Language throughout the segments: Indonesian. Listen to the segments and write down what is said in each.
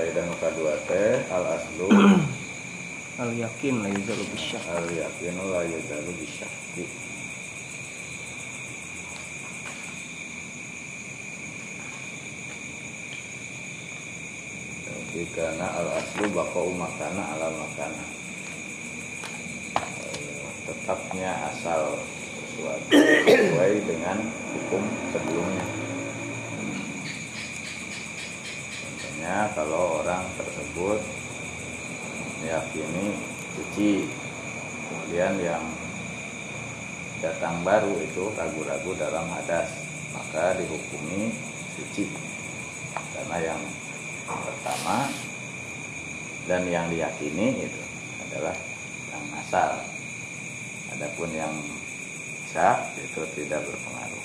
kaidah nu kadua teh al aslu al yakin la yuzalu bisyak. al yaqinu la yuzalu bisyakki. Jadi karena al aslu baqa'u makana ala makana, tetapnya asal sesuatu sesuai dengan hukum sebelumnya. Contohnya kalau orang tersebut meyakini suci, kemudian yang datang baru itu ragu-ragu dalam hadas, maka dihukumi suci karena yang pertama dan yang diyakini itu adalah yang asal. Adapun yang syak itu tidak berpengaruh.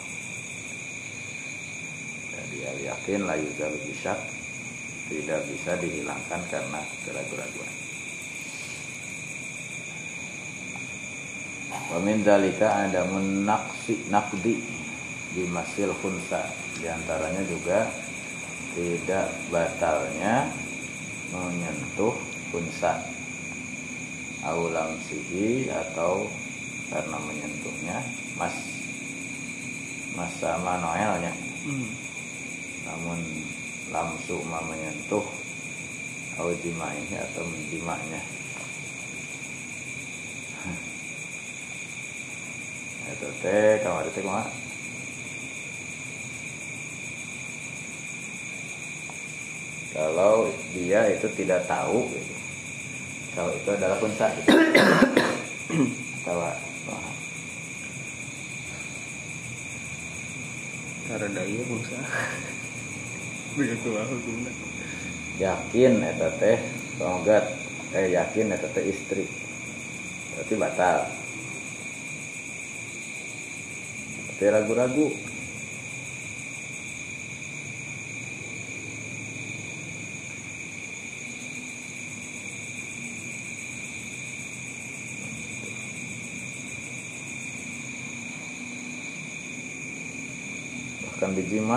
Jadi al-yakin la yuzalu bisyak, tidak bisa dihilangkan karena keraguan-raguan. Wa min dzalika adamun naqdi di masil khunsa. Di antaranya juga tidak batalnya menyentuh khunsa aulam sihi, atau karena menyentuhnya mas sama noelnya. Namun lamsu menyentuh aujimaihi atau menjimanya. Itu teh kamar teh kumaha? Kalau dia itu tidak tahu gitu, kalau itu adalah khunsa gitu. Tahu Cara daya bangsa. Begitu hukumna. Yakin eta teh tonggat yakin eta teh istri. Berarti batal. Berarti ragu-ragu. Bahkan dijima.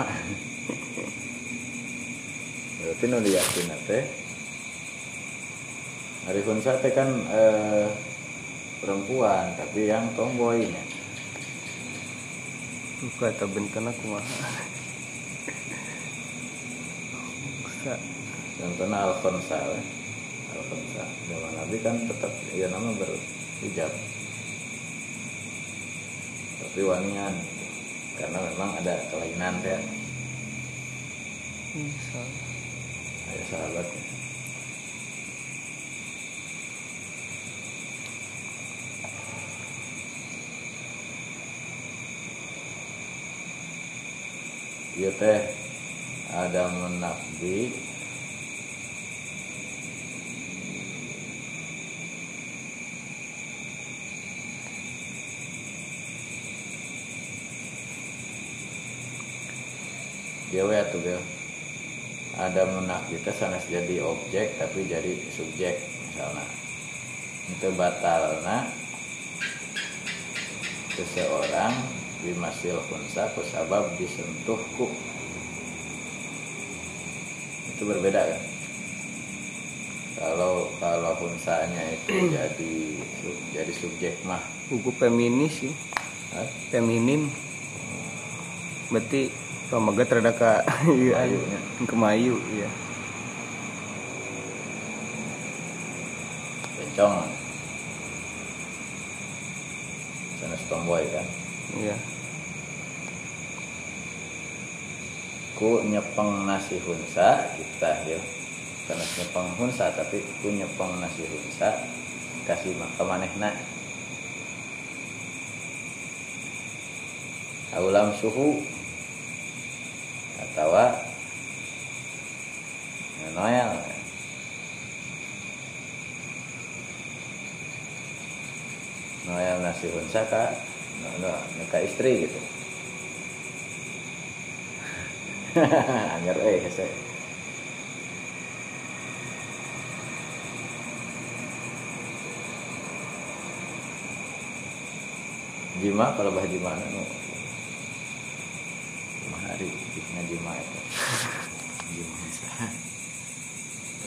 Berarti nu diyakin teh hari khunsa teh kan perempuan tapi yang tomboynya. Buka atau bentana kumaha. Contohnya al-khunsa. Al-khunsa zaman Nabi kan tetap ya nama berhijab, tapi wanian karena memang ada kelainan teh. Ada sahabatnya. Iya teh ada menakdi dewe atau bel. Ada menakdi teh sanes jadi objek tapi jadi subjek misalnya. Itu batalna seseorang bimasil khunsa kusabab disentuhku. Itu berbeda kan? Kalau khunsanya itu jadi subjek mah buku feminis sih. Feminim. Berarti pamagat rada ka Mayunya. Kemayu iya. Bencong. Sanes tomboy kan? Iya. Ku nyepeng nasi hunsa kita ya. Karena nyepeng hunsa tapi ku nyepeng nasi hunsa kasih maka manehna. Aulam suhu atau noel. Noel nasi hunsa ka ka istri gitu. Anger hese. Jima kalau bah jima nu hari jima itu. Jima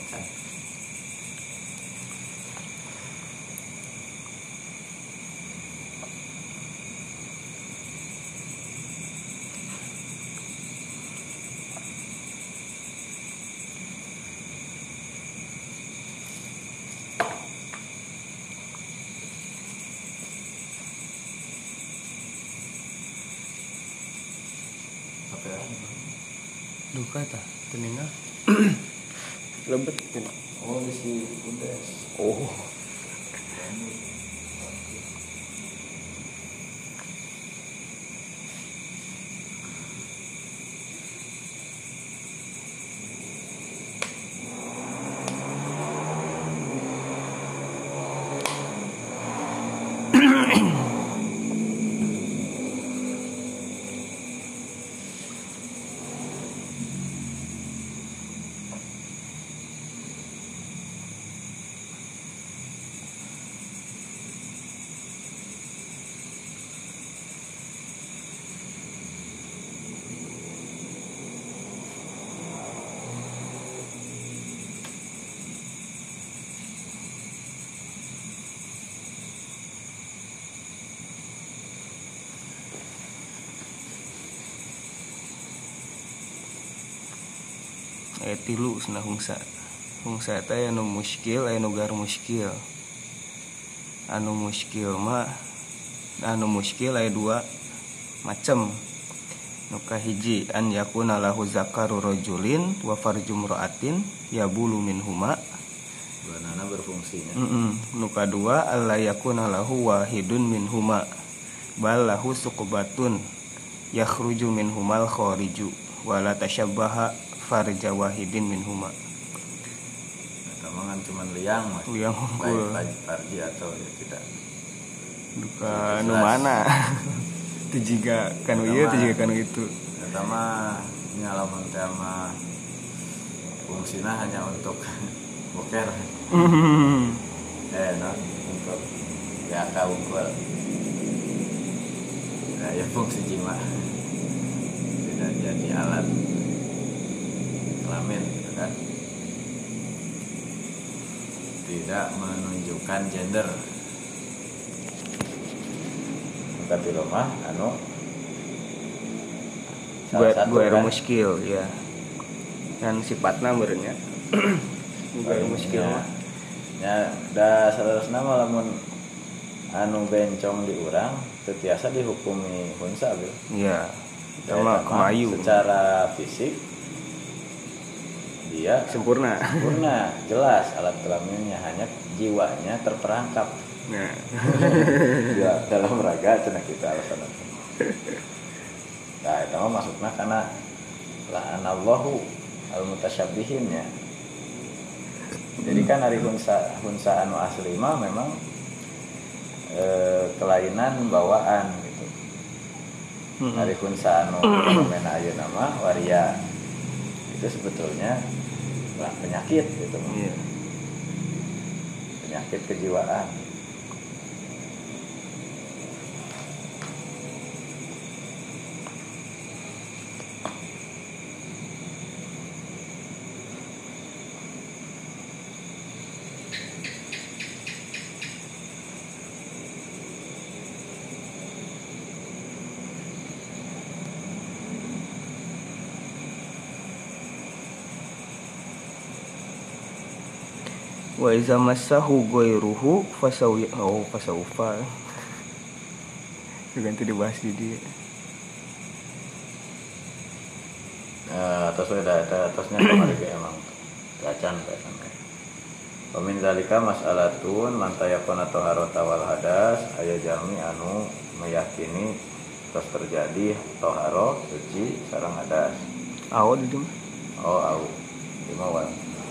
Duka tah teninga. Lebet kan. Oh isi udah. Oh. Tilu cenah hungsa. Hungsa teh anu muskil, anu gar muskil. Anu muskil aya dua macem. Nu kahiji an yakuna lahu zakaru rajulin wa farjum ra'atin yabulu minhuma. Duanana berfungsinya. Nu kadua alla yakuna lahu wahidun minhuma bal lahu suqbatun yakhruju minhumal khariju wala tashabbaha farja wahidin minhuma. Tamangan cuman liang mas. Liang hungkul. Baik farji atau ya tidak. Duka nu mana? Itu juga kanu ieu, itu juga kanu itu. Pertama ngalaman sama fungsinya hanya untuk boker. No, untuk ya kaungkul. Nah, ya fungsi jima tidak jadi alat kelamin gitu kan, tidak menunjukkan gender. Tapi lemah anu gue muskil ya kan sifatna meureunnya gue muskil mah ya da salerosna mah lamun anu bencong di urang teu tiasa dihukumi hunsa bil. Iya. Sama kemayu. Secara fisik dia sempurna, jelas alat kelaminnya, hanya jiwanya terperangkap. Nah, ya, dalam raga cenah kita alasan. Nah, itu mah maksudnya karena la'anallahu al-mutasyabbihin ya. Jadi kan hari hunsa anu asli mah memang kelainan bawaan gitu. Hari hunsa anu fenomena ayeuna mah waria. Itu sebetulnya penyakit gitu. Iya. Penyakit kejiwaan. Wa iza massahu ghairuhu fasaufa. Ganti dibahas di dia. Atasnya kemarin emang gacan kayak. Pamin zalika mas'alatun man tayaqana taharata wal hadas aya jami anu meyakini terus terjadi taharo suci sareng hadas. Aw di dieu. Oh au. Dimawal.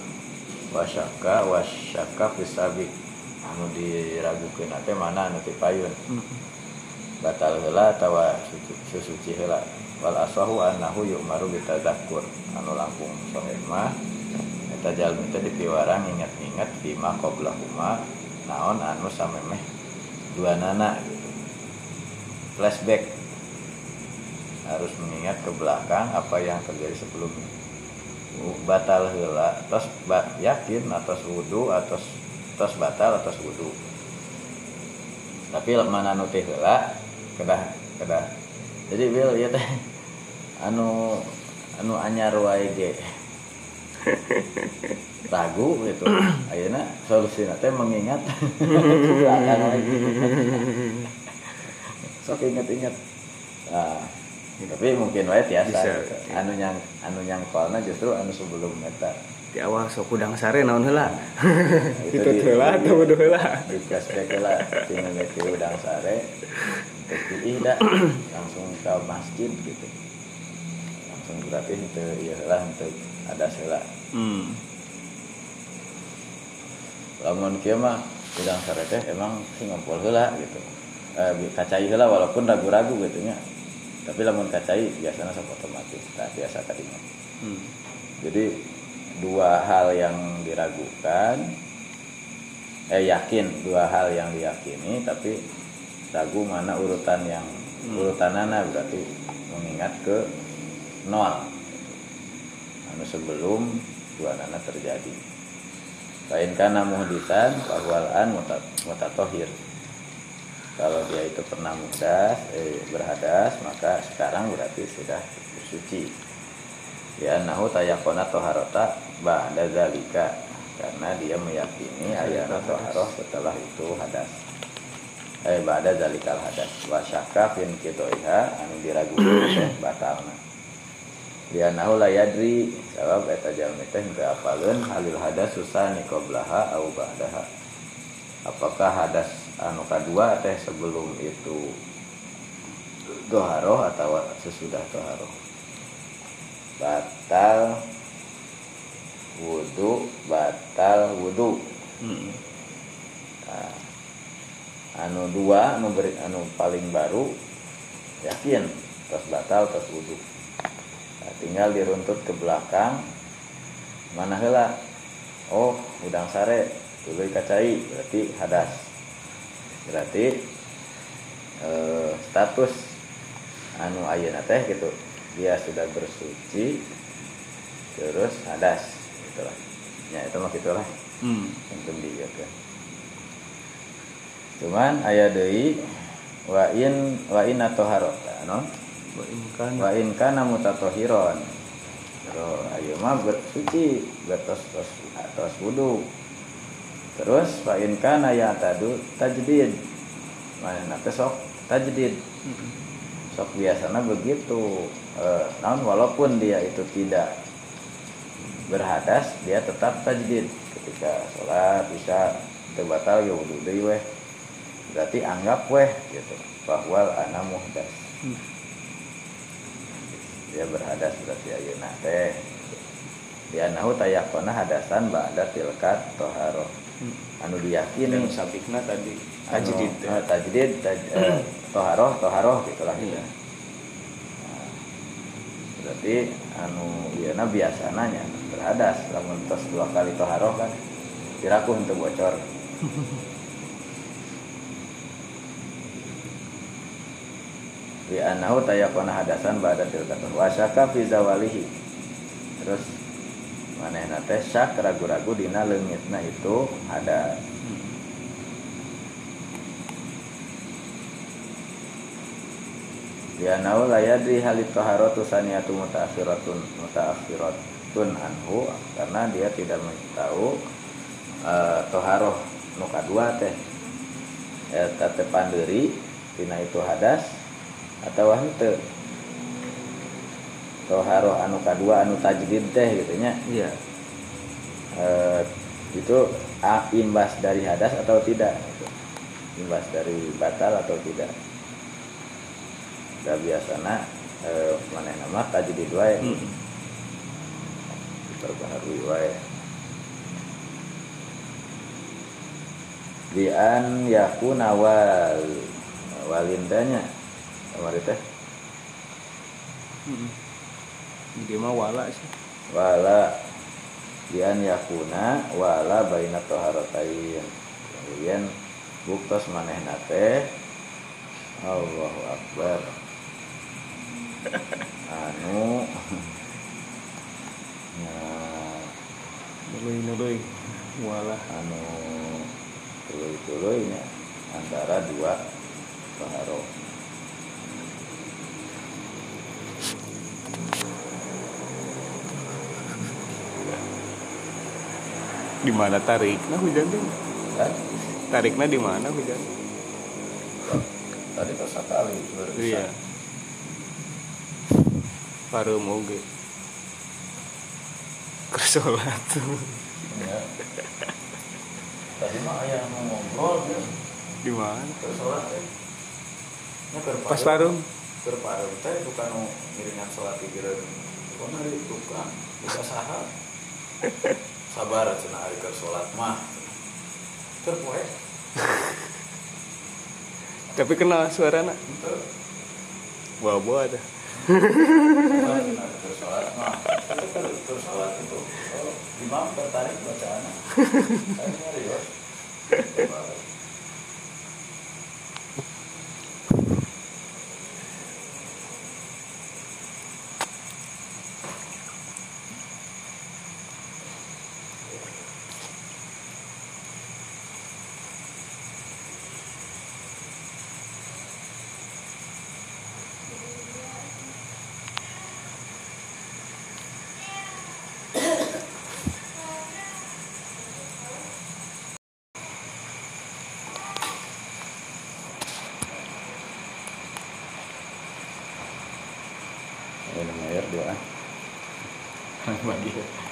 Wasyaka fisabiq anu diragukeun teh mana anu ti payun. Batal heula atawa suci heula. Wal aswahu annahu yu'maru bitadzakkur anu langkung sahih mah eta jalmi teh dipiwarang ingat-ingat fi ma qablahuma naon anu samemeh duanana gitu. Flashback harus mengingat ke belakang apa yang terjadi sebelumnya. batal heula tos yakin atas wudu atas batal atas wudu. Tapi mana nu teh heula kedah jadi bil ieu teh anu anyar wae ge ragu gitu. Ayeuna solusina teh mengingat belakang lagi. Sok inget-inget. Nah, tapi mungkin wae tiasa gitu. Anu yang kolna justru anu sebelum eta. Di awal sok udang sare naon heula. Itu heula atau wudu heula. Di flashback heula tinggal ke udang sare. Terus dah langsung ke masjid gitu. Langsung berarti itu ya heula untuk ada heula. Lamun kieu mah udang sare teh emang sing ngumpul heula gitu. Kacai heula walaupun ragu-ragu gitu nya. Tapi lamun kacai biasanya sok otomatis tak biasa tadinya. Jadi dua hal yang diragukan yakin, dua hal yang diyakini tapi ragu mana urutanana berarti mengingat ke nol anu sebelum dua nana terjadi. Lain kana muhdisan bahwalan mutatohir. Kalau dia itu pernah berhadas, maka sekarang berarti sudah suci. Ya nahu tayakona toharota ba'da zalika, karena dia meyakini ayana toharoh setelah itu hadas. Ba'da zalikal hadas. Wa syakka fin kidoiha anu diragukan teh batalna. Dia nahu la yadri sabab eta jalmi teh teu apaleun halil hadas susani qablaha au ba'daha. Apakah hadas anu kadua teh sebelum itu toharoh atau sesudah toharoh. Batal wudu. Nah, anu dua anu paling baru yakin terus batal terus wudu. Nah, tinggal diruntut ke belakang mana heula. Oh, udang sare tuluy kacai berarti hadas. Berarti status anu ayeuna teh gitu. Dia sudah bersuci terus hadas gitulah. Ya itu mah gitulah. Untuk dia kan. Cuman aya deui wa in atoharota no? Wa in kana mutatohiron. Terus ayeuna mah bersuci bertos wudu. Terus wa in kana ya tadu tajdid. Mana teh sok tajdid. Sok biasana begitu. Namun walaupun dia itu tidak berhadas, dia tetap tajdid ketika sholat bisa terbatal ya wudu deui weh. Berarti anggap weh gitu bahwa ana muhdas. Dia berhadas berarti ayeuna teh. Dia nahu tayakona hadasan ba'da tilkat toharoh. Anu diyakini sabikna tadi tajdid toharoh gitulah ya. Berarti anu ieuna biasananya berhadas lamun tos 2 kali toharoh kan dirakuh henteu bocor. Bi annahu tayaqana hadasan ba'da tilkatan wa syaka fi zawalihi. Terus manehna teh syak ragu-ragu dina leungitna itu hadas. Ya nau layadri halit toharatu saniyatu mutaakhiratun anhu, karena dia tidak tahu toharoh nu kadua teh eta pandeuri tina itu hadas atawa henteu. Toharoh anu kadua anu tajdid teh gitu nya. Iya. Itu imbas dari hadas atau tidak? Imbas dari batal atau tidak? Da biasana manehna mah tajdid wae. Diperbaharui wae. Bi an yakuna walindanya kamari teh. Dia mah wala sih. Wala bi an yakuna wala baina taharatain. Kemudian buktos manehna teh Allahu Akbar. Anu Nului walah anu tuluy-tuluynya antara dua paharo. di mana tarikna hujan teh? Kan Tarikna di mana hujan? tadi pas sekali Iya. Pareum oge. Kersolat. ya. Tadi mah aya nu ngobrol ya. Di mana? Keur salat teh. Nya keur Pas pareum. Keur pareum teh bukan nu ngiringan salat di gireun. Pokona di tukang buka saha. Sabar cenah ari keur salat mah. Keur poe. Tapi kenal suarana. Henteu. Bawa ada. Keur salat mah. Keur salat itu. Oh, imam tertarik bacaanna. Saya nyari ya. Minum air doa. Bagi.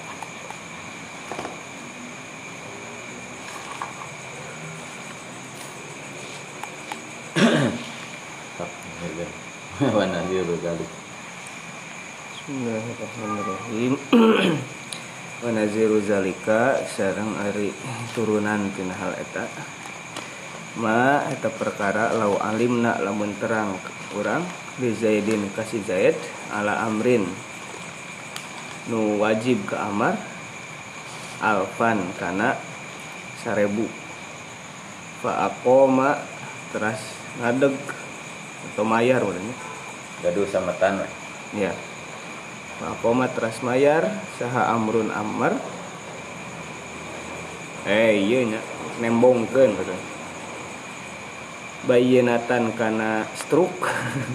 Wana dia berkali. Bismillahirrahmanirrahim. Wa naziru zalika sareng ari turunan tina hal eta. Ma eta perkara lau alimna lamun terang urang bi Zaidin kasih Zaid ala amrin nu wajib ke amar alfan kana 1000 fa aqoma teras ngadeg atau mayar urangnya Gaduh sama tan we. ya fa aqoma teras mayar saha amrun amar ieu nya nembongkeun katanya bayinatan kana stroke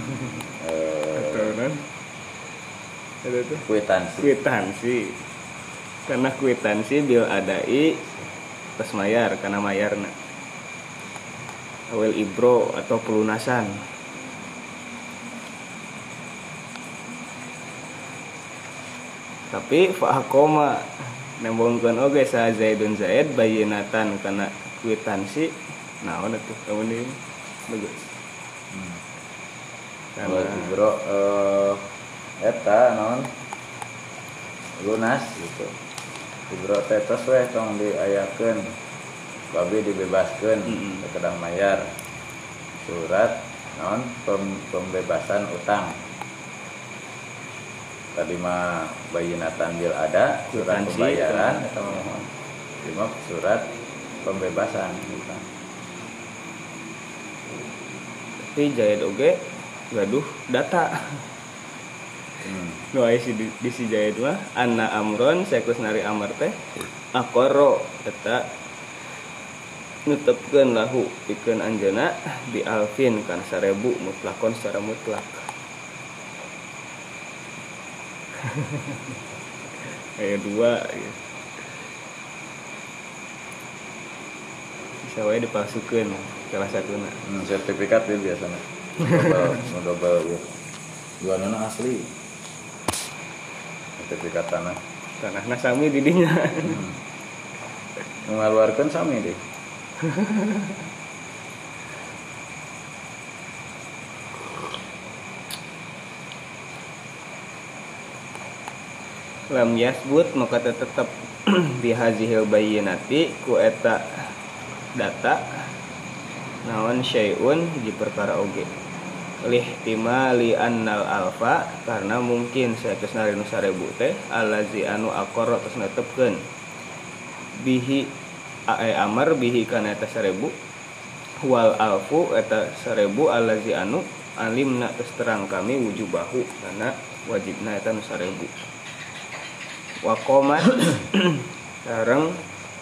kan itu kwitansi karena kwitansi bil adai pas mayar karena mayarna awal ibro atau pelunasan tapi fa'akoma nembongkeun oge sa Zaidun Zaid bayinatan kana kwitansi naon atuh kemudian bagus. Kalau bro eta non lunas gitu. Bro tetes we tong diayakeun. Babi dibebaskeun kekedang mayar. Surat non pembebasan utang. Tadi mah bayinatan bil ada surat pembayaran eta mohon. Lima surat pembebasan utang. Tapi Zaid oge gaduh data. Nu aya di si Zaid mah anna amron saekus nari amar teh aqarro eta nutepkeun lahu pikeun anjeunna bi alfin kana 1000 mutlakon secara mutlak. Aya dua ya. Bisa wae dipalsukeun salah satuna. Sertifikat ya biasanya. Double ya. Jualana asli. Sertifikat tanah. Tanahna sami di dinya. Mengeluarkan sami deh. Lam yasbut maka tetap bihazihil bayyinati ku eta data naon syai'un hiji perkara oge lihtimali annal alfa karena mungkin saeus narinu 1000 teh allazi anu aqarra tos netepkeun bihi amar bihi kana eta 1000 wal alfu eta 1000 allazi anu alimna tos terang kami wujubahu karena wajibna eta nu 1000 wa qomat Sareng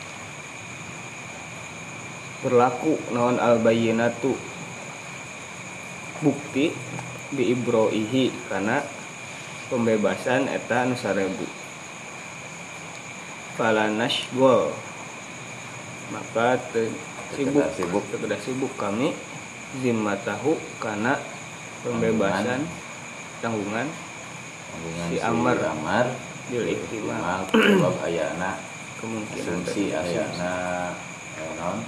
berlaku naon al bayyinatu bukti bi ibroihi kana pembebasan eta anu 1000. Falanashgol maka sibuk kami zimmatahu kana pembebasan tanggungan si Amr bil ihtimal sebab ayana kemungkinan asumsi ayana naon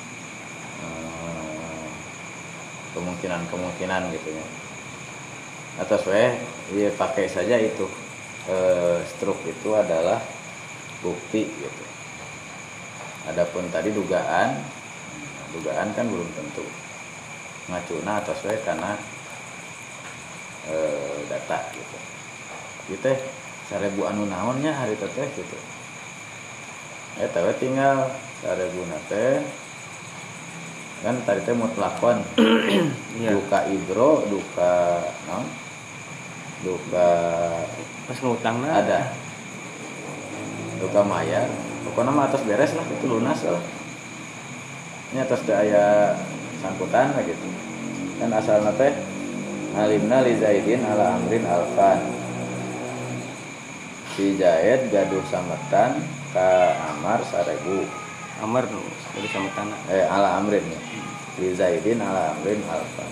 kemungkinan gitu ya. Atas dia pakai saja itu struk itu adalah bukti gitu. Adapun tadi dugaan kan belum tentu. Ngacuna atas karena data gitu. Gitu 1000 anu naonnya hari teh gitu. Eta tinggal 1000 teh kan tadi teh mutlakon duka ibro duka non duka pas ngutangna ada duka mayar pokoknya mah atas beres lah itu lunas lah ini atas daya sangkutan lah gitu kan asalna teh alimna li Zaidin ala amrin alfan si Zaid gaduh sametan ka Amar 1000 Amar dari sametan ala amrin ya. Li Zaidin ala amrin alfa.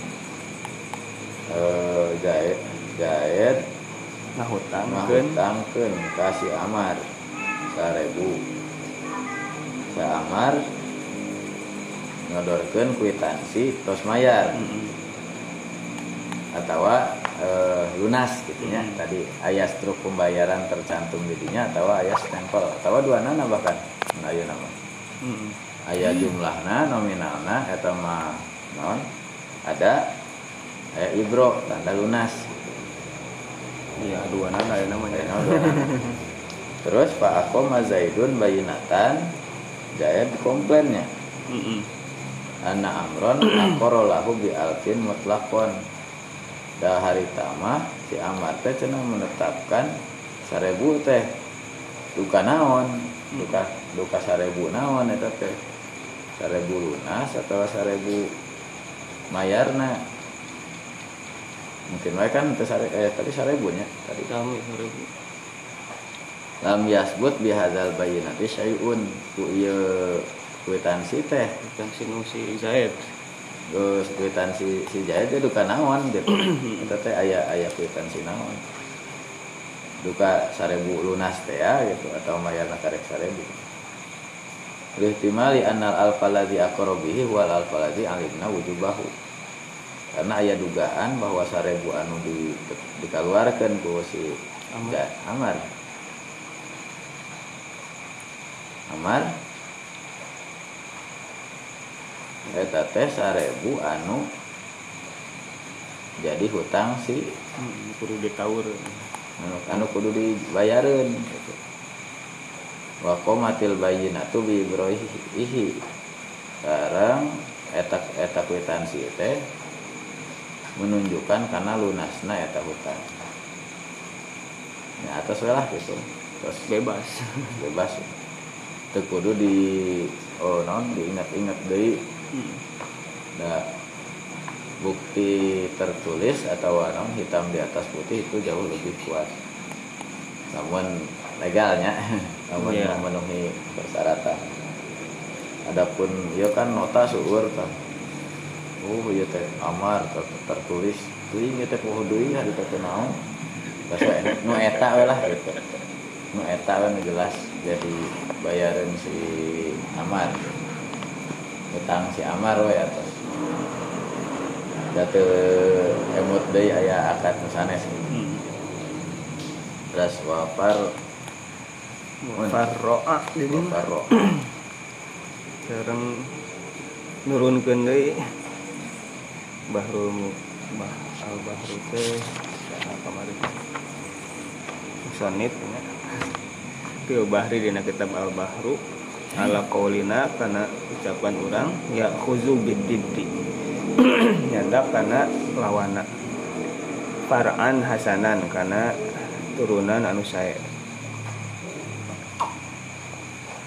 Zaid ngahutangkeun ka si Amar 1000. Sa Amar ngodorkeun kwitansi tos mayar. Atawa lunas gitu nya. Tadi aya struk pembayaran tercantum didinya atawa aya stempel atawa duanana bahkan ayeuna mah. Aya jumlahna nominalna eta mah naon ada aya ibro tanda lunas iya duana aya namanya terus Pak Aqoma Zaidun bayinatan Zaid komplainnya anna amron aqaralahu bi alfin mutlaqon da hari tamah si Amar teh cenah menetapkan 1000 teh duka naon duka 1000 naon eta teh 1000 lunas atau 1000 mayarna mungkin wae kan tadi 1000 nya tadi kami 1000 lam yasbut bihadzal bayyinati syai'un ku ieu kwitansi teh kwitansi nu si Zaid geus kwitansi si Zaid teh duka naon gitu eta teh aya kwitansi naon duka 1000 lunas teh ya gitu atau mayarna karek 1000 lihtimali annal alfaladzi aqrabihi wal alfaladzi alimna wujubahu karena aya dugaan bahwa 1000 anu dikeluarkan ku si Amar eta teh 1000 anu jadi hutang si kudu ditawur anu kudu dibayareun gitu. Wa qomatil bayyinatu bi ibroihi sekarang eta kwitansi teh menunjukkan karena lunasna eta hutang ya atas lah gitu terus bebas teu kudu diingat-ingat deui da bukti tertulis atau naon hitam di atas putih itu jauh lebih kuat namun legalnya namun memenuhi persyaratan. Adapun ieu kan nota seueur kan. Ieu teh Amar tertulis teuing ieu teh poho deui hari teh naon. Basa nu eta we lah gitu. Nu eta we nu jelas jadi bayaran si Amar. Utang si Amar we atas. Da teu emut deui aya akad nu sanes. Terus Farro'a jadi sekarang nurunkeun deui Bahrul al-Bahru teh kamari sanid nya fil bahri dina kitab al-Bahru ala qaulina kana ucapan urang ya khuzu bididdi nyandak kana lawana far'an hasanan kana turunan anu sae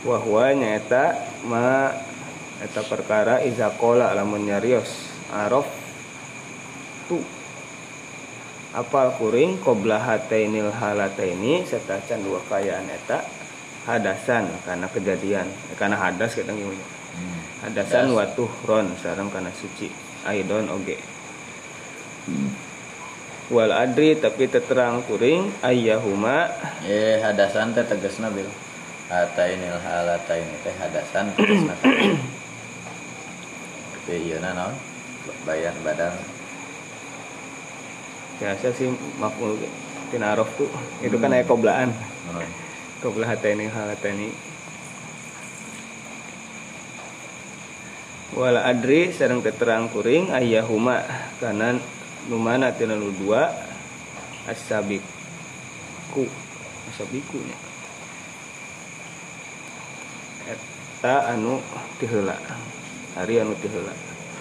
wa huwa nyaeta ma eta perkara iza qala lamun nyarios araf tu apal kuring qabla hatainil halataini satacan dua kayaan eta hadasan karena kejadian karena hadas kadang gimana hadasan wa tuhron sareng kana suci aidon oge wal adri tapi terang kuring ayyahuma hadasan teh tegasna bil hatainil halataini teh hadasan tegasna teh ieu naon bayan badan biasa sih maf'ul tina araf tuh itu kan aya qoblaan qabla hataini halataini wala adri sareng terang kuring ayyahuma kana nu mana tina nu dua asabiku nya eta anu tiheula hari anu tiheula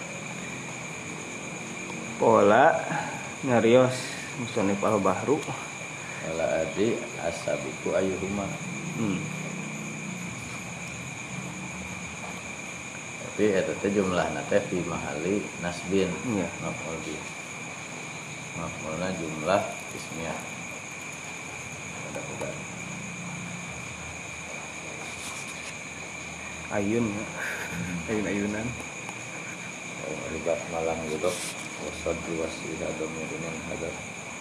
pola nyarios musonif al-bahru wala adri asabiku ayyuhuma tapi eta teh jumlahna teh fi mahali nasbin ya maf'ul bi maf'ulna jumlah ismiyah mudah-mudahan ayun ayunan libat malang gitu wasad diwasila domirin hadap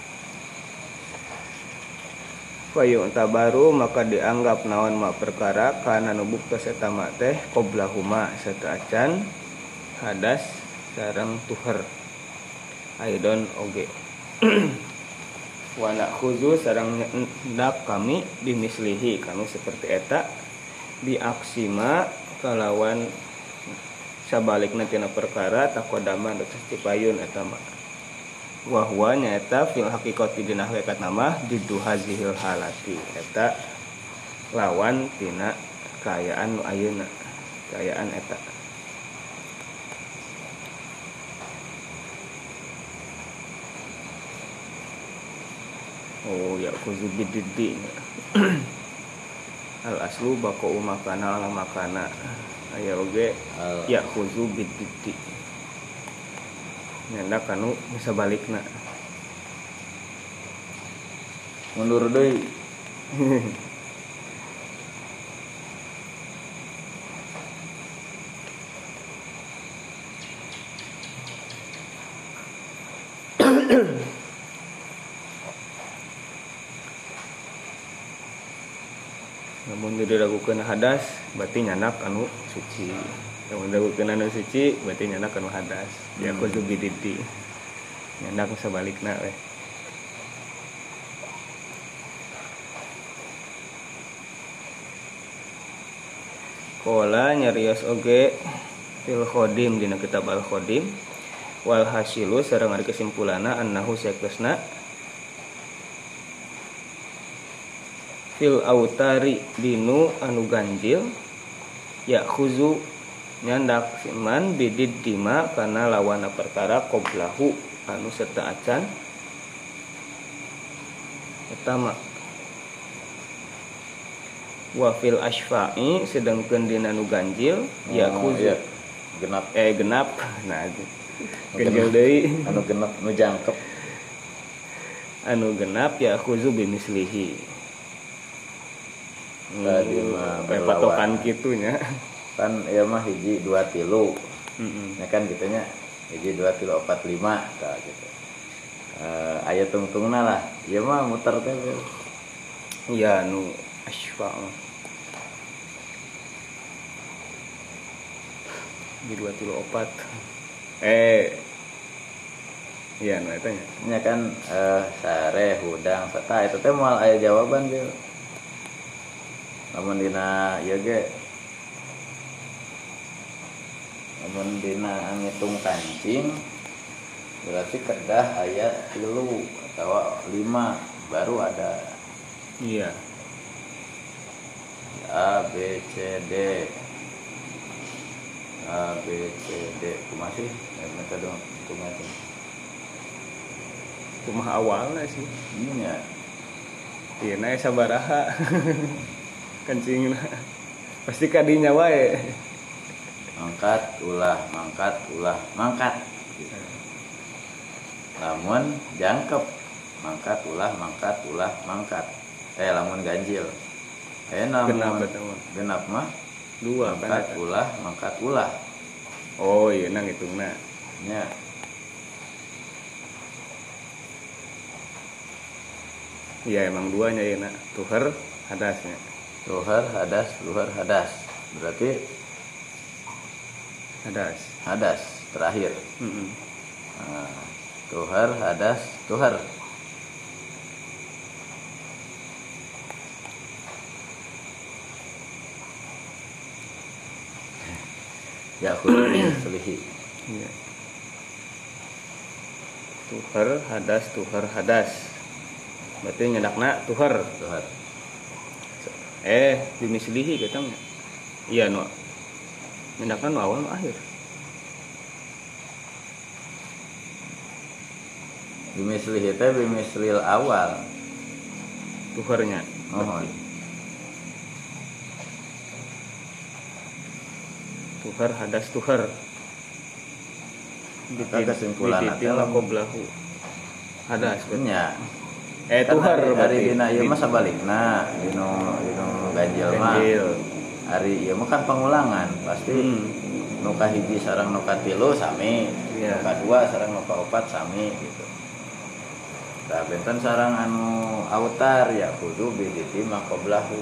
Fayu tabaru maka dianggap naon ma perkara kana nu buktos eta ma teh qoblahuma sataacan hadas sareng tuhar aidon oge wa nakhuzu sareng ndak kami bimislihi kanu seperti eta biaksima kalawan sabalikna tina perkara taqaddama atas tipayun eta ma wa huwa nyaeta fil haqiqati dina hakikat nama didu hazihil halati eta lawan tina kaayaan nu ayeuna kaayaan eta oh ya kuzu bididdi al aslu baqa'u makana ala makana aya oge ya kuzu bididdi nyandak kanu bisa balikna mundur deui namun diragukeun hadas berarti nyandak anu suci yang diragukeun anu suci berarti nyandak anu hadas ya kudu bididi nyandak sabalikna we qala nyarios oge fil khodim dina kitab al khodim wal hasilu sareng ari kesimpulanna annahu saktesna fil autari dinu anu ganjil ya khuzu nyandak siman bidid dima kana lawana perkara qoblahu anu setaacan pertama wa fil asfa'i sedengkeun dina nu ganjil ya khuzu genap nah ganjil deui anu genep nu jangkep anu genap ya khuzu bimislihi patokan kitunya kan ya mah hiji 2 tilu ya kan gitunya hiji 2 tilu 4 5 tah gitu aya tungtungna lah ieu mah muter teh iya nu asfa hiji 2 tilu 4 iya nu eta nya kan sare hudang sata eta teh moal aya jawaban ge lamun dina ieu ge lamun dina ngitung kancing berarti kedah aya 3 atau 5 baru ada iya A B C D kumaha sih metode hitungna kumaha awalna sih nya ieu na sabaraha kancingna Pasti kadinya wae. Mangkat ulah mangkat. Lamun jangkep mangkat ulah mangkat. Lamun ganjil. Namun genap mah dua mangkat ulah. Oh iya nang hitungna. Nya. Iya emang duanya ya nak. Tuhar hadasnya. Tuhar hadas. Berarti hadas terakhir. Nah, tuhar hadas tuhar. Ya kudu selihi. Iya. Tuhar hadas. Berarti nyedakna tuhar. Dimislihi kita mah. Iya no. Nyedakna no awal no akhir. Bimislihi teh bimislil awal. Tuharnya. Mohon. Tuhar hadas tuhar. Kesimpulan adalah qoblahu. Hadas nya. Tuhar hari dina ieu mah sabalikna, dino ganjil mah. Hari ieu mah kan pengulangan, pasti nu kahiji sareng nu katilu sami, nu kadua sareng nu kaopat sami gitu. Tah benten sareng anu autar ya kudu biditi maqoblahu.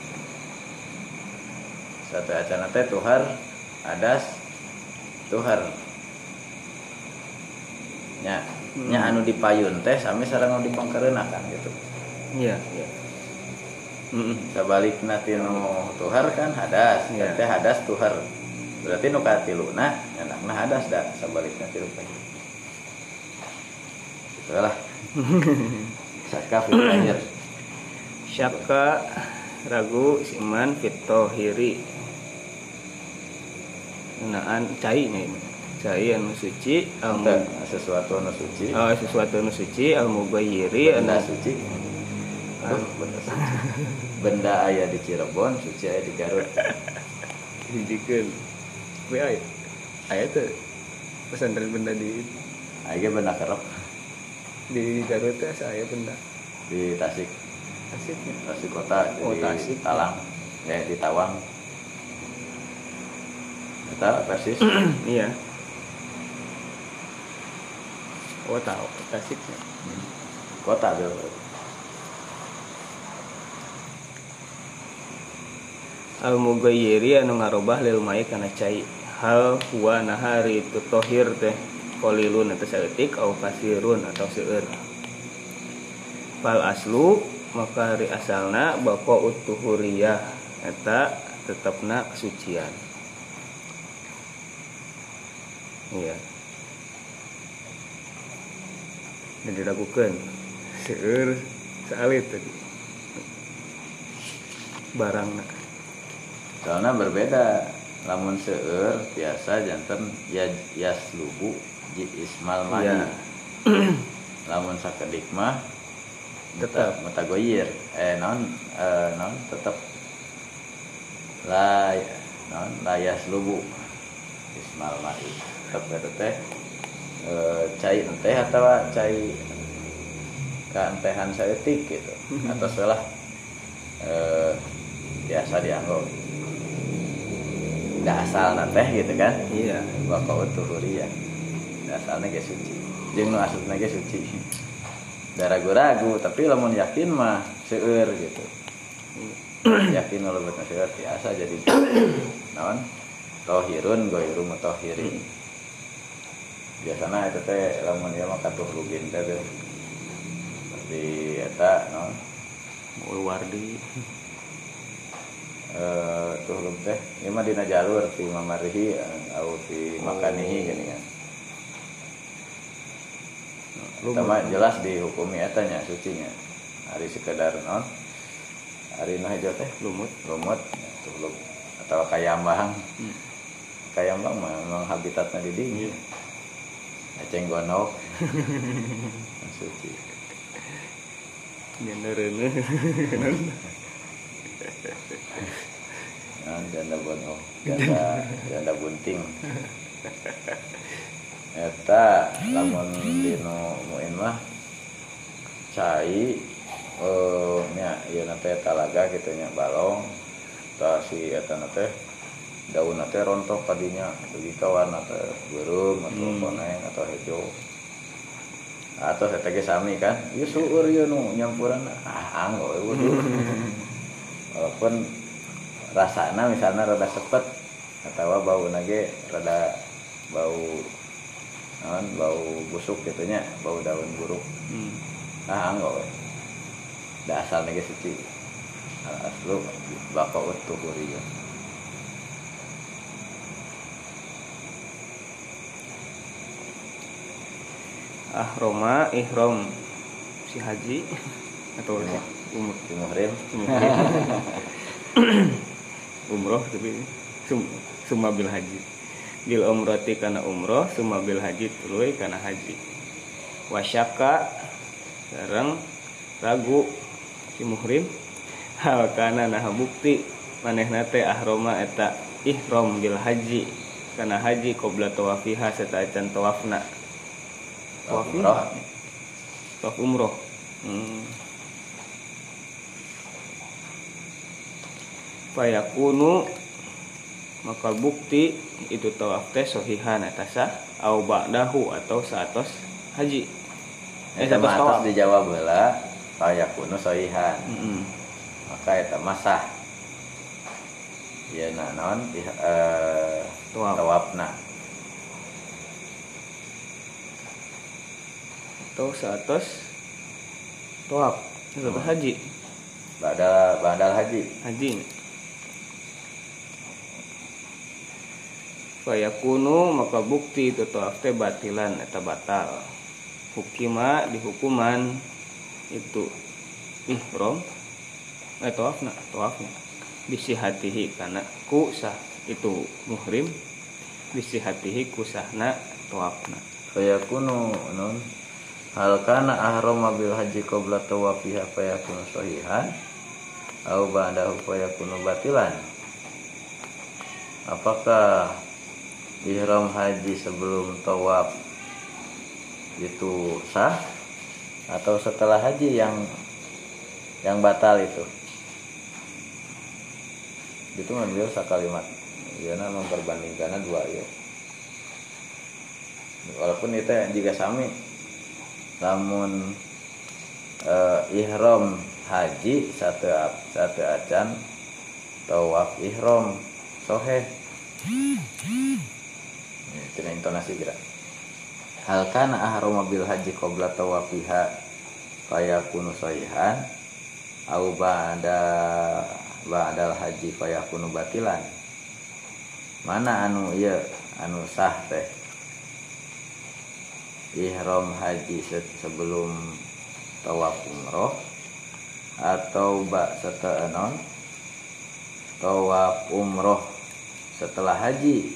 Satu acana teh tuhar hadas tuhar. Nya anu dipayun teh sami sareng anu dipangkareunakan gitu. Iya. Sabalikna tinu tuhar kan hadas, teh hadas tuhar. Berarti nu katiluna nyandakna hadas da sabalikna tilu teh. Itulah. Syakka fil tahir. Syakka ragu siman fit tahiri. Naan cai anu suci sesuatu anu suci. Sesuatu anu suci al-mubayyiri anu suci. Benda aya di Cirebon, suci aya di Garut. Hijikeun. We aya teh pesantren benda di aya benda kerep. Di Garut teh saya benda. Di Tasik kota, di Talang. Di Tawang. Eta persis. Iya. Oh tahu Tasiknya. Kota tuh. Al-mugayyiri anu ngarobah lil mai kana cai. Hal huwa nahari tutohir teh qalilun atau saeutik au kasirun atau seueur. Fal aslu maka ri asalna baqa'ut tuhuriyah eta tetepna kesucian. Iya. Dan diragukan seueur saalit tadi barangna. Soalnya berbeda. Lamun seueur biasa janten yaslubu ismal mani. Iya. Lamun sakedik mah tetap mutagoyir. Non tetap la yaslubu ismal mani. Tetap teh cai teh atau cai kantehan saeutik gitu. Atau salah biasa dianggap da asalna teh gitu kan. Iya. Baqa'ut tuhuriyah. Da asalna ge suci. Jeung nu asalna ge suci. Da ragu-ragu tapi lamun yakin mah seueur gitu. Yakin kalau bener seueur biasa jadi naon? Tahirun ghairu mutahhirin. Biasana eta teh lamun ieu mah katuh rugin teh di eta naon? Wardi. Tuh lum teh ieu mah dina jalur fi mamarihi au fi makanihi gini kan. Pertama jelas dihukumi eta nya sucinya. Ari sekedar naon? Ari nu hejo teh lumut tuh lum atau kayambang. Kayambang mah memang habitatna di dieu. Aceng gonok. Suci. Nya janda bunting. Eta lamun dino muin mah cai nya ieu teh talaga kitu nya balong tah si eta teh daun teh rontok kadinya dugi ka warna teh beureum atau koneng atau hejo. Atau eta ge sami kan ieu sueur ieu nu nyampuran anggo we wudu. Walaupun rasana misalnya rada sepet atau bauna ge rada bau bau busuk gitunya, bau daun buruk. Anggo we. Da asalna ge suci. Aslu baqaut tuhuriyah. Ahroma ihram si haji atau muhrim umroh tapi summa bil haji bil umrati kana umroh summa bil haji tuluy kana haji wasyaka sareng ragu si muhrim hal kana nah bukti manehna teh ahroma eta ihram bil haji kana haji qabla tawafiha sataacan tawafna tawaf umroh fayakunu maka bukti itu tawaf teh sahihan eta sah au ba'dahu atau saatos haji saatos tawaf dijawab heula fayakunu sahihan maka eta masah yeuna naon tawafna atau saatos tawaf saatos haji badal haji fayakunu maka bukti itu tawaf teh batilan eta batal hukima dihukuman itu ihram tawafna bisi hatihi kana ku sah itu muhrim bisi hatihi ku sahna tawafna fayakunu non hal kana ahrama bil haji qabla tawafiha fayakunu sahihan au ba'dahu fayakunu batilan. Apakah ihram haji sebelum tawaf itu sah atau setelah haji yang batal itu? Itu ngambil sakalimat. Yana memperbandingkan dua ya. Walaupun itu juga sami. Namun ihram haji satu acan tawaf ihram soheh. Itu intonasi kira. Hal kana ahrama bil haji qabla tawafiha fayakunu sahihan au ba'dal haji fayakunu batilan. Mana anu ieu anu sah teh? Ihram haji sebelum tawaf umroh atau setelah tawaf umroh setelah haji.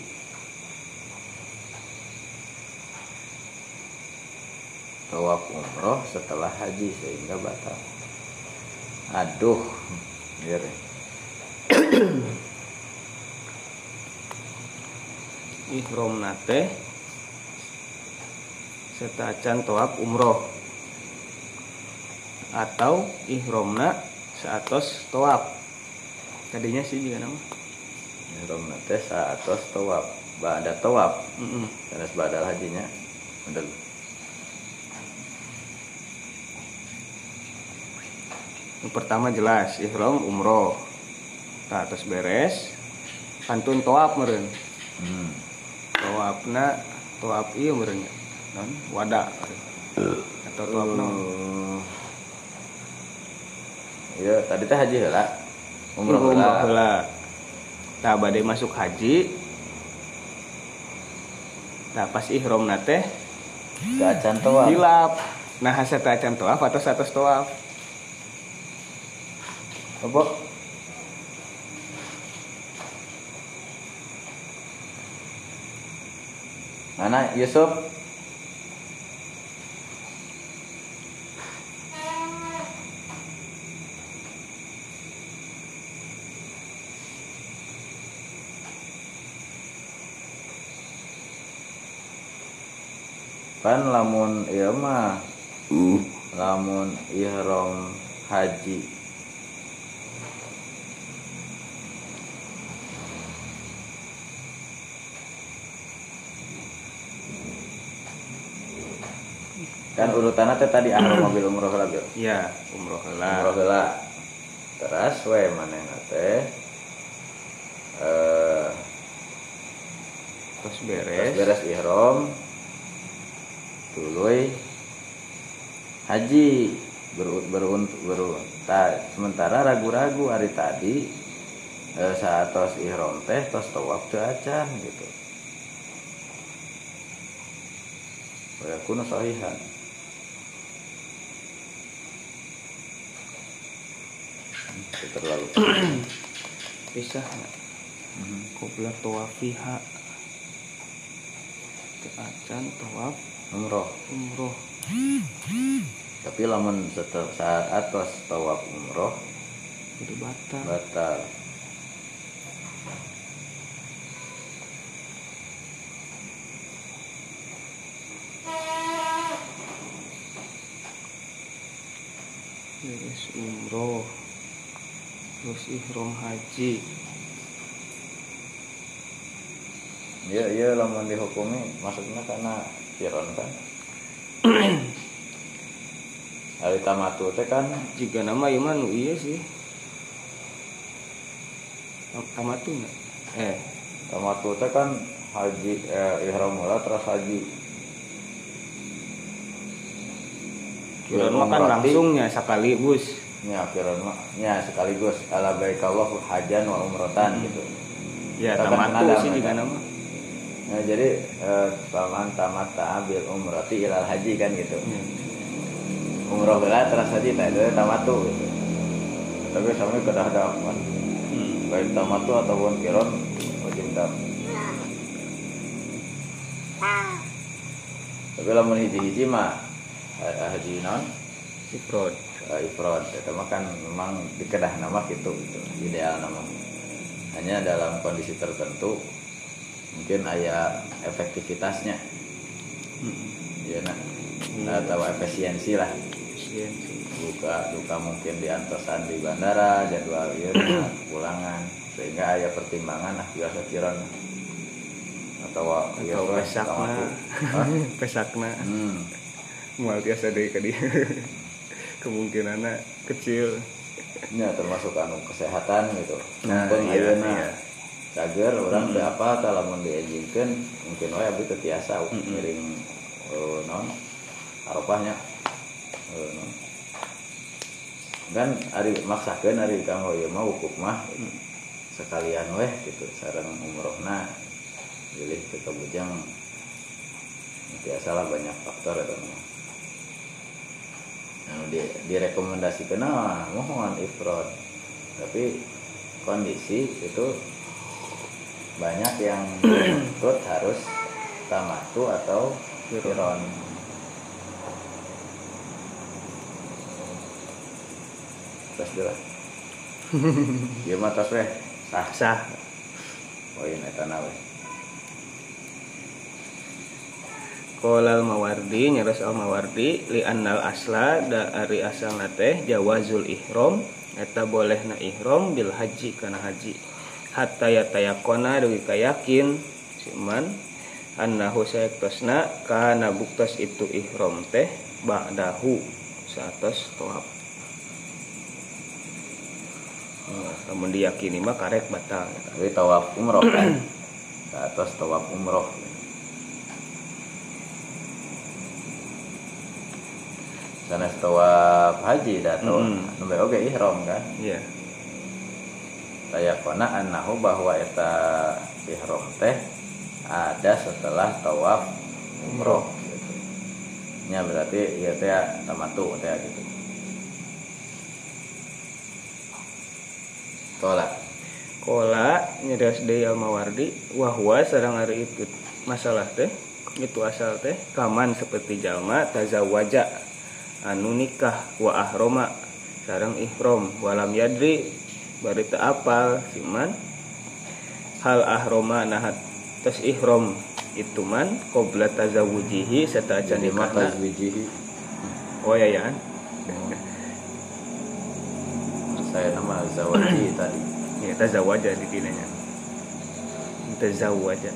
Tawaf umroh setelah haji sehingga batal. Aduh, biar ihram nate setacan tawaf umroh atau ihramna saatos tawaf tadinya sih juga nama ihramna teh saatos tawaf ba'da tawaf karena badal hajinya udah yang pertama jelas ihram umroh saatos beres pantun tawaf meureun tawafna tawaf ieu meureun non wada atau tawaf non iya tadi teh haji heula umroh heula tah bade masuk haji tah pas ihram na teh teu acan tawaf hilap nah hasa teu acan tawaf atau satos tawaf apa mana Yusuf Kan lamun ieu mah lamun ihram haji kan urutanna teh tadi ahram mobil umroh heula Bil. Ya, umroh heula. Umroh heula. Teras we manehna teh Terus beres beres. ihram tuluy haji sementara ragu-ragu hari tadi saat tos ihram teh tos tawaf teu acan gitu. Ya kuno sahihan. Terlalu Pisah enggak? Qobla tawafiha. Teu acan tawaf umroh. Tapi lamun saat atas tawaf umroh kudu batal. batal. Beres umroh. Terus ihram haji. Iya lamun dihukumi maksudnya karena firon kan. Hari tamatu teh kan Jika nama ieu mah nu ieu sih. Tamatu enggak? tamatu teh kan haji ihram heula terus haji. Kira mah kan langsungnya sekaligus. Ya firon mah nya sekaligus ala baikallahu hajan wa umratan gitu. Ya Kita kan tamatu ada, sih jika kan? nama. Nah, jadi paman tamatta bil umrati ilal haji kan gitu. Umroh heula terus haji teh itu tamatu gitu. Tapi sami kedah dapat. Baik tamatu ataupun kiron wajib dam. Tapi lamun hiji-hiji mah haji non Ifrod. ifrad eta mah kan memang dikedah nama gitu ideal nama. Hanya dalam kondisi tertentu mungkin aya efektivitasnya. Ya atau efisiensi lah. Duka mungkin diantosan di bandara jadwal ieu pulangan sehingga aya pertimbangan lah biasa kiron atau pesakna moal biasa deui ka dieu kemungkinanna kecil nya termasuk anu kesehatan gitu. Nah, iya. Cager orang teu apa tah lamun diejingkeun mungkin wae abdi teu tiasa ngiring non Arafahnya kan ari maksakeun ari kanggo ieu mah wukuf mah sekalian weh gitu sareng umrohna pilih teu kabujang biasalah banyak faktor eta mah. Nah, direkomendasikeun mohon ifrad. Tapi kondisi itu banyak yang menuntut harus tamatu atau qiron. Terus dulu. Ieu mah tos weh sah. Oh iya eta na weh. Qolal Mawardi nyaros al Mawardi li annal asla da ari asalna teh jawazul ihram eta bolehna ihram bil haji kana haji hatta yatayaqona dugi kayakin siman annahu sayaktosna kana buktos itu ihram teh ba'dahu satos tawaf. Namun diyakini mah karek batal. Tapi tawaf umroh kan. Satos tawaf umroh. Karena tawaf haji datang nembe oge ihram kan. Iya. Tayakona annahu bahwa eta ihram teh ada setelah tawaf umroh gitu. Nya berarti ieu teh tamatu teh gitu. Kola nyedas deui al Mawardi wa huwa sareng ari itu masalah teh itu asal teh kaman seperti jalma tazawwaja anu nikah wa ahroma sareng ihram walam yadri bari teu apal siman hal ahroma nahat tos ihram itu man qabla tazawujihi satajan jadi mah nikahna. tazwijihi. Oh ya ya. Saya nama zawaji tadi. Ya tazawaja di tinanya. Tazawaja.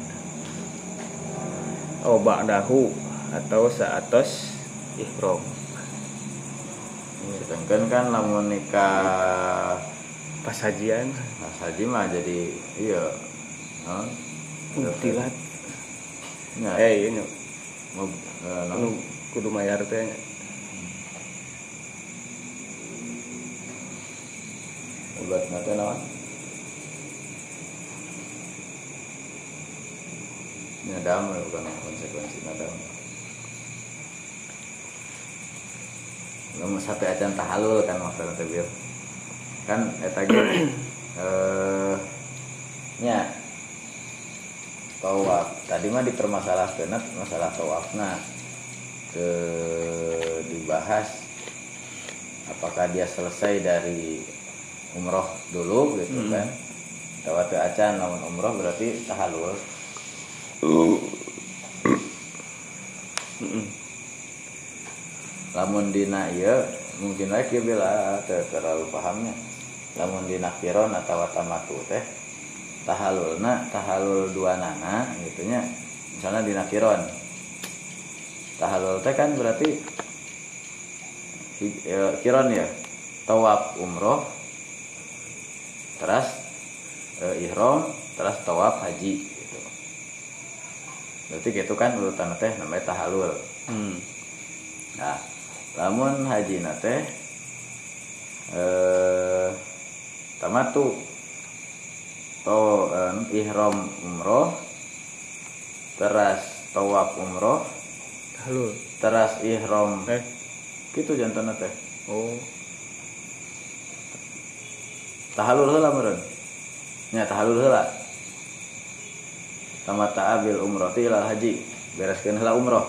Oh ba'dahu atau saatos ihram. Sedangkan kan lamun nikah Pas hajian pas haji mah jadi iya utilat. ya Iya nya. nu Kudu mayar teh. obat nate naon nadam bukan konsekuensi nadam lamun sampai acan tahalul kan maksudna teh bieu kan eta ge nya tawaf tadi mah dipermasalahkeun masalah tawafna ke dibahas apakah dia selesai dari umroh dulu gitu kan tawaf teu acan lamun umroh berarti tahalul lamun dina ieu mungkin lagi bila terlalu pahamnya lamun dina kiron atau tamatu teh tahalul dua nana gitunya misalnya dina kiron tahalul teh kan berarti kiron ya tawaf umroh terus ihram terus tawaf haji gitu berarti gitu kan urutan teh namanya tahalul nah lamun haji nate tamatu to ihram umroh teras tawaf umroh Tahalul. teras ihram gitu jantana teh Oh tahalul heula meureun nya tahalul heula tamata abil umrah ilal haji bereskeun heula umroh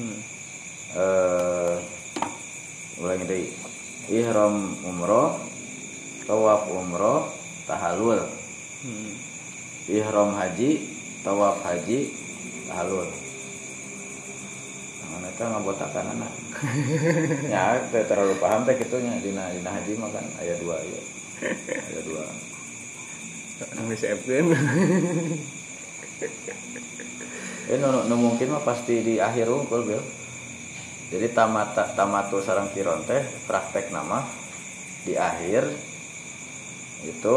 ulangi deui ihram umroh tawaf umroh tahalul ihram haji tawaf haji tahalul mana eta ngabotakan anak nya teu terlalu paham teh kitu nya dina haji mah kan aya dua ya aya dua nang disepkeun. nu mungkin mah pasti di akhir unggul Bil. Jadi tamatu sareng kiron teh praktek nama di akhir itu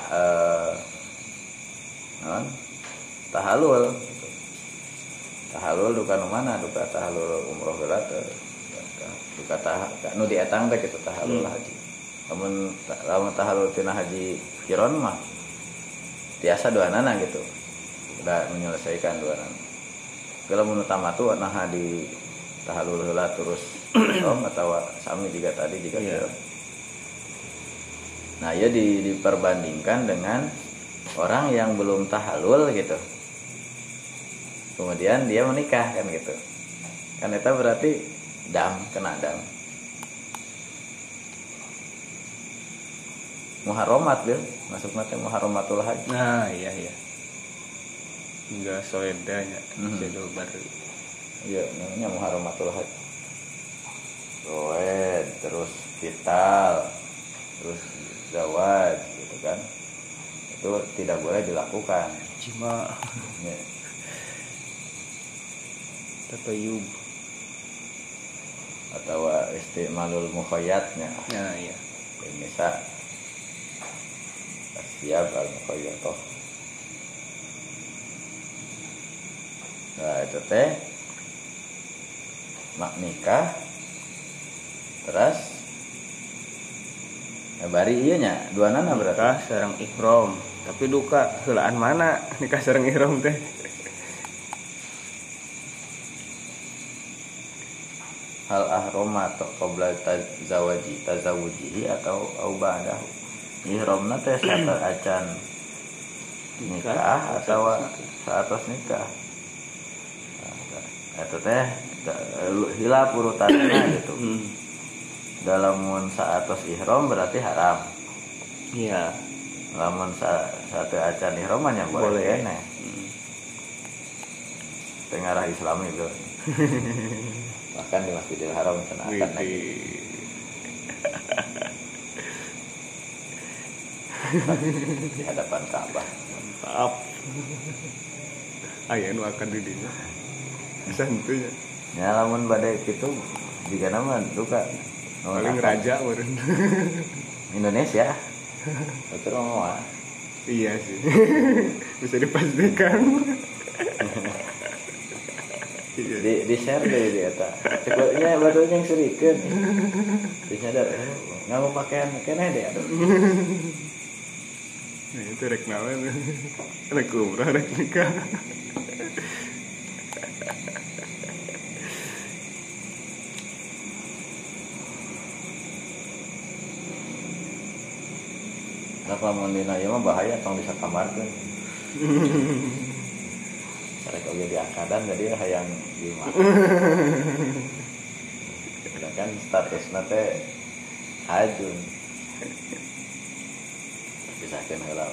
tahalul gitu. Tahalul duka nu mana duka tahalul umroh heula teh duka nu dietang teh kitu tahalul haji lamun tahalul tina haji kiron mah tiasa duanana gitu udah menyelesaikan duanana kalau mun tamatu nah di tahalul heula terus atau sami juga tadi juga yeah. Nah ya diperbandingkan dengan orang yang belum tahalul gitu kemudian dia menikah kan gitu kan itu berarti kena dam muharramat Bil masuk mate muharramatul haji Nah iya enggak soedanya jadul baru iya namanya muharramatul haji soed terus vital terus zawaj gitu kan itu tidak boleh dilakukan jima ya. tatayub atau istimalul mukhayyatnya nah iya misal siap al mukhayyatoh nah itu teh mak nikah terus bari ieu nya duanana berarti nikah sareng ihram tapi duka heulaan mana nikah sareng ihram teh hal ahroma atau qabla tazawujihi atau ba'dahu ihramna teh saat acan nikah atau saat nikah eta teh hilaf urutanna gitu dalam saatos ihram berarti haram iya lamun saat acan ihram nya boleh kene Tengah Islam itu. Bahkan di Masjidil Haram cenah akan lagi. Di hadapan Ka'bah. Mantap. Aya nu akan di dinya. Santuy. Ya lamun bade kitu juga nama duka. Paling raja meureun. Indonesia. Betul mah. Iya sih. Bisa dipastikan. Di share deh di eta. Cepatnya baru yang serikeun. Disadar ngamu pakaian keneh deh aduh. Nah, itu rek naon. Rek umrah rek nikah. Nah, lamun dina ieu mah bahaya tong disakamarkeun. Karek oge diangkatan jadi hayang gimana. Kan statusna teh hajun. Pisahkeun heula.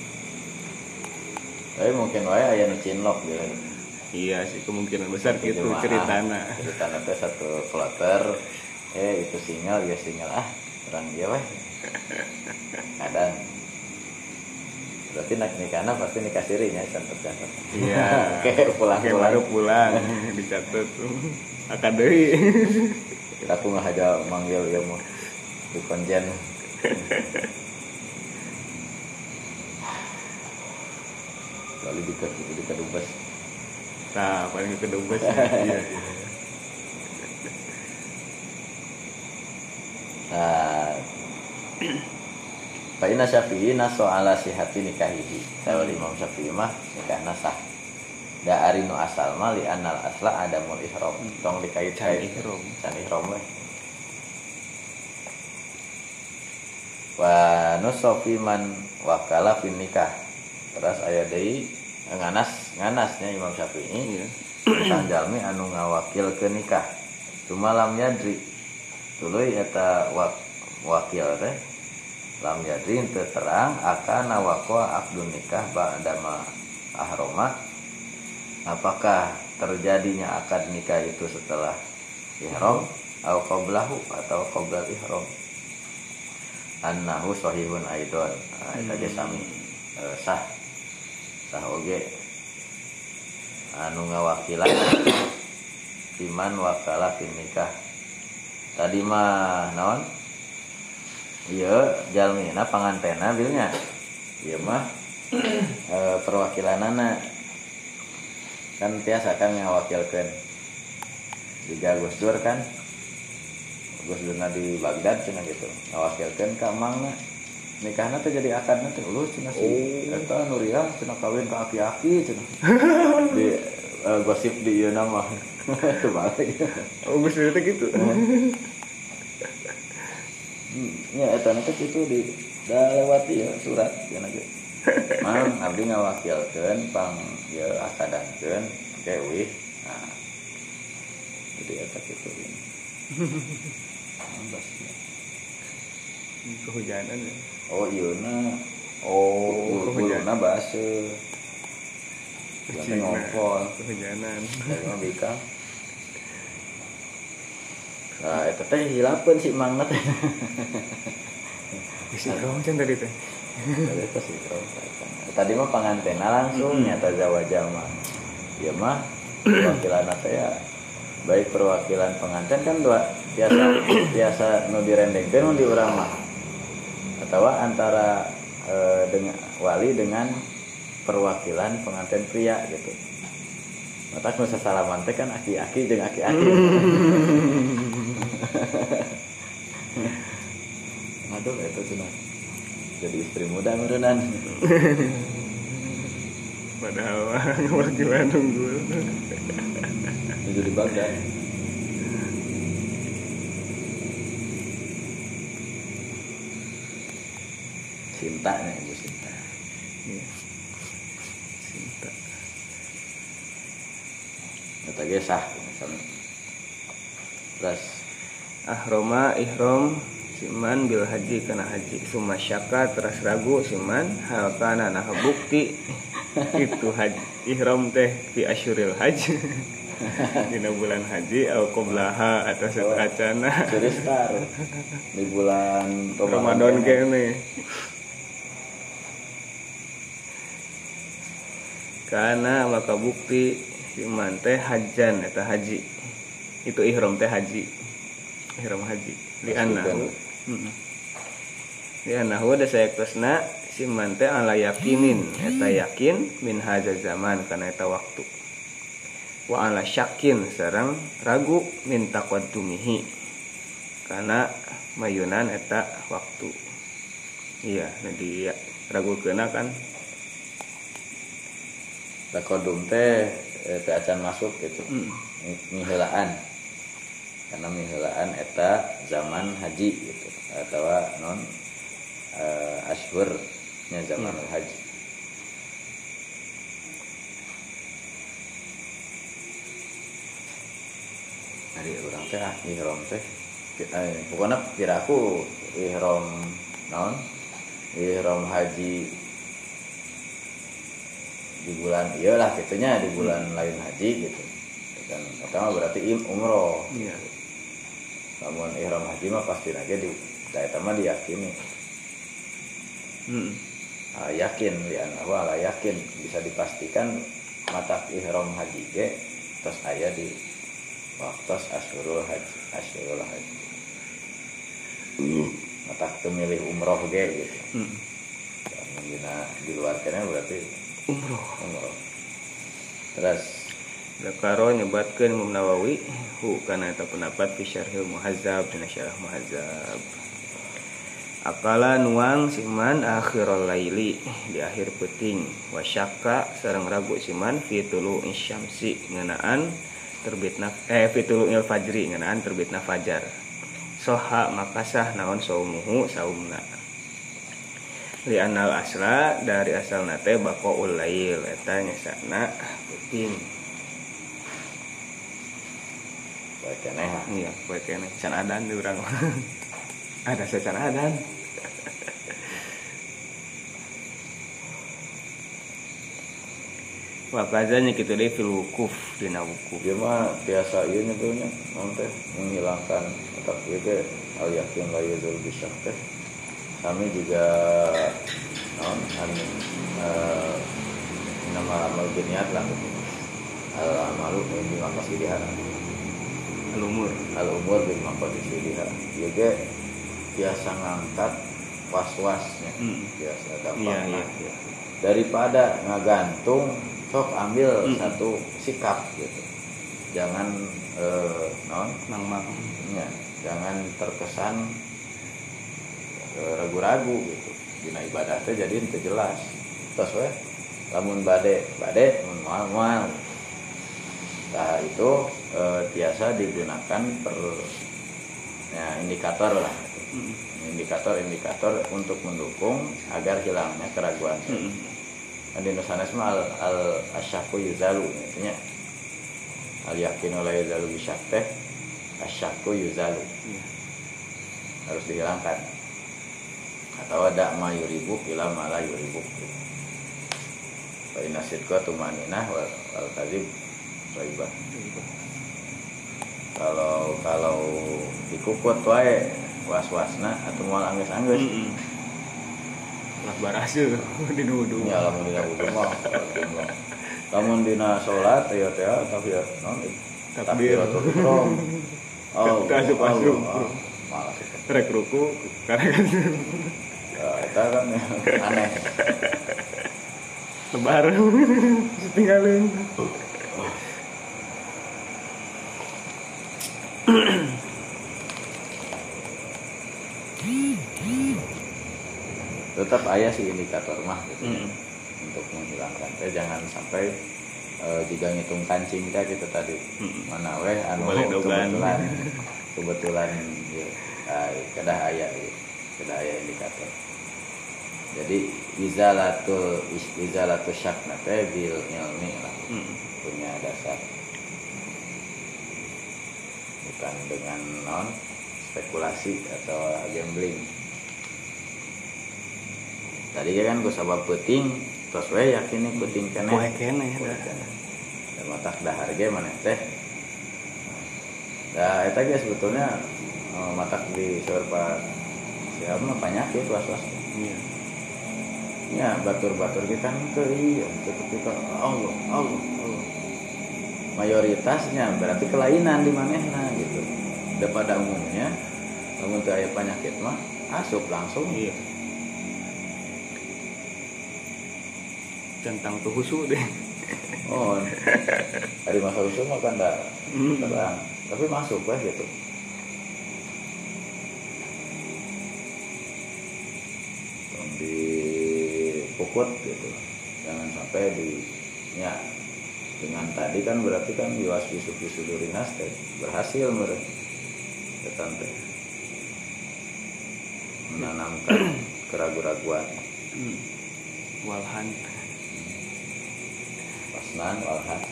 Tapi mungkin wae aya nu cinlok gitu. Iya sih kemungkinan besar gitu ceritana. Ceritana teh satu kloter itu single ya single orang dia weh. Kadang berarti nak nikahna pasti nikah sirinya catet-catet. Iya. Oke, pulang baru pulang dicatat tuh. Akan deui. Aku ngahaja manggil ya mau di konjen. Lalu di kedubes. Nah, paling kedubes. Iya. Nah, Fa inna Syafi'i naso ala sihati nikahihi. Sawa Imam Syafi'i mah nikahna sah. Da ari nu asal mah li annal asla adamul ihram. Tong dikait-kait ihram. Can ihram we. Wa nusofi man wakala fin nikah. Terus aya deui nganasnya Imam Syafi'i. Tentang jalmi anu ngawakilkeun nikah. Cuma lam yadri. Tuluy eta wakil teh lam yadri teu terang akan waqwa aqdun nikah ba'dama ahroma. Apakah terjadinya akad nikah itu setelah ihram atau qablahu atau qablal ihram. Annahu sahihun aidon. Eta ge sami sah oge anu ngawakilan iman wakala fin nikah. Tadi mah naon? Iya, jalmina pangantena bilnya. Iya mah perwakilanana kan tiasa kan ngawakilkeun. Jika Gus Dur kan Gus Durna di Baghdad cenah gitu. Ngawakilkeun ka mangna. Nikahna teh jadi akadna teh ulus cenah si eta Nuriah cenah kawin ka aki-aki cenah. Di gosip di ieu nama. Itu balik. Oh, Gus Dur teh gitu. Ya eta teh kitu di da lewati ya surat cenah ge. Mang abdi ngawakilkeun pang ya akadankeun ke wih. Nah. Jadi eta kitu ini. Kehujanan ya. Oh ieuna. Oh, kehujanan basa. Kita ngopol kehujanan. Saya bika. Nah, eta teh hilapeun si mangna teh. Bisa dong can tadi teh. Tadi mah pangantena langsung nyata zawajal mah. Ieu mah perwakilan saya baik perwakilan pengantin kan dua biasa nu direndengkeun di urang mah. Atau antara dengan wali dengan perwakilan pengantin pria gitu. Mata nu sasalaman teh kan aki-aki jeung aki-aki. Aduh itu cenah. Jadi istri muda meureunan. Padahal wakilan unggul. Jadi Baghdad. Cinta nih Ibu Cinta. Iya. Cinta. Kata ge sah misalnya. Terus Ahroma ihram siman bil haji kana haji summa syaka terus ragu siman hal kana nah bukti itu haji ihram teh fi asyuril haji dina bulan haji au qoblaha atau satacana curi star di bulan Ramadan kene karena maka bukti si man teh hajan eta haji itu ihram teh haji ihram haji li annahu da sayaktosna si man teh ala yakinin eta yakin min hadza zaman kana eta waktu wa ala syakin sareng ragu min taqaddumihi kana mayunan eta waktu iya jadi ragukeuna kan taqaddum teh teh acan masuk gitu miheulaan karena miheulaan eta zaman haji gitu atau non ashhurnya zaman haji. Hari orang teh ihram teh pokoknya piraku ihram naon ihram haji di bulan iyalah gitunya di bulan lain haji gitu kan pertama berarti umroh iya. Namun ihram haji mah pasti aja di eta mah diyakini yakin lian ala yakin bisa dipastikan mata ihram haji ge terus aya di waktu asyurul haji mata milih umroh ge gitu di luar kana berarti umroh terus Dakaro nyebatkeun Imam Nawawi kana eta pendapat fi syarhil muhazzab dina syarah muhazzab akala nuang siman akhirul laili di akhir peuting wa syakka sareng ragu siman fi tulu'in syamsi ngeunaan terbitna fi tulu'il fajri ngeunaan terbitna fajar soha makasah naon saumuhu saumna li anal asla dari asalna teh baqaul lail eta nyasana peuting bae keneh iya bae keneh can adan di urang ada secara adan wakazanya gitu deh fil wukuf dina wukuf dia mah biasa ieu nyebutnya naon teh menghilangkan otak ieu teh al yakin la yuzul bisyak teh kami juga naon nama amal biniat lah al amalu di maqasid diharam al umur di maqasid diharam ieu ge biasa ngangkat was-wasnya biasa gampang iya. Daripada ngagantung sok ambil satu sikap gitu jangan ya, jangan terkesan ragu-ragu gitu dina ibadah teh jadi teu jelas terus we lamun bade mun moal nah itu biasa digunakan indikator lah indikator untuk mendukung agar hilangnya keraguan di nusanes mah al asyakku yuzalu artinya al yakinu la yuzalu bisyak teh asyakku yuzalu harus dihilangkan atau ada ma yuribuk ila ma la yuribuk fa inna sidqa tumaninah wal kadzib raibah kalau dikukut wae was-wasna atau moal anggeus-anggeus lah barasil dinuduh ya lamun dina wudu mah lamun dina salat teh tapi non takbiratul ihram asup malah rek ruku karena kan eta kan aneh lebar tinggalin tetap aya sih indikator mah gitu untuk menghilangkan jangan sampai jika ngitung kancing teh gitu tadi mana weh anu kebetulan ya, kedah aya indikator jadi izalatul syak teh bil ilmi lah punya dasar bukan dengan non spekulasi atau gambling. Tadi kan gue sabab peuting tos we yakin kuting keneh poe keneh da matak dahar ge maneh teh da eta ge sebetulnya matak di sorpa siapa mah penyakit was-was iya nya batur-batur ge kan teu ieu tetapi ka Allah mayoritasnya berarti kelainan di manehna gitu. Pada umumnya lamun teu aya penyakit mah asup langsung. Iya. Centang tuh husu deh. Oh. Hari masa husu mah kan da terang, tapi masuk weh gitu. Di pukut gitu. Jangan sampai di nya dengan tadi kan berarti kan yuas bisu durinas teh berhasil mereka tante menanamkan keraguan-raguan walhan pasnan walhan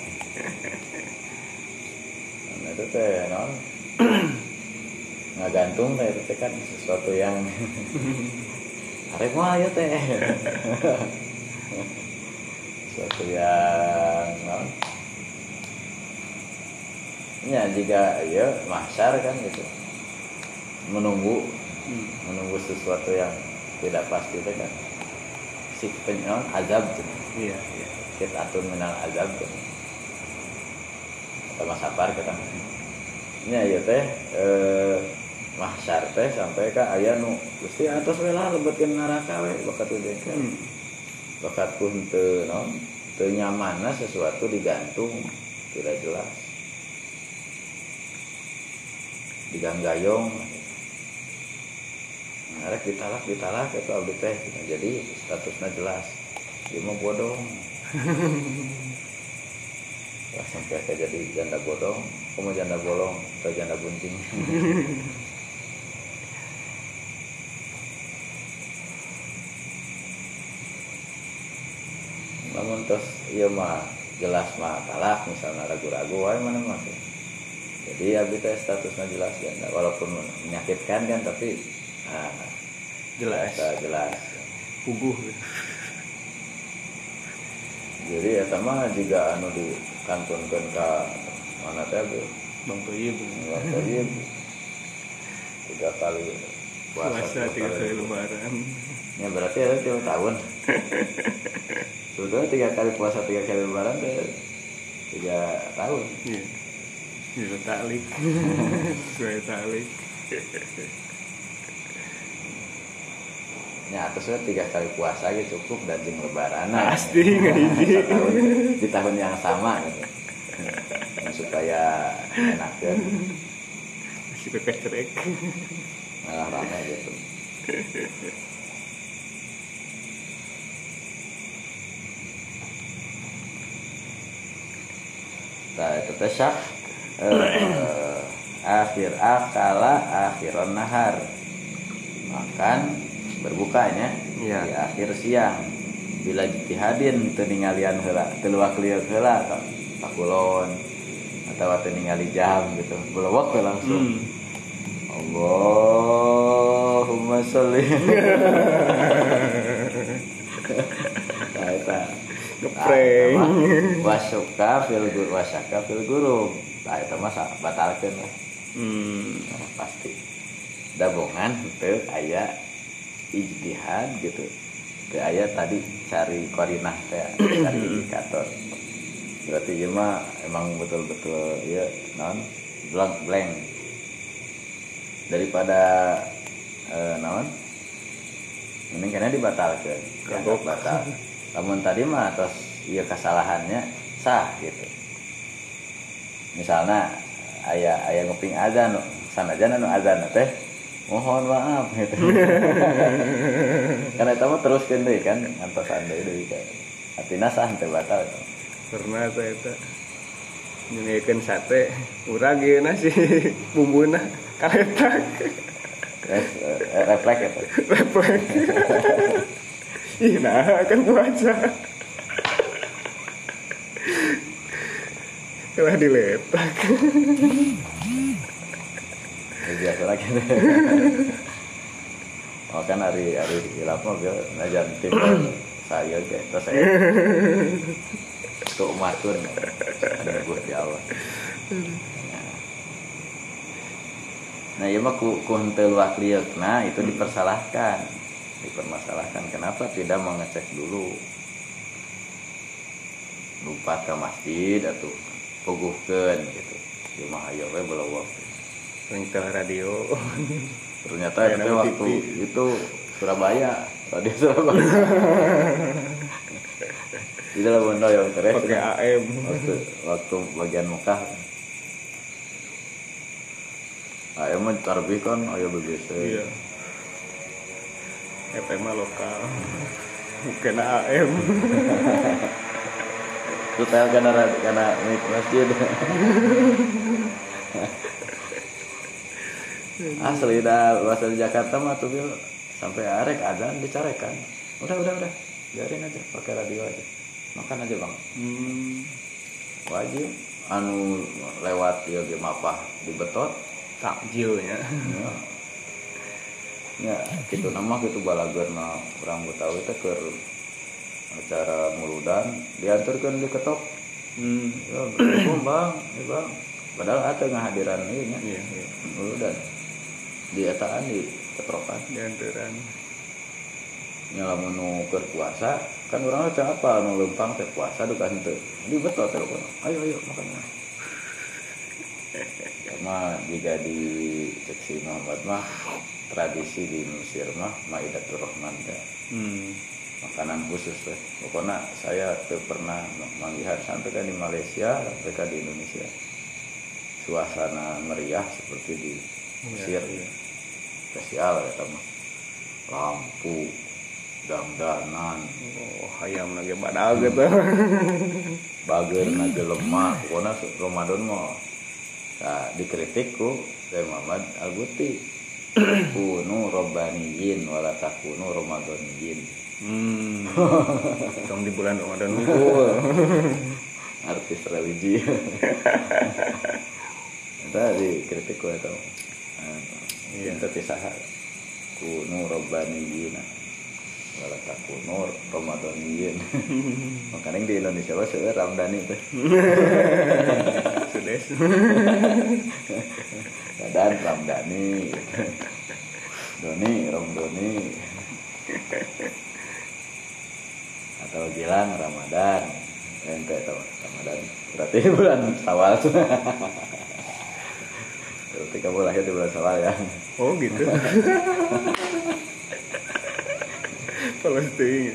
nah itu teh non ngagantung teh itu kan sesuatu yang arek mah ya teh sesuatu yang ya jika ya mahsyar kan gitu menunggu sesuatu yang tidak pasti itu kan si penyon azab gitu. Iya Kita atur minal azab gitu. Atau sabar kita nya ya teh mahsyar teh sampai ka aya nu Gusti atos we lah lebetkeun neraka we bakat udekeun bakat pun teu naon teu nyamanna sesuatu digantung tidak jelas diganggayong arek ditalak itu abdi teh jadi statusnya jelas dia mah bodong lah sampai kayak jadi janda bodong kamu janda bolong atau janda bunting namun terus iya mah jelas mah talak misalnya ragu-ragu wae mana mah jadi abdi teh statusnya jelas janda walaupun menyakitkan kan tapi jelas puguh jadi eta mah juga anu dikantunkeun ka mana teh Bang Toyib 3 kali puasa 3 kali lebaran ya berarti ada 3 tahun sudah 3 kali puasa 3 kali lebaran teh 3 tahun iya ya taklik gue taklik ya atasnya 3 kali puasa gitu cukup dan jeung lebaran pasti ngahiji di tahun yang sama gitu supaya enak kan masih kecerek malah ramai gitu nah itu teh syak akhiron nahar makan berbukanya ya. Di akhir siang bila jitihadin teu ningalian heula teu luak lieur heula pakulon atau teu ningali jam gitu belewek langsung Allahumma sholli nah eta ngeprank wasyaka fil guru nah eta mah batalkeun lah pasti dabongan teu aya ijtihad gitu teu aya tadi cari korinah teh cari indikator berarti ieu mah emang betul-betul ieu naon blank daripada naon mending kana dibatalkeun kagok batal lamun tadi mah tos ieu kesalahannya sah gitu misalnya aya nguping azan sanajan anu azan teh mohon maaf gitu karena itu mah teruskeun deui kan ngantosan deui kan artina sah teh batal pernah saya eta nyengekeun sate urang geus nasi bumbuna kaletak refleks eta refleks ih nah kan puasa kalah diletak biasa lagi oh kan hari hilaf mah najan timbul saya ge terus saya tuh matur ada Gusti Allah. Nah, ieu mah ku henteu waklieukeuna itu dipermasalahkan. Kenapa tidak mengecek dulu? Lupa ke masjid atau puguhkeun gitu. Di mah aya we beleuweuk. Ringtel radio. Ternyata itu waktu itu Surabaya, radio Surabaya. Itu lah bondo yang terus pakai AM. Waktu bagian Mekah. AM mah tarbih kan aya BBC. Iya. FM mah lokal. Bukan AM. Tutel karena mic masjid. Asli dah bahasa di Jakarta mah tuh bil sampai arek adzan dicarekan. Udah. Biarin aja pakai radio aja. Makan aja, Bang. Wajib anu lewat ieu ge mapah dibetot Takjilnya. Ya, kitu nama kitu balageurna urang Betawi teh keur acara muludan dianturkeun di ketok. Ya, Bang. Padahal atuh ngahadiran ieu nya. Iya. Muludan. Di etaan di ketrokan dianturan. Nya lamun nu keur puasa kan urang teh apa nu leumpang teh puasa duka henteu. Di betot telepon. Ayo makan. Sama jika di seksi Muhammad mah tradisi di Mesir mah Maidatur Rahman teh. Makanan khusus teh. Pokoknya saya teu pernah melihat sampai kan di Malaysia, sampai kan di Indonesia. Suasana meriah seperti di Mesir. Iya. Spesial ya mah. Lampu, dandanan. Hayam lagi badag gitu. Bageurna lemah. Pokoknya Ramadan mah nah, dikritik ku dari Muhammad Al-Guti. Kunu robbaniyin wala takunu ramadaniyin. Dong di bulan Ramadan unggul. Artis religi. Tadi kritik ku eta. Iya, tapi saha kunu robbaniyin wala takunu ramadaniyin. Makanya di Indonesia mah seueur Ramdhani teh. Sudes. Dan Ramdhani. Doni. Atau Gilang Ramadan. Ente tahu Ramadan. Berarti bulan Syawal. Berarti kamu lahir di bulan Syawal ya. Oh gitu. Palestina.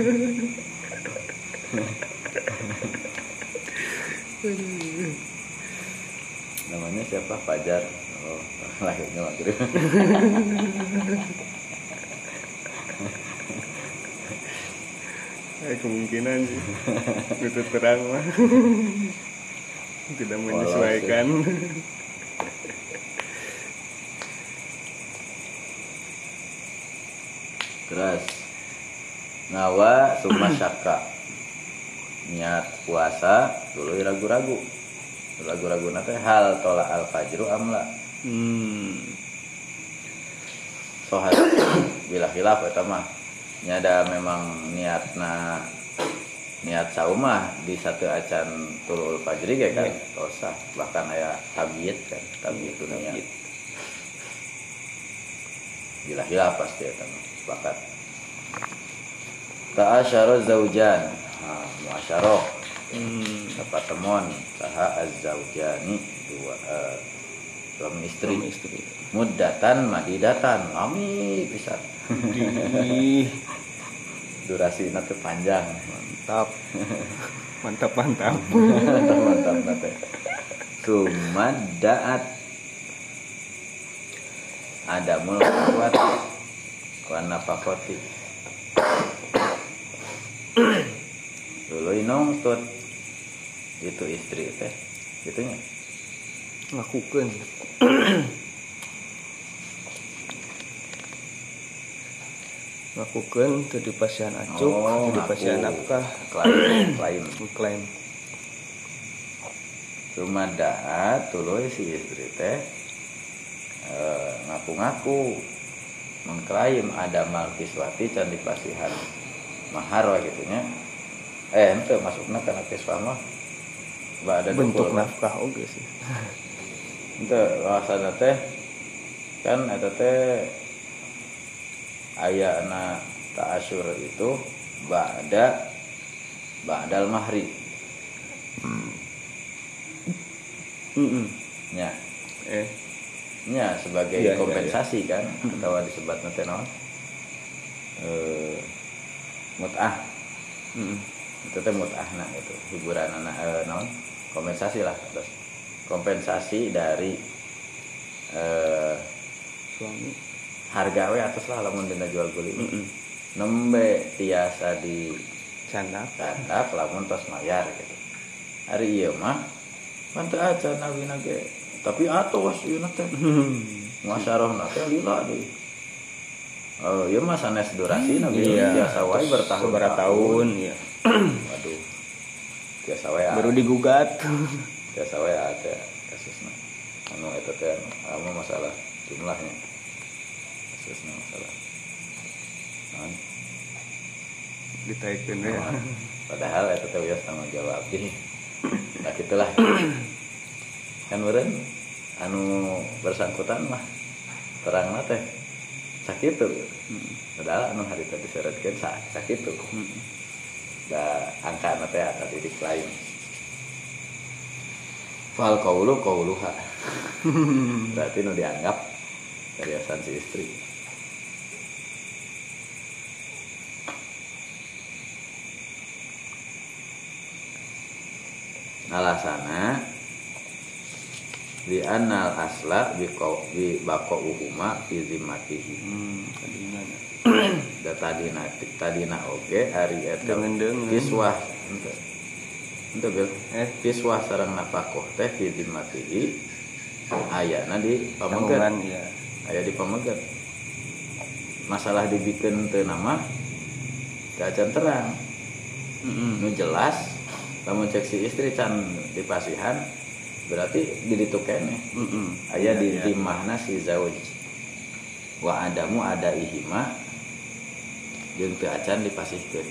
Namanya siapa? Fajar. Oh, lahirnya maghrib. Kemungkinan sih. Itu terang mah. Tidak menyesuaikan. Terus nawa summa syakka, niat puasa dulu ragu-ragu nanti hal tola al fajru amla. Sohad bila khilaf eta mah nyada memang niat saumah di satu acan tulul fajri ge kan tosah, bahkan aya tabiat kan tabiat niat bila khilaf pasti eta mah sepakat. Ta'asyara zaujan. Nah, muasyarah. Pertemuan saha az-zaujani suami istri. Muddatan madidatan. Lami pisan. Durasi nanti panjang. Mantap. Mantap nanti. Sumaddaat adamul quwwati wa nafaqati. Dulu nongtut itu istri teh gitunya lakukan tadi pasien acuk tadi pasien nafkah klaim cuma daat tuluy si istri teh ngaku-ngaku mengklaim ada malkiswati can dipasihan mahar we gitu nya. Henteu masukna kana kiswah mah ba'da bentuk dukul. nafkah oge sih. Henteu bahasana teh kan eta teh ayana ta'asyur itu ba'dal mahri. Nya. Nya sebagai iya, kompensasi iya. Kan atau disebutna teh naon? Mut'ah. Itu teh mut'ahna gitu, hiburanana naon? Kompensasi lah terus. Kompensasi dari Suami harga we atas lah lamun dina jual beli. Nembe tiasa di candak lamun tos mayar gitu. Hari ieu mah manteu acan awina ge tapi atos ieu teh. Masyarahna teh lila deui. Oh, ieu mah sanes durasina biasa wae bertahun-tahun ya. Waduh. Biasa wae baru digugat. Biasa wae ada kasusna. Anu eta teh anu masalah jumlahnya. Kasusna masalah. Ditaikeun we. Padahal eta teh wios tanggung jawab ieu. Nah gitulah. Kan meureun anu bersangkutan mah terangna teh sakitu. Padahal anu harita diseureutkeun sakitu. Da angkana teh asa didik lain. Fal qauluha. Berarti nu dianggap kariasan si istri. Alasana di anal asla bi baqauhuma fi zimmatihi. Da tadina oge ari eta kiswah henteu bil kiswah sareng nafaqah teh fi zimmatihi ayana di pamegat ya. Aya di pamegat. Masalah dibikeun teu nama kacan terang. Nu jelas lamun cek si istri can dipasihan berarti diditu keneh. Aya di timahna si zauj. Wa adamu ada ihima jeung teu acan dipasihkeun.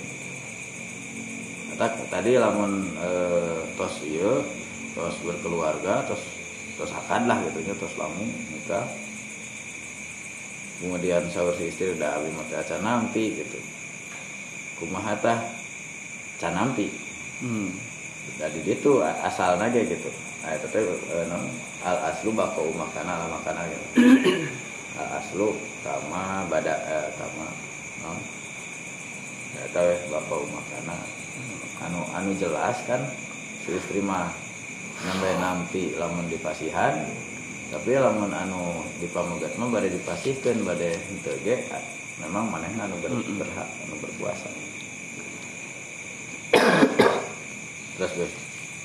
Tadi lamun tos ieu tos berkeluarga tos akad lah gitu nya tos lamun nikah. Kemudian saur si istri udah abi mah teu acan nampi gitu. Kumaha tah can nampi. Dari itu asalnya kayak gitu. Nah itu teh al aslu baqau makana gitu. Al aslu kama bada kama ya tahu baqau makana anu jelas kan si istri mah nampi lamun dipasihan tapi lamun anu dipamegat mah bade dipasihkeun bade henteu ge memang manehna anu berhak anu berkuasa. Terus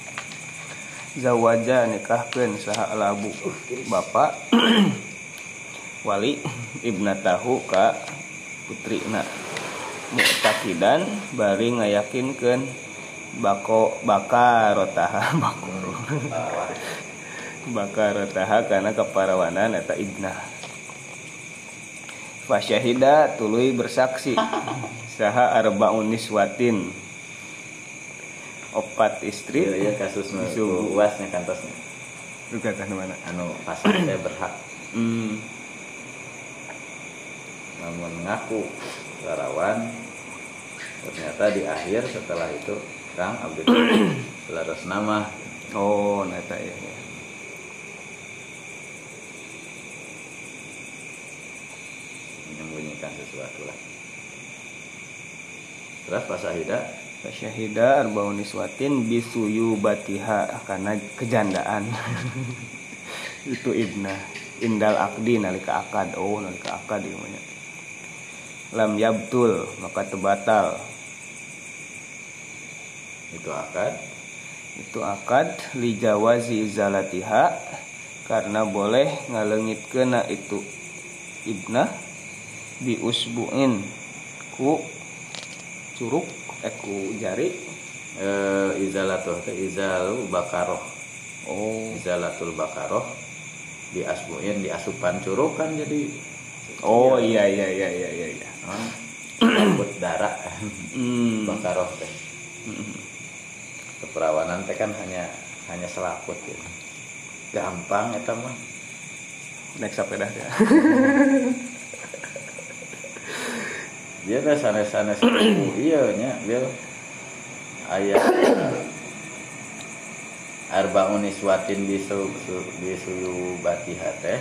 zawaja nikahkeun saha labu bapak wali ibnatahu ka putrina mu'taqidan bari ngayakinkeun bakarotaha kana kaparawanan eta ibnah fasyahida tuluy bersaksi saha arbaun niswatin opat istri ya kasus uasnya kantosnya juga kan mana anu pasang teh berhak namun ngaku larawan ternyata di akhir setelah itu Kang abdi selaras nama neta ya menyembunyikan sesuatu lah. Terus fasyahida arbaun niswatin bisuyu batiha karena kejandaan itu ibnah indal akdi nalika akad nalika akad namanya lam yabtul maka tebatal itu akad li jawazi izalatiha karena boleh ngaleungitkeun itu ibnah bi usbu'in ku curug ku jari izalatul bakaroh izalatul bakaroh di asbuin di asupan curug kan jadi iya selaput darah. Bakaroh teh. Keperawanan teh kan hanya selaput gitu. Gampang eta mah. Naik sepeda ya. Dia teh sanes-sanes ieu nya bil aya arbaun niswatin bisu batiha teh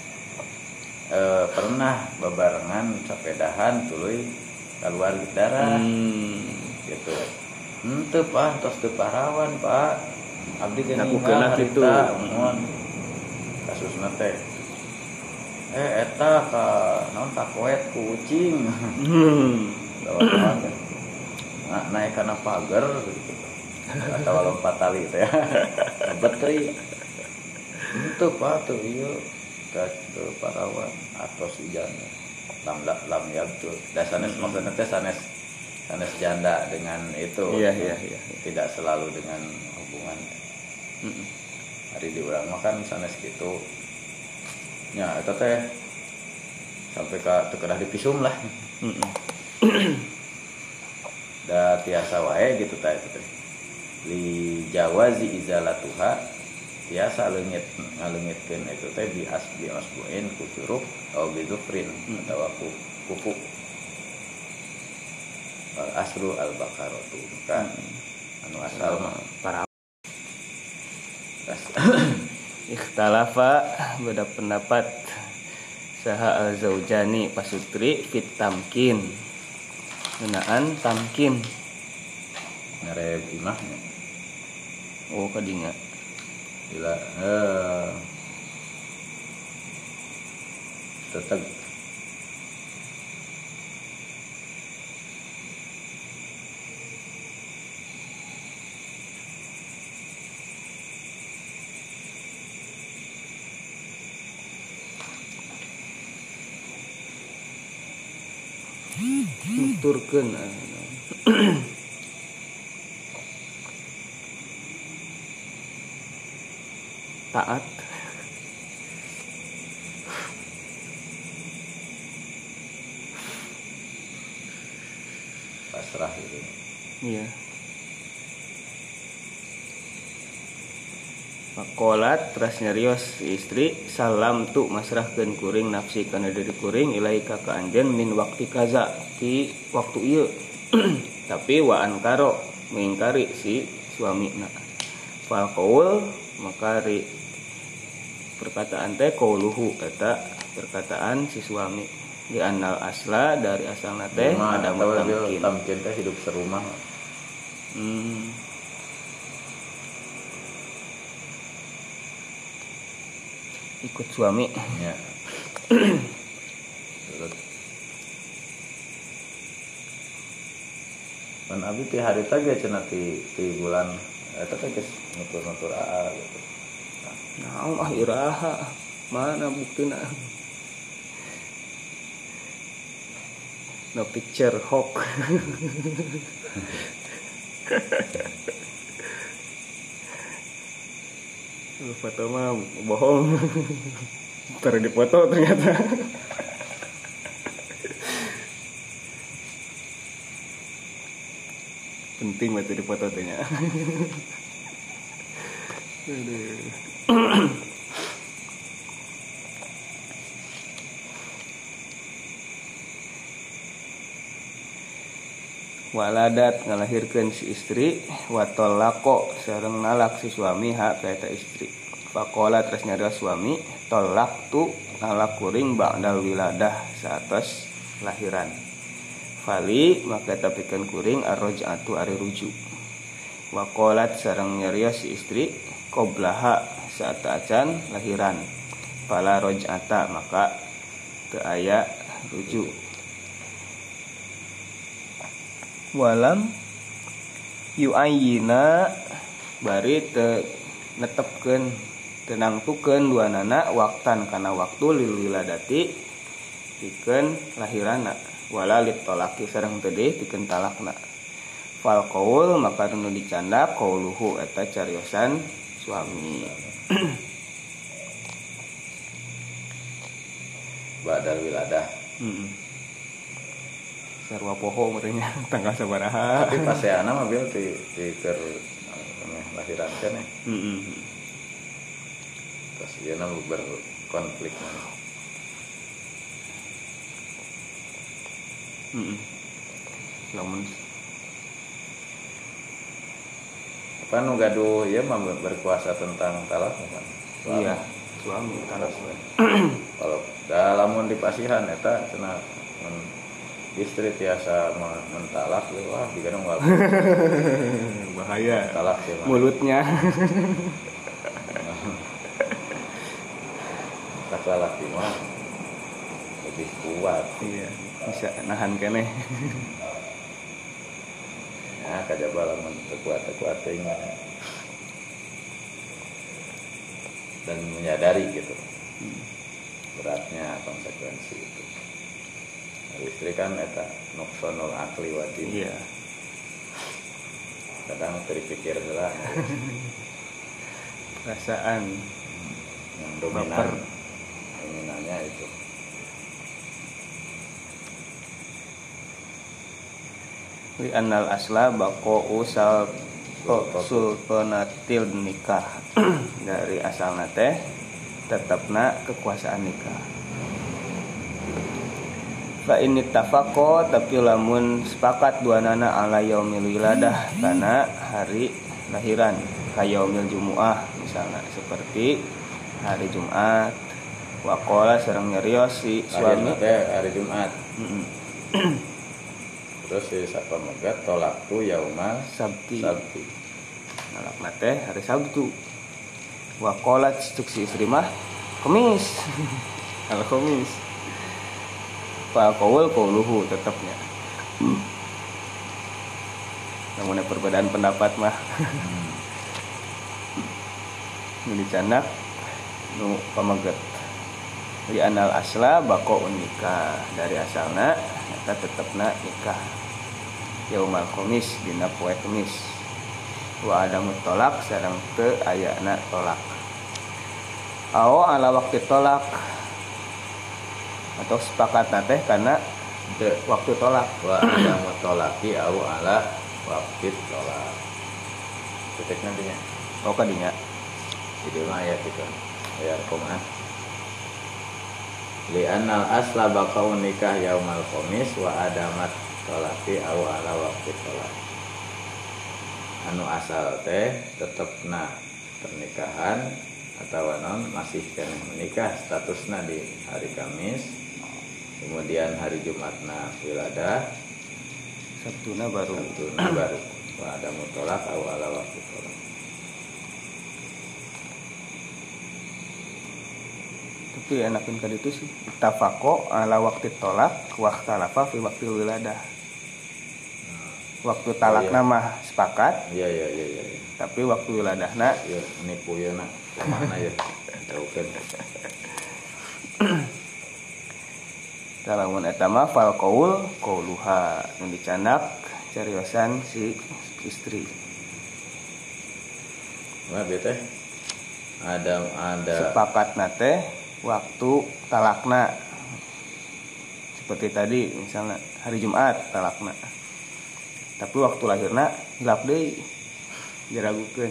pernah bebarengan sepedahan tuluy keluar darah gitu. Henteu Pak, tos teu parawan Pak. Abdi geus ngakukeunna kitu. Kasusna teh eta ka naon ka koet ku kucing. Naik kana pagar gitu. Atau lompat tali teh. Betri. Henteu Pak tuh ieu teu parawan atos ijana. Lam yabtu. Dasanes maksudna teh sanes janda dengan itu. Iya. Tidak selalu dengan hubungan. Hari di urang mah kan sanes kitu. Nya eta teh sampai ka teu kedah dipisum lah. Da tiasa wae gitu teh itu. Li jawazi izalatuha tiasa ngaleungitkeun itu teh bi asbuin ku curug atau bi zufrin atau kuku. Asru al-baqaratu kan anu asal mah para ikhtalafa beda pendapat saha al-zaujani pasutri fit tamkin ngeunaan tamkin ngarep imahnya. Oh kadinya Bila tetap nuturkeun taat pasrah gitu. iya. Makolat teras nyarios istri salam tu masrahkeun kuring nafsi kana diri kuring ilaika ka anjeun min waktu kaza ti waktu ieu. Tapi wa ankaro mengingkari si suamina. Fal qaul maka ri perkataan teh qauluhu eta perkataan si suami di annal asla dari asalna teh ada tamkin. Tamkin teh hidup serumah. Ikut suami Ya. Man abi ti harita ge cenah ti bulan eta teh geus nutur-nutur gitu. naon iraha mana buktina no picture hawk. Foto mah bohong. Ntar dipoto ternyata. Penting banget dipoto tanya. Waladat ngalahirkeun si istri watolako sareng nalak si suami hak ka eta istri. Faqala terus nyarios suami tolak tu nalak kuring ba'dal wiladah saatos lahiran. Fali maka tapikeun kuring arroj'atu ari rujuk. Waqalat sareng nyarios si istri qoblaha saat acan lahiran. Fala roj'ata maka teu aya rujuk. Walam yu'ayyina bari te netepkeun tenangtukeun duanana waktan kana waktu lil wiladati pikeun lahirana wala lit talaqi sareng teu deui pikeun talakna. Fal qaul maka nu dicanda qauluhu eta cariosan suami. Ba'dal wiladah. sarua poho meureunnya tanggal sabaraha. Tapi paseana mah bil ti keur lahiran keneh. Pas ieu na berkonflik mah. Lamun Kan nu gaduh ieu mah berkuasa tentang talak kan. iya, suami talak. Kalau lamun di pasihan eta cenah istri tiasa mentalak wah digadang wal. Bahaya. Talak sih mah. Mulutnya. Talak mah lebih kuat. Iya, bisa nahan keneh. Ya kajaba lamun kuat teuing dan menyadari gitu beratnya konsekuensi itu. Istri kan eta nuksonul akli wadin. Iya. Kadang terpikir heula Perasaan yang dominannya itu. Li annal asla baqa'u sultanatil nikah. Dari asalna teh tetepna kekuasaan nikah. Fa in ittafaqo tapi lamun sepakat duanana ala yaumil wiladah kana hari lahiran ka yaumil jumuah misalnya seperti hari Jumat wa qala sareng nyarios si suami hari Jumat. Terus si sapamegat tolak tu yaumal sabti. Nalakna teh hari Sabtu. Wa qala cuk si istri mah Kamis. Al Kamis. Fa qauluhu tetapnya. Namun perbedaan pendapat mah. Nu dicandak nu pamegat. Li anal asla baqa'un nikah. Dari asalna eta tetepna nikah. Yaumal Khamis dina poe Kamis. Wa adamu tolak sareng teu ayana tolak. Aw ala waktu tolak atau sepakat teh karena waktu tolak. Wa adamu tolaki aw ala waktu tolak. Titik nantinya. Oh kadinya. Jadi mah ayat itu. Ayat Quran. Li annal asla baqa'un nikah yaumal Khamis wa adamat tolaki aw ala waktu tolak. Anu asal teh tetepna pernikahan atau non masih keneh menikah statusna di hari Kamis, kemudian hari Jumatna wiladah, Sabtuna baru wa ada mutolak aw ala waktu tolak. Tapi enakin ka ditu sih tafaqo ala waktu tolak wa ikhtalafa fi waktu wiladah. Waktu talakna mah sepakat. Iya. Tapi waktu wiladahna ya nipu ya nak mana ya jauhkan. Lamun eta mah fal qauluha nu dicandak cariosan si istri. Wah bete ada Sepakatna teh waktu talakna. Seperti tadi misalnya hari Jumat talakna. Tapi waktu lahirna hilap deui diragukeun.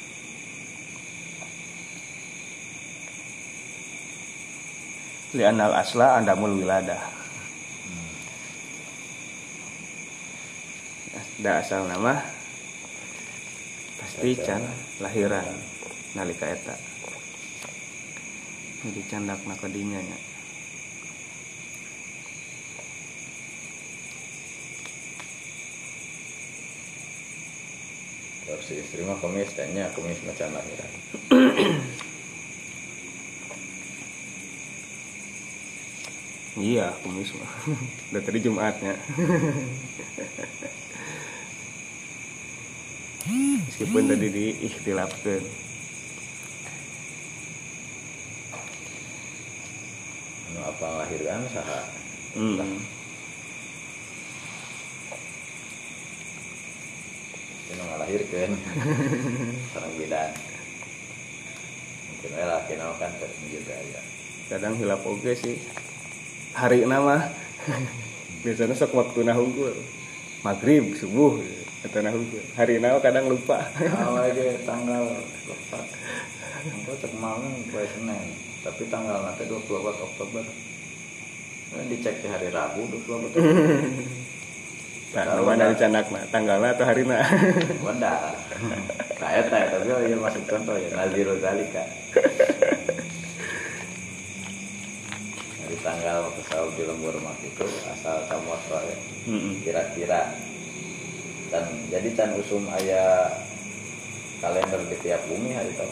Li anal asla andamul wiladah. Da asal nama pasti can lahiran nalika eta. Jadi candakna kadinya nya. si istri mah Kamis tanya Kamis macam lahiran. Iya, Kamis mah. Udah tadi Jumatnya. Meskipun tadi diikhtilafkeun. Anu apa lahiran saha? Ngalahirkeun sareng bidan. Mungkin laki kan terus juga ya. Kadang hilap oge sih. Hari nama Biasanya sok waktu hungkul maghrib subuh atau hungkul hari nawa kadang lupa. Lagi tanggal 4 engko cek malam poe Senin tapi tanggal nanti 24 Oktober dicek di hari Rabu 24 Nah, mana dicanakna tanggalna atau harina? Wanda. Kayak tapi ya masuk contoh ya Nazirul Zalika. Dari tanggal pesawat di lembur mak itu asal kamu ya. Kira-kira dan jadi can usum aya kalender di tiap bumi hari tahu.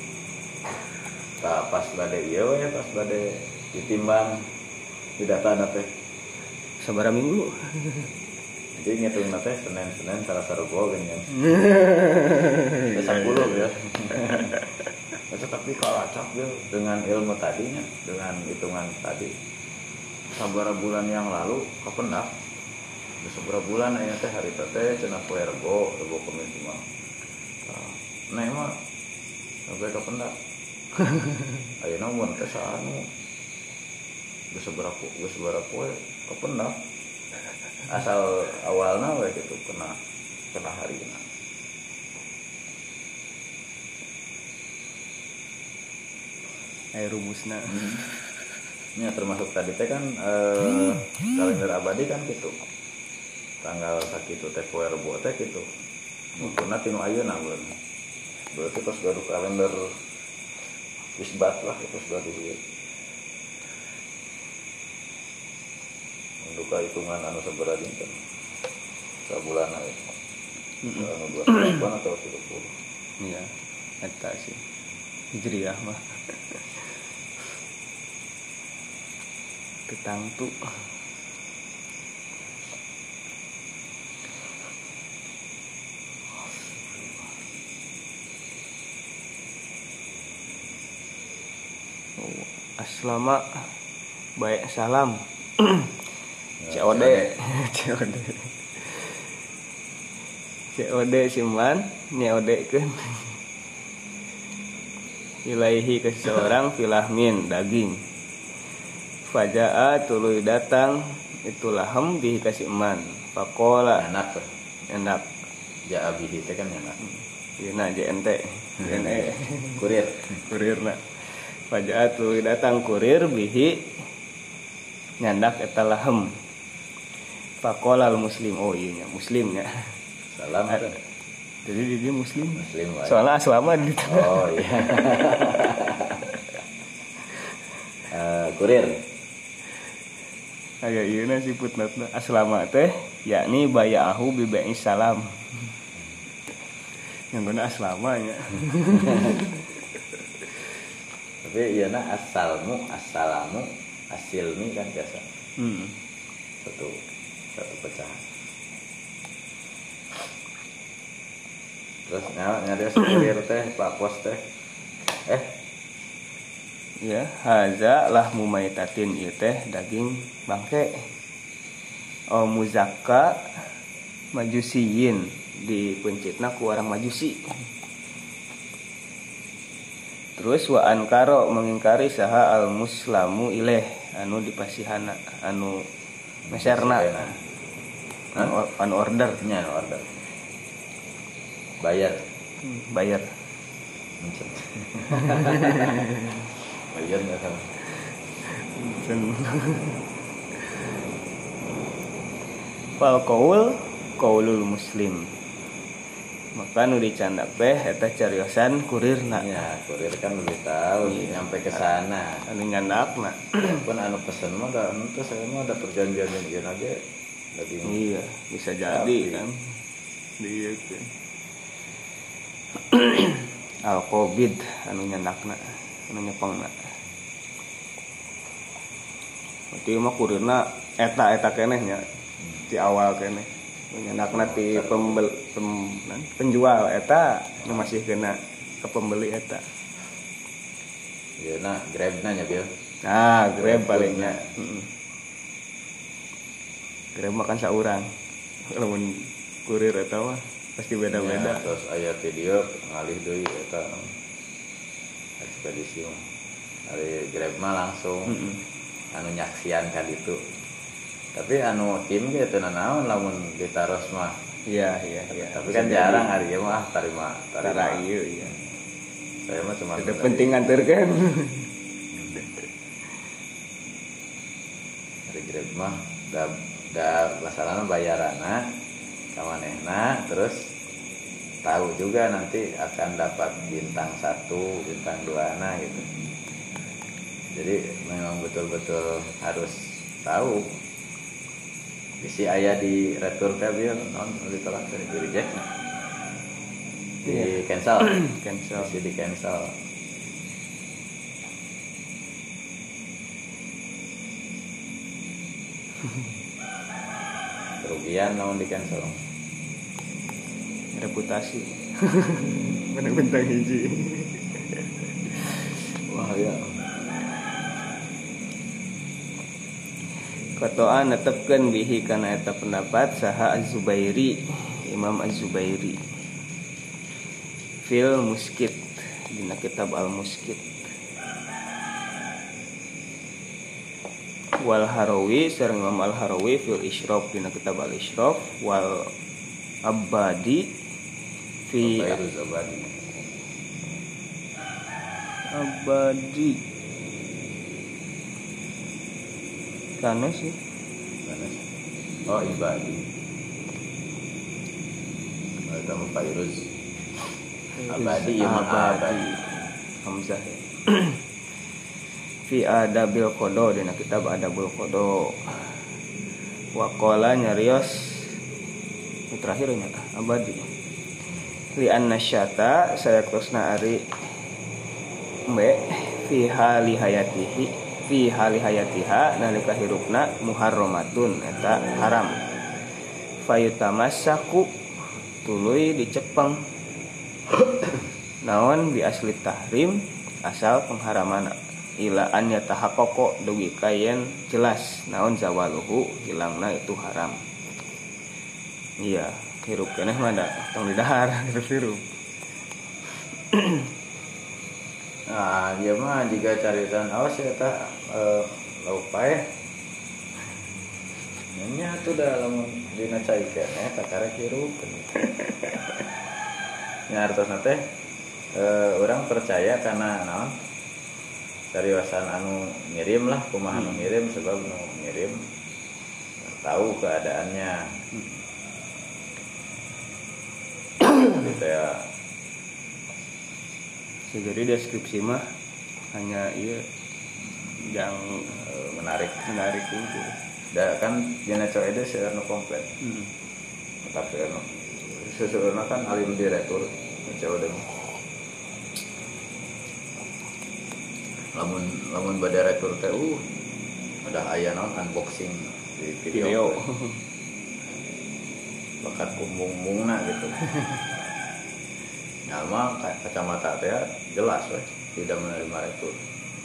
Pas bade ieu ya pas bade ditimbang di data teh sabaraha minggu. Jadi ngitung teh Senin salah sarua kan ya. 10 ya. Tapi kalau acak ya dengan ilmu tadinya, dengan hitungan tadi. Sabaraha bulan yang lalu kapendak. Sabaraha bulan aya teh hari teh cenah poe Rebo Kamis mah. Nah mah sampai kapendak. Ayeuna mun teh saanu. Geus sabaraha poe kapendak. Asal awalnya we gitu kena harina. Aya rumusna. Ya termasuk tadi teh kan kalender abadi kan gitu. Tanggal sakitu teh poe Rebo teh gitu. Mungkinna tinu ayeuna bulan. Berarti pas baru kalender isbat lah itu sudah dibuat. Duka hitungan anu sabaraha dinten sabulan itu anu 28 atau 30 iya eta sih hijriah mah tetangtu aslama baik salam COD siman nyeodekeun ilaihi ke seorang filahmin daging fajaa tuluy datang itu lahem bihi kasih iman faqala enak jaa bihi teh kan enak ieu na JNT kurirna fajaa tuluy datang kurir bihi nyandak eta lahem faqala al muslim iya nya muslimnya salam kan jadi dia muslim wae. Soalnya aslama di tengah. Oh iya. Kurir. Aya ieu na siputna aslama teh yakni baya'ahu bi bai'is salam. Yang guna aslama nya. Tapi ieu na assalamu asilmi kan biasa. Satu pecahan. Terus nyari kurir teh Pak Pos teh. Ya, haza lahmu maitatin ieu teh daging bangke. Muzakka majusiyin dipencitna ku orang majusi. Terus wa ankaro mengingkari saha al muslamu ilaih anu dipasihana anu meserna anu order nya order bayar bayar nggak sama fal qaulul muslim maka nu dicandak teh eta cariosan kurirna ya kurir kan lebih tahu nyampe ke sana anu nyandakna pun anu pesen mah da anu teh saya mah ada perjanjian yang aja daging iya bisa jadi kan dia kan al covid anu nyandakna anu nyepengna berarti mah kurirna eta keneh nya di awal keneh nyandakna ti penjual eta nu masih kena ke pembeli eta ieu na Grab-na nya Bil Grab palingnya Grab makan saurang lamun kurir eta mah pasti beda-beda ya, terus aya video ngalih deui eta ekspedisi mah ari Grab mah langsung anu nyaksian ka ditu Tapi anu tim ge teu naon lamun ditaros mah. Iya. Tapi kan jarang hari ieu mah tarima. Iya. Saya mah cuma ada penting nganterkeun. Hari Grab mah da masalahna bayarana ka manehna terus tahu juga nanti akan dapat bintang 1, bintang 2 gitu. Jadi memang betul-betul harus tahu. Bisi aya di retur kabil non ditolak dari di reject. Di cancel. Bisi di cancel. Kerugian namun di cancel. Reputasi. Menang bintang hiji. Wah ya. Kotoa netepkeun bihi kana eta pendapat saha Az-Zubairi, Imam Az-Zubairi. Fil Muskit dina kitab Al-Muskit. Wal Harawi sareng Imam Al-Harawi fil Isyraf dina kitab Al-Isyraf wal Abadi fi Abadi kana sih oh Ibadi itu mah Fairuz Abadi ya Abadi Hamzah ya. Fi Adabil Qada dina kitab Adabul Qada wa qala nyarios terakhir nya Abadi li annasyata sayaktosna ari mbe fi hali hayatiha nalika hirupna muharramatun eta haram fayutamassaku tuluy dicepeng naon bi asli tahrim asal pengharamana ila an yatahaqqaqo dugi kayen jelas naon zawaluhu hilangna itu haram. Iya hirup keneh mah da tong di dahar hirup. Nah, dia mah jika caritan awas ya tak lauk paeh. Nya tuh dalam dina cai keneh takarek hirup. Nya artosna teh orang percaya karena naon? Cariwasan anu ngirim lah, kumaha anu ngirim sebab anu ngirim tahu keadaannya. Gitu ya. Jadi deskripsi mah hanya iya yang menarik itu. Da kan dina coe itu seurna komplit. Tapi anu seurna kan alim direktur coe deui. Lamun bade retur teh ada aya naon unboxing di video. Bakat kumbung-bungna gitu. Nama kacamata teh jelas we tidak menerima retur.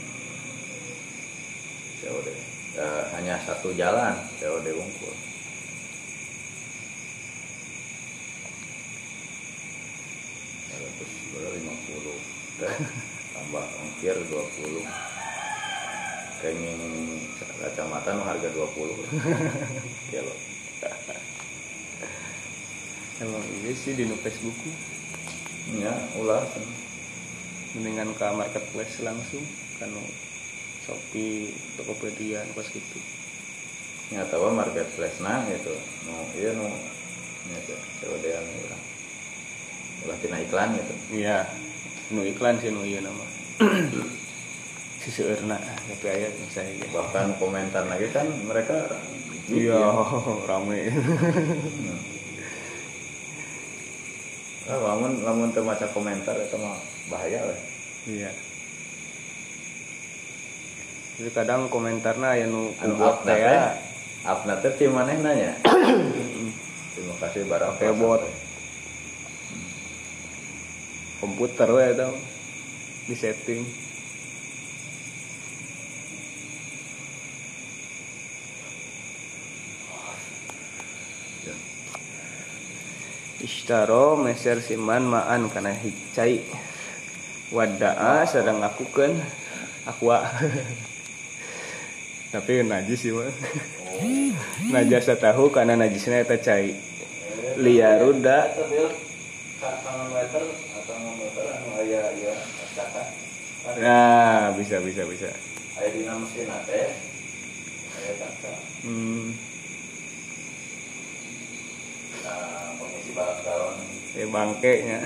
COD. Hanya satu jalan COD Wungkul. Terus 50 tambah ongkir 20. Kenging kacamata nu harga 20. Ya lo. Emang iya sih di Facebook Ya, ulah mendingan ke marketplace langsung kan Shopee, Tokopedia pas gitu. Ya tahu marketplace nah gitu. Iya nya COD-an urang. Ulah tina iklan gitu. Iya. Nu iklan sih nu ieu nama. Siseueurna tapi aya saya bahkan komentar lagi kan mereka iya rame. Lamun teu maca komentar eta mah bahaya we. Iya. Jadi kadang komentarna aya nu kuat teh ya. Upna teh ti manehna nya. Terima kasih barang pakai bot. Komputer we eta di setting. Ishtaro meser siman ma'an kana hicai wada'a sedang ngakukeun aqua. Tapi najis sih mah. najasa tahu karena najisnya eta cai liyaruda meter atau meter anu aya ya kaca. Nah, bisa. Aya dina mesin teh aya kaca. Nah, pengisi balak galon. Bangke nya.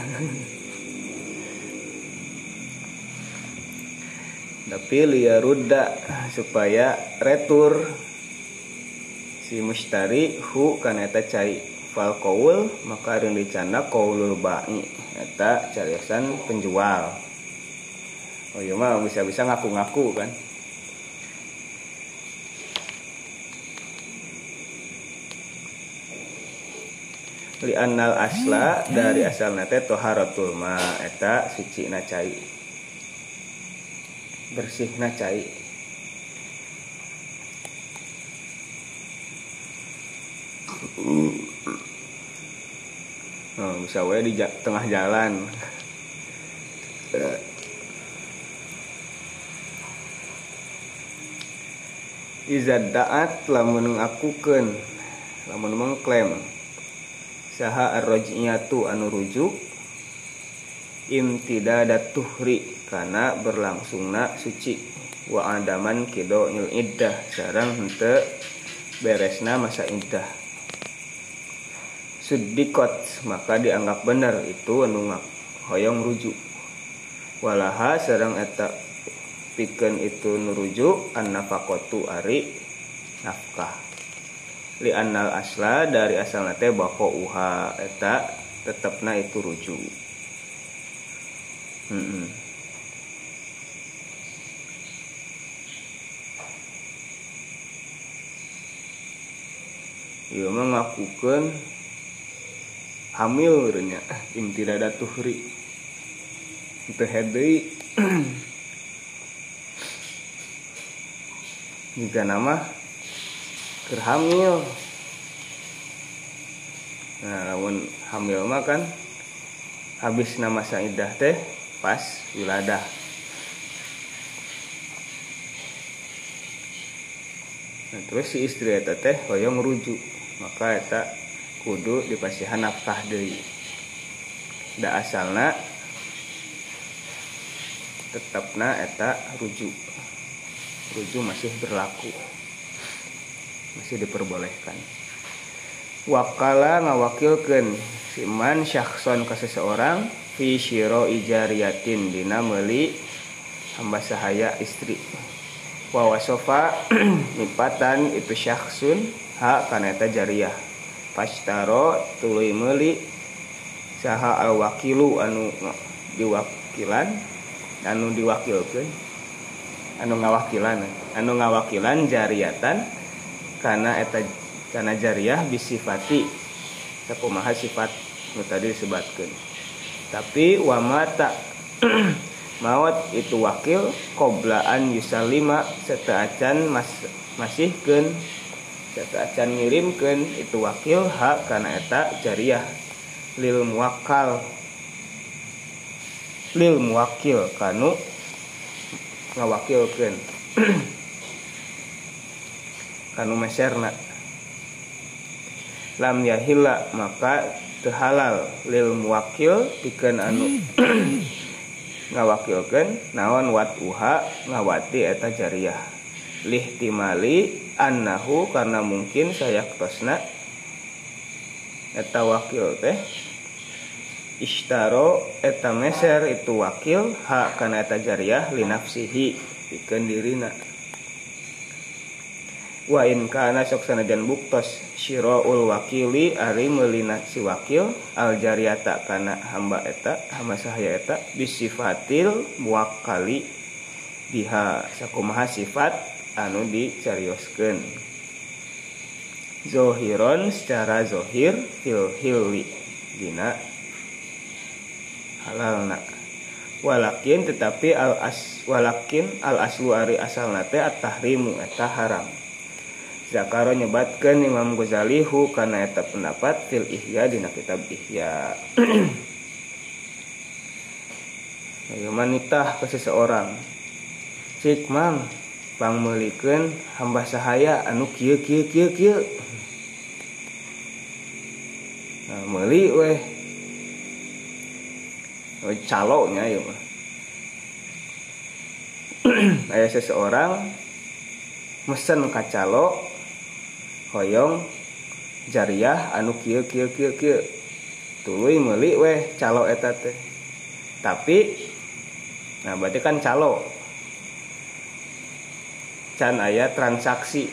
Tapi liyaruda supaya retur si mustari hu kana eta cai fal qaul maka reun dicana qaulul ba'i eta cariasan penjual. Oh iya mah bisa-bisa ngaku-ngaku kan. Li annal asla dari asalna teh taharatul ma eta sucina cai. Bersihna cai. Bisa we di tengah jalan. Izad da'at lamun ngakukeun, lamun mengklaim saha ar-raj'iyatu anu rujuk imtidadat tuhri kana berlangsungna suci wa adaman kidoil iddah sareng henteu beresna masa iddah. Suddikot maka dianggap benar itu anu hoyong rujuk. Walaha sareng eta pikeun itu nurujuk an-nafaqatu ari nafkah. Li annal asla dari asalna teh baqauha eta tetepna itu rujuk. Ieu mah ngakukeun hamil nya imtidadat tuhri. Teu deui jika nama keur hamil. Nah, lamun hamil mah kan habis masa iddah teh pas wiladah. Nah, terus si istri eta teh hoyong rujuk, maka eta kudu dipasihan nafkah deui. Da asalna tetapna eta rujuk masih berlaku, masih diperbolehkan. Wakala ngawakilkeun siman syakhson ka seseorang fi syiro ijariyatin dina meuli hamba sahaya istri. Wa wasofa nipatan itu syakhsun ha kana eta jariyah. Pashtaro tuluy meuli saha al wakilu anu diwakilkeun anu ngawakilan jariyatan kana jariyah bisifati sakumaha sifat nu tadi disebutkeun. Tapi wa mata maut itu wakil qoblaan yusalima sataacan masihkeun sataacan ngirimkeun itu wakil hak kana eta jariyah lil muwakil kanu ngawakilkeun kanu meserna. Lam yahilla maka teu halal lil muwakil pikeun anu ngawakilkeun naon watuha ngawati eta jariyah lihtimali annahu karena mungkin sayaktosna eta wakil teh ishtaro eta meser itu wakil hak kana eta jariyah li nafsihi pikeun dirina. Wa in kana sok sanajan buktos syiraul wakili ari meulina si wakil al jariyata kana hamba sahaya eta bisifatil muwakkali biha sakumaha sifat anu dicarioskeun zohiron secara zohir fil hilli dina halalna. Walakin tetapi al aslu ari asalna teh at-tahrimu eta haram. Zakaro nyebatkeun Imam Ghazali hu kana eta pendapat fil Ihya dina kitab Ihya. Bagaimana nikah ke seseorang? Cik mang pangmeulikeun hamba sahaya anu kieu. Nah, meuli weh calonya ieu mah. Aya seseorang mesen ka calo hoyong jariah anu kieu. Tuluy meuli weh calo eta teh. Tapi nah berarti kan calo can aya transaksi.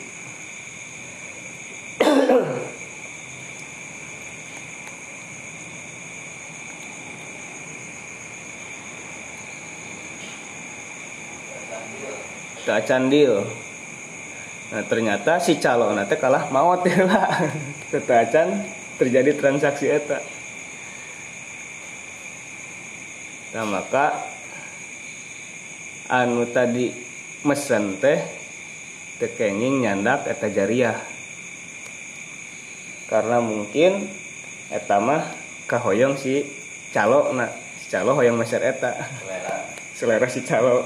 Tak can deal. Nah ternyata si calo nanti kalah maot lah. Tetacan terjadi transaksi eta. Nah maka anu tadi mesen teh tekenging nyandak eta jariah. Karena mungkin eta mah kahoyong si calo, nah si calo hoyong meser eta. Selera si calo.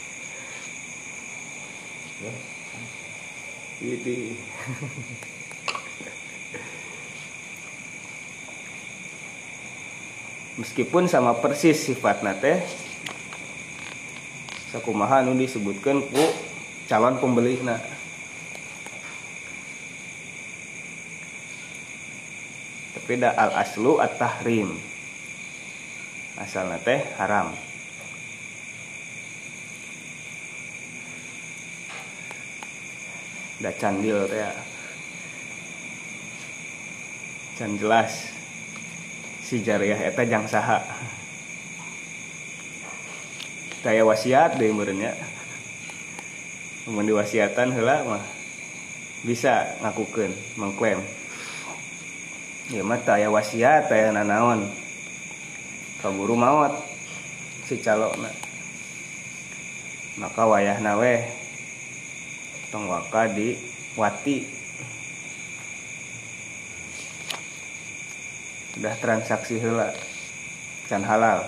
Ini. Meskipun sama persis sifatna teh sakumaha anu disebutkeun ku calon pembelina. Tapi da al aslu at-tahrim. Asalna teh haram. Da candil teh can jelas si jariah eta jang saha. Daya wasiat deui meureun nya. Mun diwasiatan heula mah bisa ngakukeun mengklaim. Ya mah teu aya wasiat aya nanaon. Kaburu maot si calona. Maka wayahna we tong waka di wati. Udah transaksi heula can halal.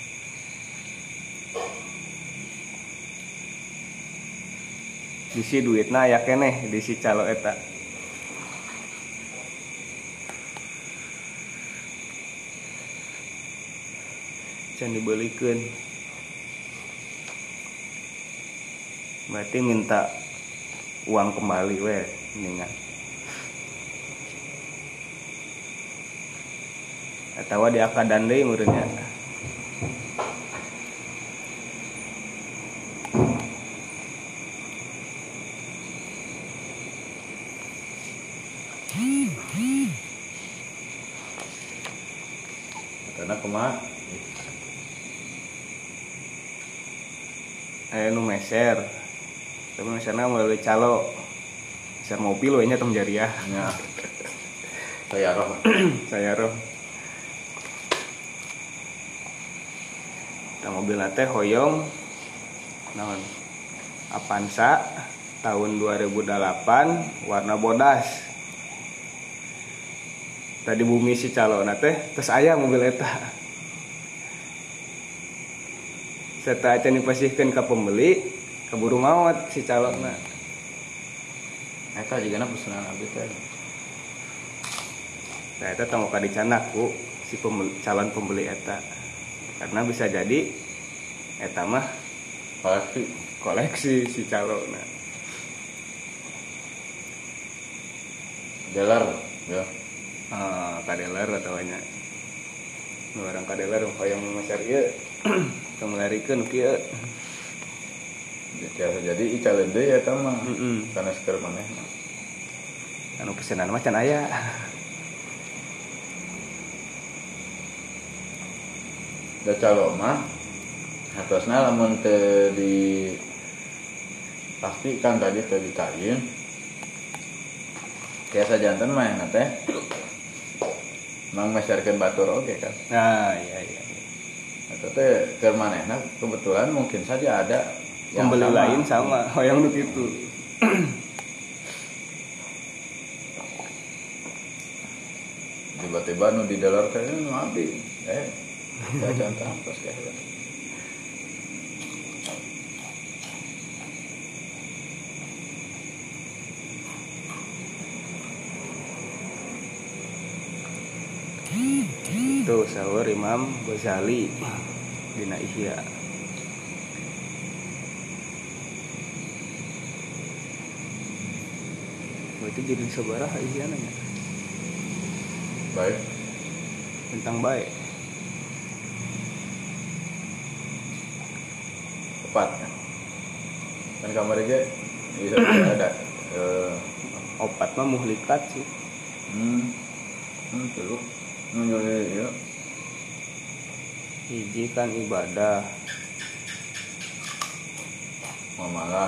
Disi duitna aya keneh di si calo eta. Can dibelikeun. Berarti minta uang kembali we mendingan. Atawa diakadan deui meureun nya. Karena kumaha? Aya nu meser. Tapi meserna melalui calo. Meser mobil we nya tong jariah. Ya. Saya roh. Tah mobil teh hoyong naon? Avanza tahun 2008 warna bodas. Tadi bumi si calona teh terus aya mobil eta. Serta acan dipasihkeun ka pembeli, kaburu maot si calona. Eta jigana pesanan abdi teh. Nah eta tong ka dicanak ku si calon pembeli eta. Karena bisa jadi eta mah koleksi si calona. Dealer ya. Kadeler atau nya. Nu orang kadeler hoyong meser ieu. Tong larikeun kieu. Jadi icaleun deui eta mah. Kana seker manehna. Anu pesenan mah can aya. Da calo mah hatosna lamun teu di pastikan tadi teu dikain. Biasa janten mah eta teh. Mang meserkeun batur oge kan. Nah, iya. Eta teh keur manehna kebetulan mungkin saja ada yang pembeli lain sama hoyong nu kitu. Tiba-tiba nu di dolar teh nu abdi. Jantan terus kayak. saur Imam Ghazali dina Ihya. Berarti jadi sabaraha Ihya nanya Baik. tentang baik. Tepat. Kan kamar ge bisa ada Opat mah muhlikat sih. Dulu. Ya. Hiji kan ibadah. Mamalah.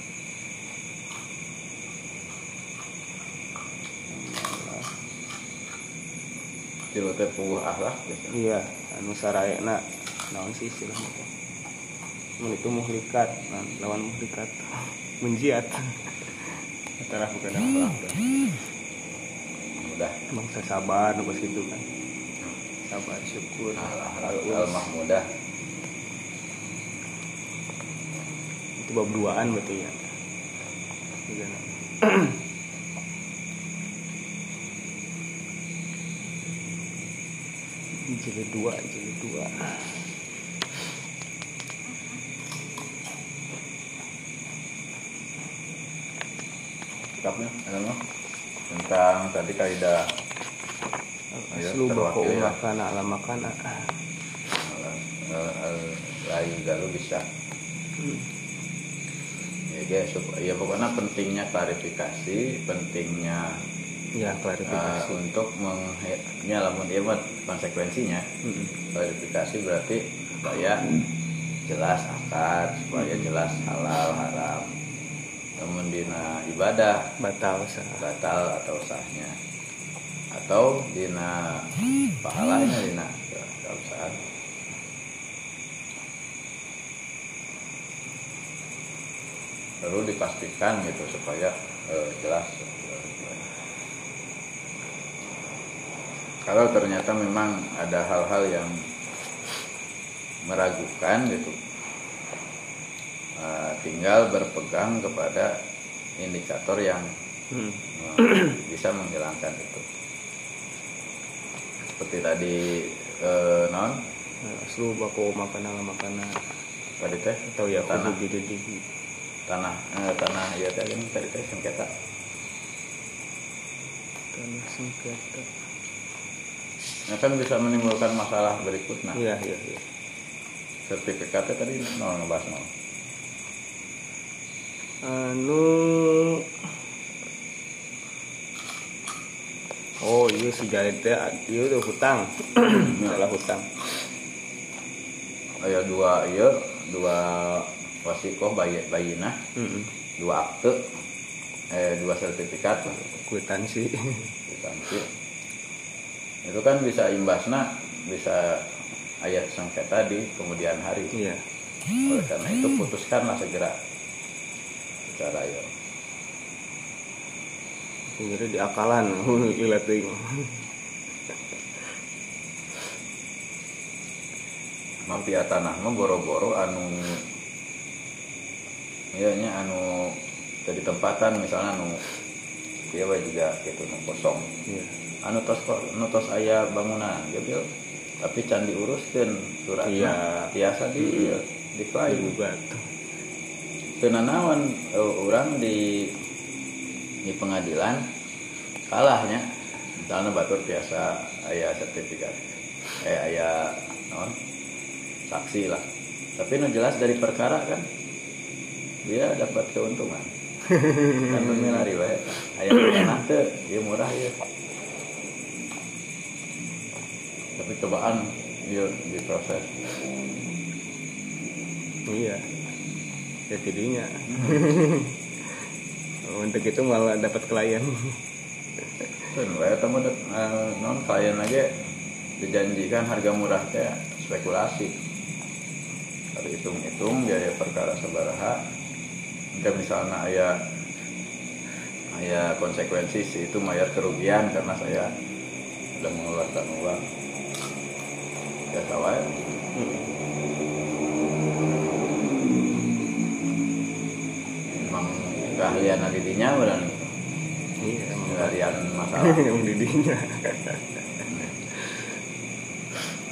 Tilu teh puguh akhlak gitu. Iya, anu sarayana naon sih istilahnya teh. Mun itu muhlikat, lawan muhlikat menjiat. Antara bukan akhlak. Mudah. Bangsa sabar nugas gitu kan. Sabar syukur Al-Mahmudah. itu bab duaan berarti ya. Gimana? Jilid 2. Kitabnya ada mah tentang tadi kaidah Aslu bako makana ala makana. Lain galu bisa. Ya guys, ya pokoknya pentingnya klarifikasi, pentingnya Ya klarifikasi. untuk lamun ieu mah konsekuensinya. Klarifikasi berarti supaya jelas akad, supaya jelas halal haram. Namun dina ibadah Batal sah. batal atau sahnya, atau dina pahalanya dina keabsahan. Perlu dipastikan gitu supaya jelas. Kalau ternyata memang ada hal-hal yang meragukan gitu, tinggal berpegang kepada indikator yang bisa menghilangkan itu. Seperti tadi non Aslu bako makana ala makana. tadi teh Atau ya tanah kudu bididihi. tanah ya teh yang tadi teh sengketa. Tanah sengketa. Nah, kan bisa menimbulkan masalah berikutnya. Iya. Sertifikatnya tadi nol ngebahas nol. Oh iya si Jared teh ieu tuh hutang. Masalah hutang. Aya dua wasikoh bayinah, dua akte, dua sertifikat, Kwitansi. itu kan bisa imbasna, bisa ayat sengketa di kemudian hari. Iya. Oleh karena itu putuskanlah segera secara ya. Jadi diakalan lila teuing. Mafia tanah mah boro-boro anu nya anu jadi tempatan misalnya anu dia juga gitu nu kosong. Iya. Anu tos aya bangunan gitu, tapi can diuruskeun suratna. Iya. Biasa diklaim Digugat. teu nanaon urang di pengadilan kalahnya misalnya batur biasa aya sertifikat aya naon saksi lah, tapi nu jelas dari perkara kan dia dapat keuntungan. Kan memilari wae aya tanah teu ieu murah ya, tapi cobaan ieu diproses. Iya. Ya tidinya. Untuk itu malah dapat klien. Kan wae eta mah non klien aja dijanjikan harga murah teh spekulasi. Kalau hitung-hitung biaya perkara sabaraha, jika misalnya aya konsekuensi si itu mayar kerugian karena saya sudah mengeluarkan uang. Biasa wae. Memang keahlian adidinya benar. Iya, emang Keahlian masalah. yang didinya.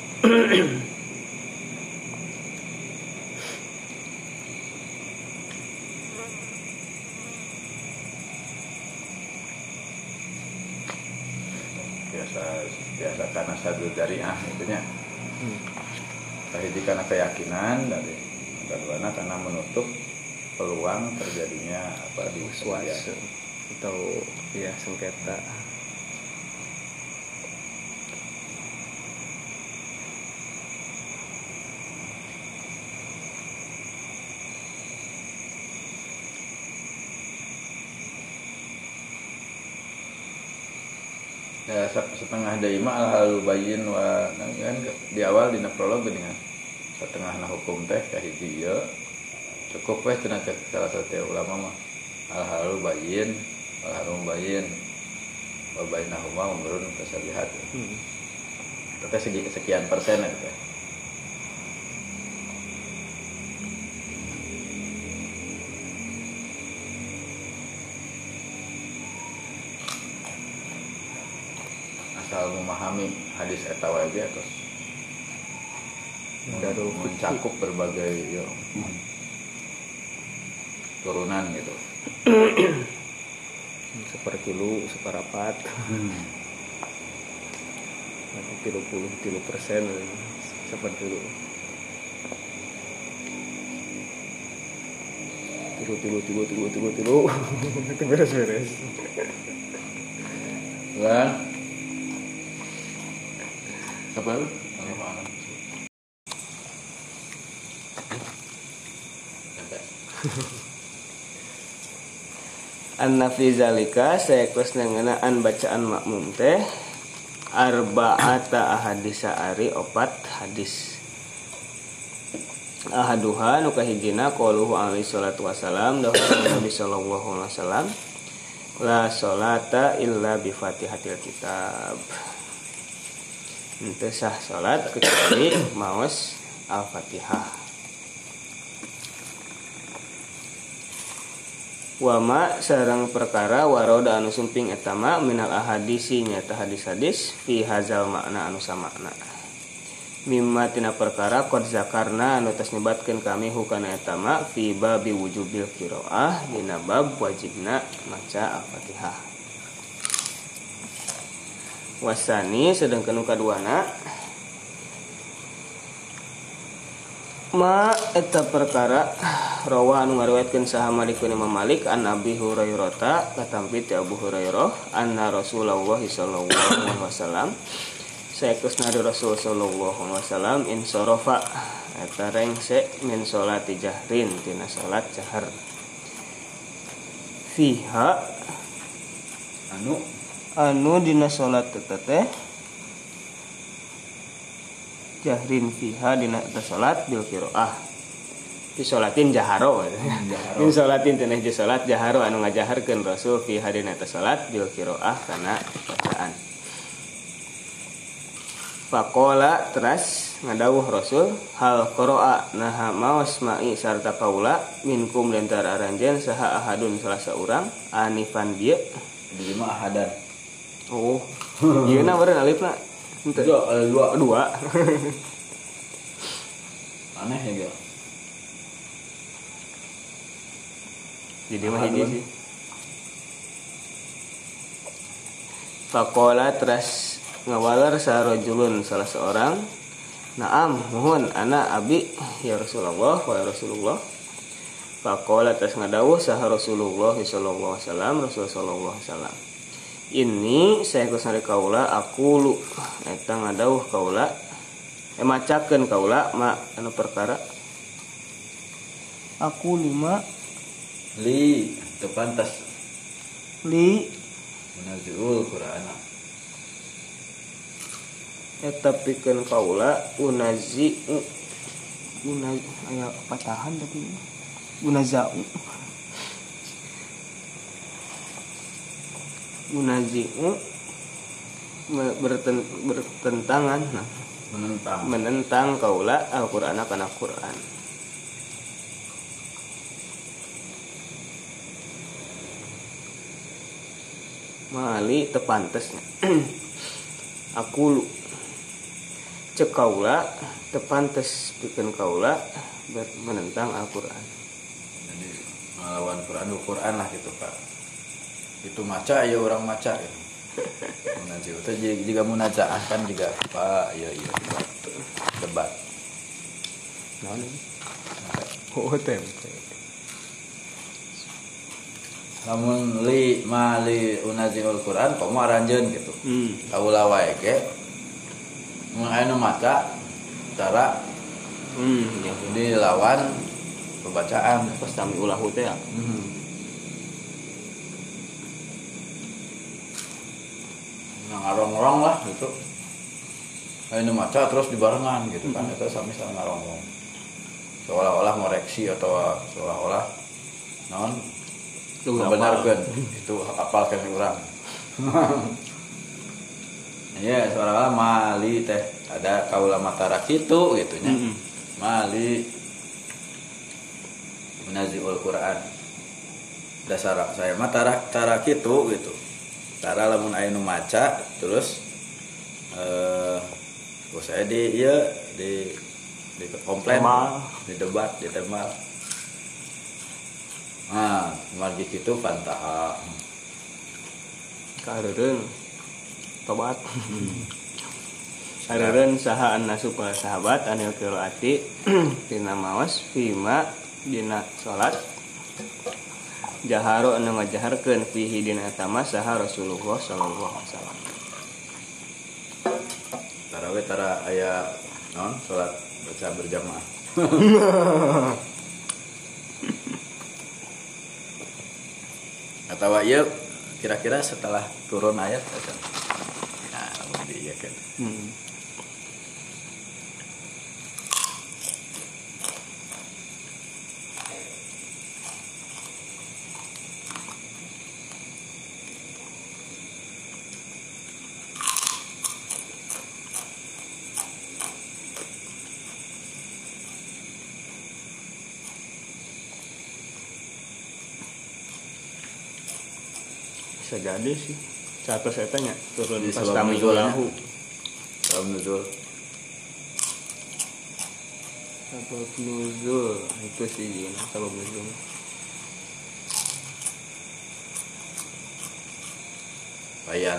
biasa karena sadul jariah itunya. Tahiji karena keyakinan dari keduanya karena menutup peluang terjadinya di suatu atau ya sengketa. Ya setengah daima al-halul bayyin wa kan di awal dina prolog dengan setengahna hukum teh kahiji ieu cukup weh cenah cek salah satu ulama mah al-halul bayyin wal harum bayyin wa bainahuma umurun tasabihat. Itu teh sekian persen itu teh. Asal memahami hadis eta wae ge terus mencakup berbagai turunan gitu. Sepertilu, seperapat, 30% sepertilu. Tilu. Itu beres. Kan? Apa lu? Anna fi zalika sayakusna ngeunaan bacaan makmum teh arba'ata ahadisa ari 4 hadis. Ahaduha nu kahijina qauluhu alaihi salatu wasalam dawuh Nabi sallallahu alaihi wasallam la sholata illa bi Fatihatil kitab. Henteu sah salat kecuali maos Al-Fatihah. Wama sareng perkara waroda anu sumping etama minal ahadisi nyata hadis-hadis fi hazal makna anu samakna. Mimma tina perkara qad zakarna anu tos nyebatkeun kami hukana etama fi babi wujubil qiraah dina bab wajibna maca Al-Fatihah. Wasani sedengkeun kaduana ma eta perkara rawa anu ngariwayatkeun saha Malikun Imam Malik an Abi Hurairah katampi ti Abu Hurairah anna Rasulullah sallallahu alaihi wasallam saekusna Rasul sallallahu alaihi wasallam insarafa eta rengse min salati jahrin tina salat jahar fiha anu dina salat teh jahrin fiha dina salat bil qiraah di salatin jaharo min salatin teh je salat jaharo anu ngajaharkeun Rasul fiha dina salat bil qiraah kana bacaan. Faqala teras ngadawuh Rasul hal qira'a nah maos ma'i sarta kaula minkum lentara aranjeun saha ahadun salah saurang anifan dieu di lima ahadan. Oh ieu na beureun alifna dua. Aneh ya gak? Jadi mah hiji sih. Faqala teras ngawalar sarojulun salah seorang. Naam mohon ana abi ya Rasulullah wa ya Rasulullah. Faqala teras ngadawuh saha Rasulullah sallallahu alaihi wasallam Rasul sallallahu alaihi wasallam. Ini saya kusari kaula aku lu eta ngadauh kaula macakeun kaula ma anu perkara aku 5 li teu pantas li munazziul Qur'ana eta pikeun kaula unazzi aya patahan tapi unazau munazi'u bertentangan menentang kaula Al-Qur'an kana Qur'an. Mali tepantesnya aku cek kaula tepantes pikeun kaula menentang Al-Qur'an. Jadi melawan Qur'an lah gitu Pak. Itu maca ya orang maca gitu. Munajat itu juga munajaah kan juga apa iya debat. Oh tempe. Lamun li unazil Quran komo aranjeun gitu. Kaula wae ge mun anu maca cara Yang dilawan pembacaan pas tami ulahu teh ya. Ngarong-rong lah gitu. Anu maca terus dibarengan gitu kan eta sami ngarong-rong. Seolah-olah ngoreksi atau seolah-olah naon membenarkan itu apalkan orang. Iya, seolah-olah mali teh ada kaula matara kitu gitu nya. Mali Munazil Quran. Dasar saya mah cara kitu gitu. Cara lamun aya nu maca terus saya di komplain, di debat, di temal. Nah, margi kitu pantaha. Karereun tobat. Karereun saha annasu para sahabat anil qiraati tina maos fima dina salat jaharo anu ngajaharkeun fihi dina tama saha Rasulullah sallallahu alaihi wasallam. Tarawih tara aya naon salat baca berjamaah. Atau ieu kira-kira setelah turun ayat acan. Nah, lamun dieu kan. Bisa jadi sih. Satu saya tanya turun Di pas sebab kami nuzulnya. ulahu. Sabab nuzul. Sabab nuzul itu sih ini sabab nuzul. Bayan.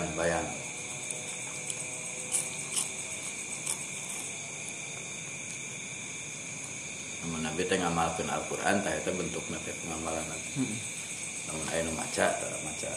Namun Nabi teh ngamalkeun Al-Qur'an tah eta bentukna teh pengamalan. Namun aya nu maca, tara maca.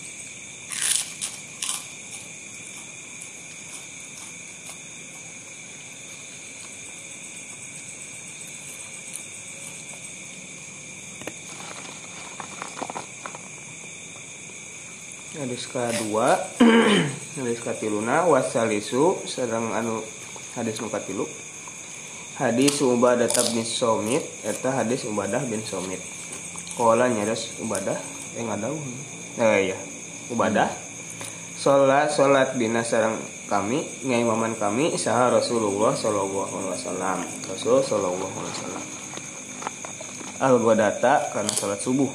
Hadis kedua, hadis katiluna wasalisu sedang anu hadis nu katilu. Hadis Ubadah bin Somit eta hadis Ubadah bin Somit. Qala nyadas Ubadah ngadau. Iya. Ubadah salat bina sareng kami ngaimaman kami saha Rasulullah sallallahu alaihi wasallam. Rasul sallallahu alaihi wasallam. Al-ghadata kana salat subuh.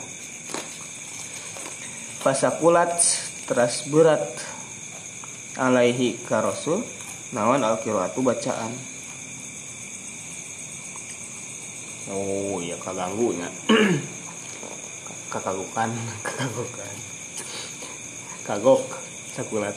Pasakulat teras berat alaihi ka Rasul nawan al-qiraatu bacaan. Oh iya kaganggu nya. Kakagukan. Kagok sakulat.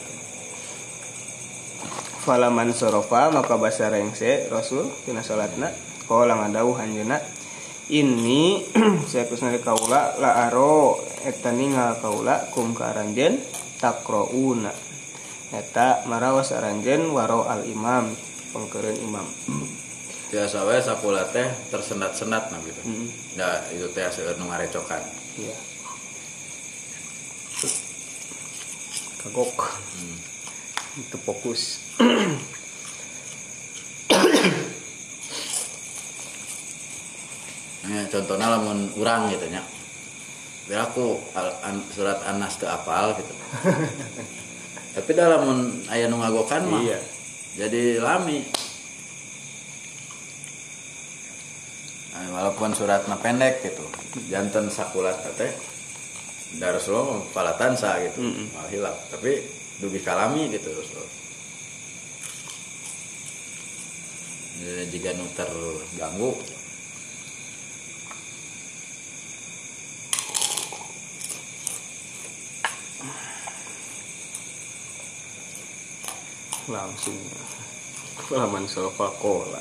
Falaman sorofa maka basa rengse Rasul tina salatna qala ngadauh anjeunna ini saya kusna kaula la aro eta ningal kaula kum ka aranjeun taqrauna eta maraos aranjeun waro al imam pangkeureun imam. Biasa wae sakulat teh tersendat-sendat nah gitu. Nah, itu teh seueur nu ngarecokan. Iya. Kagok. Itu fokus. Ya, contohnya lamun urang gitu nya. Biar aku surat An-Nas teu apal gitu. Tapi dalam aya nu ngagokan mah. Iya. Jadi lami. Nah, walaupun suratna pendek gitu. Janten sakulat teh da Rasulullah palatan sa gitu. Mal hilap, tapi dugi kalami gitu Rasul. Jadi jika nu terganggu langsung laman sulfakola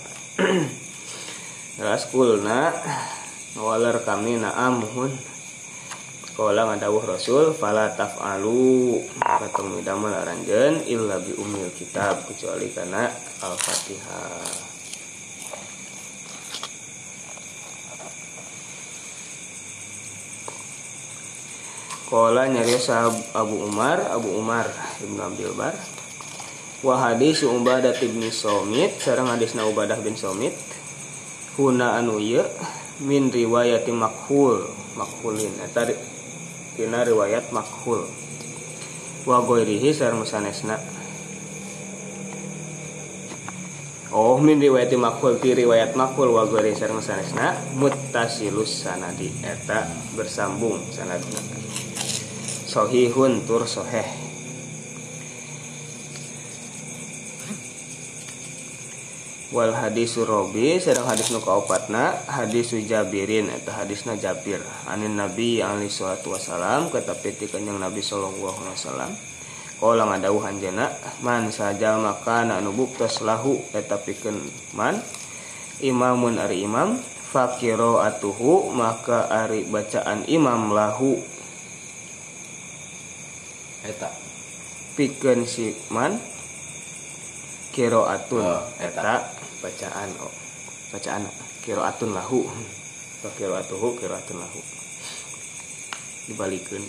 ras kulna walar kami na'amuhun kala ngadawuh Rasul fala taf'alu katong midamel aranjeun illa bi umil kitab kecuali kana Al-Fatihah. Kala nyarios Abu Umar Ibnu Abdul Bar wa hadis Ubadah bin Somit sareng hadisna Ubadah bin Somit huna anu ieu min riwayati makhulin eta tina riwayat makhul wa ghairihi sareng sanesna min riwayati makhul ti riwayat makhul wa ghairihi sareng sanesna muttasilus sanadi eta bersambung sanadna sahihun tur sahih. Wal hadisu Robi sareng hadis nu kaopatna hadisu Jabirin eta hadisna Jabir anin Nabi alaihi salatu wasalam katapi ti kanjeng Nabi sallallahu alaihi wasallam qala ngadawuh anjeunna man sajal maka anu buktos lahu eta pikeun man imamun ari imam faqiraatuhu maka ari bacaan imam lahu eta pikeun si man qiraatun eta bacaan qiraatun lahu wa qiraatuhu qiraatun lahu dibalikeun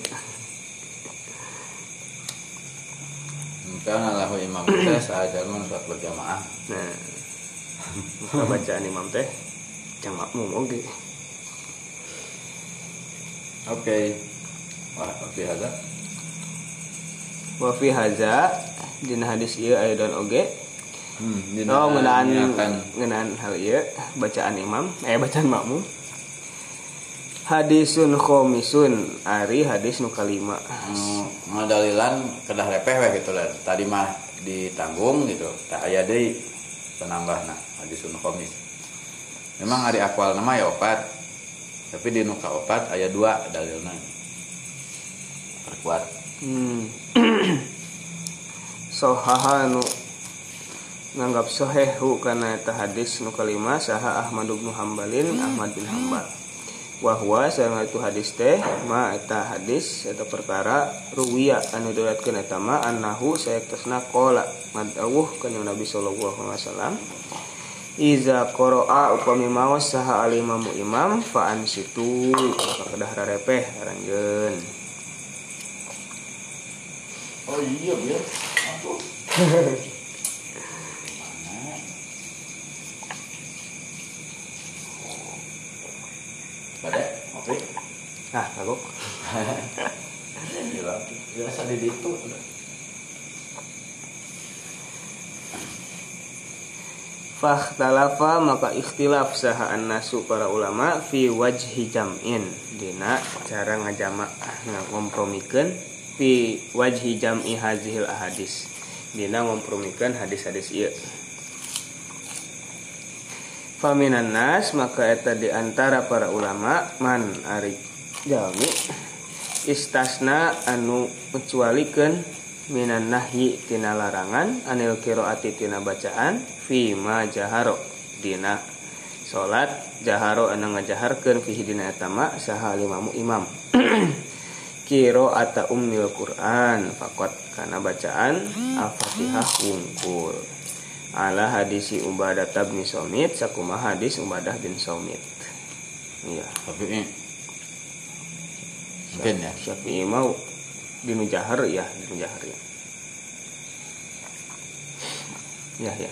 kana lahu imam teh sahajalman salat berjamaah nah maka bacaan imam teh jang makmum oge oke wah hadza wa fi hadza dina hadis ieu ayeuna oge ngeunaan hal ieu bacaan imam bacaan makmum hadisun khomisun ari hadis nu kalima ngadalilan kedah repeh we gitu lah tadi mah ditanggung gitu tak aya deui penambahna hadisun khomis memang ari akwal nama ya 4 tapi di nu ka 4 aya 2 dalilna perkuat sahaha nu nganggap sahihu kana eta hadis nu kalima saha Ahmad bin Hambalin Ahmad bin Hambal wa huwa sareng itu hadis teh ma eta hadis eta perkara ruwiya anu diriwayatkeun eta ma annahu sayaktosna qala madawuh kana Nabi sallallahu alaihi wasallam iza qara'a upami maos saha alimamu imam fa ansitu maka kedah rarepeh aranjeun oh iya ya aduh Badek, oke. Kagok. Gila, biasa di ditu. Fakhtalafa maka ikhtilaf saha annasu para ulama fi wajhi jam'in dina cara ngajamak ngompromikeun fi wajhi jam'i hazihil ahadis dina ngompromikeun hadis-hadis ieu. Faminan nas maka eta di antara para ulama man ari jalmi istasna anu mencualikeun minan nahyi tina larangan anil qiraati tina bacaan fi ma jaharo dina salat jaharo anu ngajaharkeun fihi dina eta ma saha limamu imam qiraata ummil Qur'an faqat kana bacaan Al-Fatihah wungkul ala hadisi Ubadah bin Somit sakumaha hadis Ubadah bin Somit. Iya. Tapi mungkin ya. Syafi'i mau dinu jahar ya, dinu jahar ya. Ya.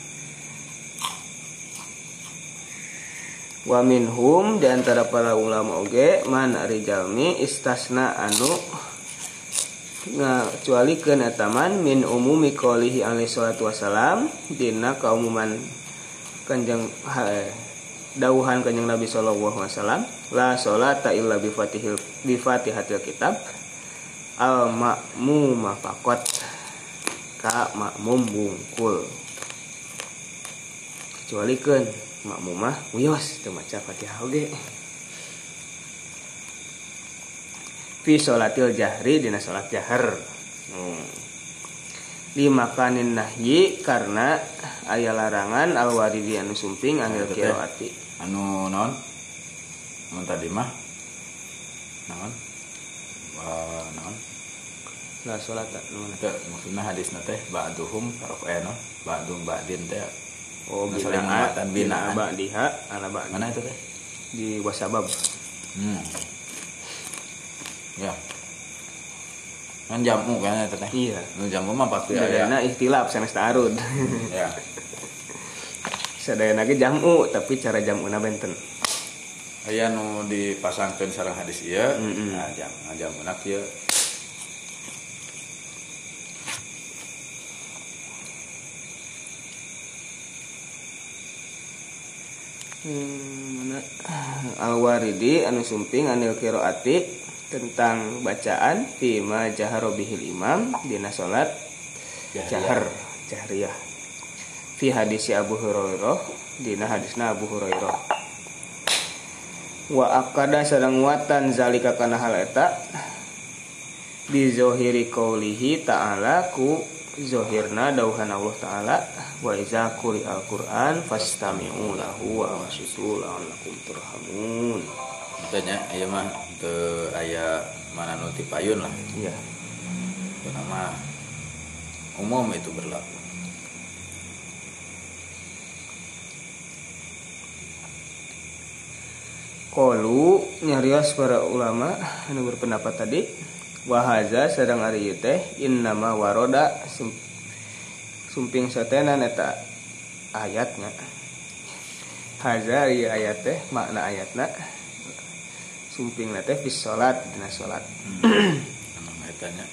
Wa minhum di antara para ulama oge man ari jalmi istasna anu ngacualikeun ataman min umumi qoulihi alaihi salatu wasalam dina kaumuman kanjeng dawuhan kanjeng Nabi sallallahu alaihi wasallam la sholata illa bi fatihatil kitab al ma'mum faqat ka makmum bungkul kecualikeun makmumah wios teu maca Fatihah oge fi sholatil jahri dina salat jahar Limakanin nahyi karena aya larangan al-waridi anu sumping anil qiraati. Anu naon? Mun tadi mah naon? Naon? La salat naon? Teu maksudna hadisna teh ba'duhum farqana ba'dum ba'din teh. Oh, binaan binaan ba'diha ana ba'di. Mana itu teh? Di wasabab. Ya. Kan jamu kan eta teh. Iya. Nu jamu mah pasti aya. Sadayana ikhtilaf sanes ta'arud. Ya. Sadayana ge jamu tapi cara jamuna benten. Aya nu dipasangkeun sareng hadis ieu. Nah, jamuna kieu. Al-waridi anu sumping anil qiraati tentang bacaan fima jahara bihil imam dina salat jahriyah fi hadis Abu Hurairah dina hadisna Abu Hurairah wa aqada sareng watan zalika kana hal eta bi zahiri qaulihi ta'ala ku zahirna dauhan Allah taala wa iza quri'al Qur'an fastami'u lahu wa ansitu la'allakum turhamun. Tanya aya mah teu aya mana nu tipayun lah. Iya. Nama umum itu berlaku. Qalu nyarios para ulama anu berpendapat tadi wa haza sareng ari ieu teh innama waroda sumping satenan eta ayatna. Haza ieu ayat teh makna ayatna sumpingna teh fi salat dina salat. Emang eta nya.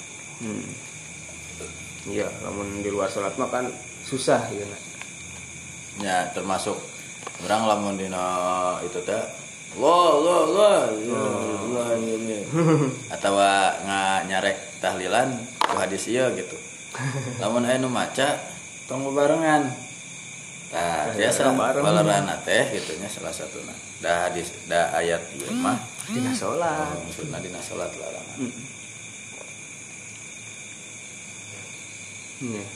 Iya, lamun di luar salat mah kan susah ieu na. Ya termasuk urang lamun dina itu teh Allah atau nyarek tahlilan ku hadis ieu gitu. Lamun aya nu maca tong bebarengan. Tah biasa balerana teh kitu nya salah satuna. Da hadis da ayat ieu mah dina salat. Maksudna dina salat larangan. Iya.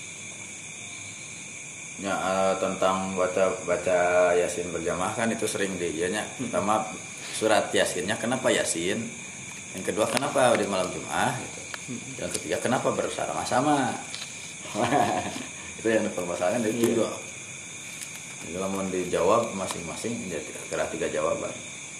Ya tentang baca Yasin berjamaah kan itu sering dianya. Pertama surat Yasinnya kenapa Yasin? Yang kedua kenapa di malam Jumat gitu. Yang ketiga kenapa bersama-sama? Itu yang dipermasalahkan dari itu. Kalau mau dijawab masing-masing jadi kira 3 jawaban.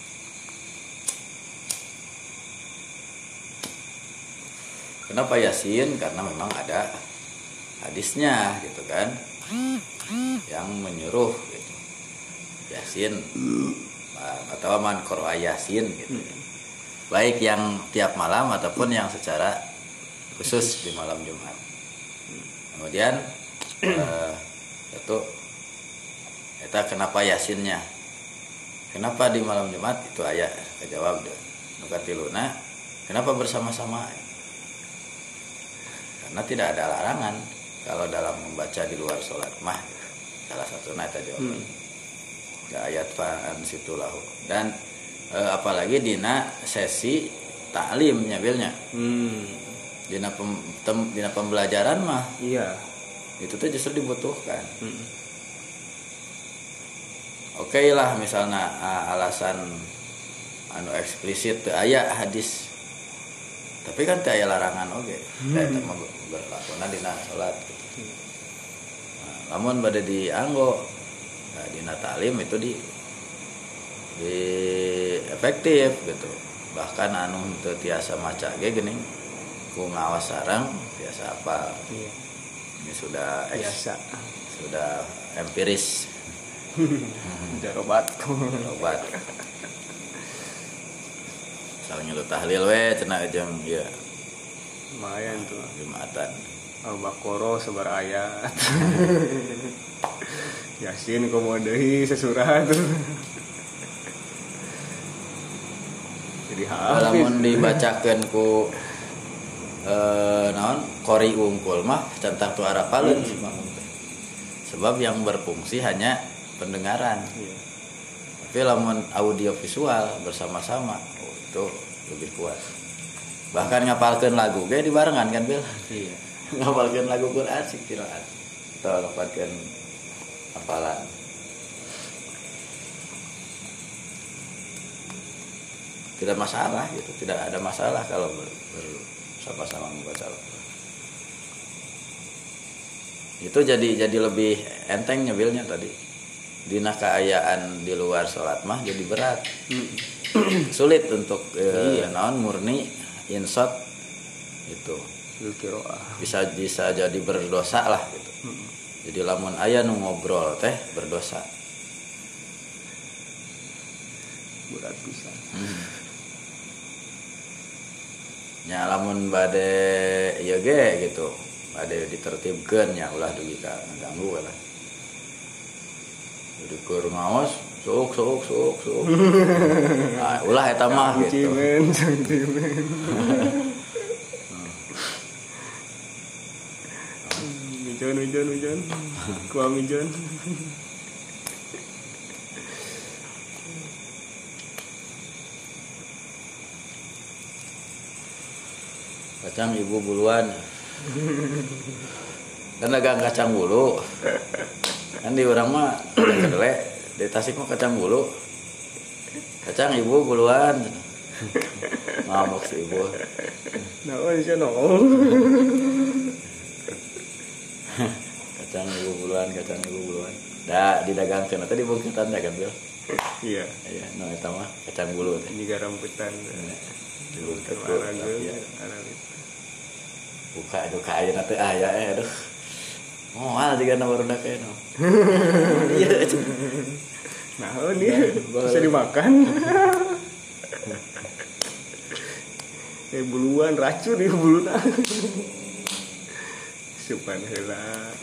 Kenapa Yasin? Karena memang ada hadisnya gitu kan. Yang menyuruh gitu. Yasin atau man qira'a Yasin gitu. Baik yang tiap malam ataupun yang secara khusus di malam Jumat. Kemudian itu kenapa Yasinnya? Kenapa di malam Jumat? Itu aya kejawab deh. Nu katiluna, kenapa bersama-sama? Karena tidak ada larangan kalau dalam membaca di luar sholat mah salah satu nata jawaban ayat fa'an situlahu dan apalagi dina sesi taklimnya bilnya dina pembelajaran mah iya itu tuh justru dibutuhkan. Oke lah misalnya alasan anu eksplisit teu aya hadis tapi kan teu aya larangan oge eta mah berlakuna dina salat gitu. Nah, lamun bade dianggo dina taklim itu di efektif gitu. Bahkan anu teu tiasa maca ge geuning ku ngawas sareng biasa apa. Iya. Ini sudah biasa. Sudah empiris. Obat. Soalnya lu tahlil we cenah jeung ieu. Lumayan tuh. Jumatan. Al-Baqarah sebar ayat. Yasin komo deui sesurat. Jadi lamun dibacakeun ku naon qori unggul mah tentang tu arapaleun sebab yang berfungsi hanya pendengaran. Iya. Tapi lamun audio visual bersama-sama itu lebih kuat. Bahkan ngapalkeun lagu ge dibarengan kan Bil? Iya. ngapalkeun lagu Quran sih qiraat atau ngapalkeun hafalan. Tidak masalah gitu, tidak ada masalah kalau bersama-sama membaca Al-Quran. Itu jadi lebih enteng nyebilnya tadi. Dina kaayaan di luar sholat mah jadi berat. Sulit untuk naon murni insot itu. Bisa jadi berdosa lah gitu. Jadi lamun aya nu ngobrol teh berdosa. Berat pisan. Nya lamun bade ieu ge gitu. Bade ditertibkeun nya ulah dugi ka ngaganggu lah. Jadi keur ngaos sok. Nah, ulah eta mah gitu. Sentimen. Hujan. Kuam hujan. Kacang ibu buluan. Kan dagang kacang bulu. Kan di urang mah kedele, di Tasik mah kacang bulu. Kacang ibu buluan. Ngamuk si ibu. Naon sih no. Kacang ibu buluan. Da didagangkeun teh dibungkutan da kan Bil. Iya, no eta mah kacang bulu teh. Ini rambutan. Dibungkut Aragel. Buka ayeuna teh aya aduh. Moal juga barudak kayak no. Iya. Nah, ini bisa dimakan. Buluan racun di buluna. Supan heula.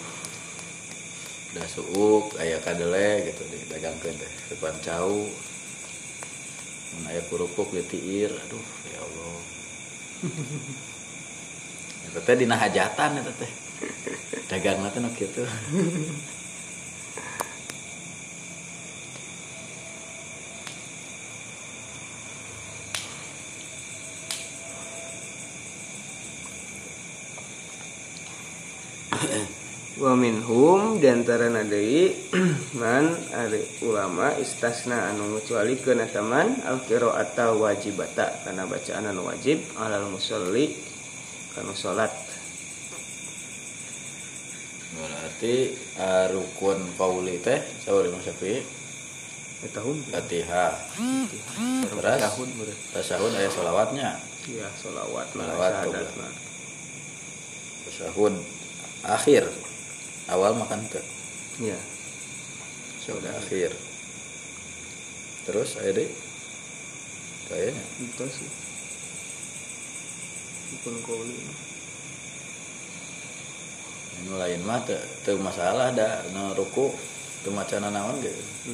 Da suuk aya kadele gitu didagangkeun teh supan cau. Mun aya kurupuk litiir, aduh ya Allah. Eta teh dina hajatan eta teh. Dagangna teh nu kitu. Wa minhum diantarana deui man ari ulama istasna anu ngucualikeun eta man al-qira'ata wajibata kana bacaan anu wajib alal musolli kana salat. Berarti rukun qauli teh saur Imam Syafi'i Eta hum Fatihah. Terus tasahud aya shalawatnya. Iya, shalawat Syahadatna. Tasahud akhir. Awal makan teh. Iya. Sudah akhir. Terus aya deui. Kayaknya itu sih. Rukun qauli. Anu lain mah teu masalah da nu ruku teu macana naon ge.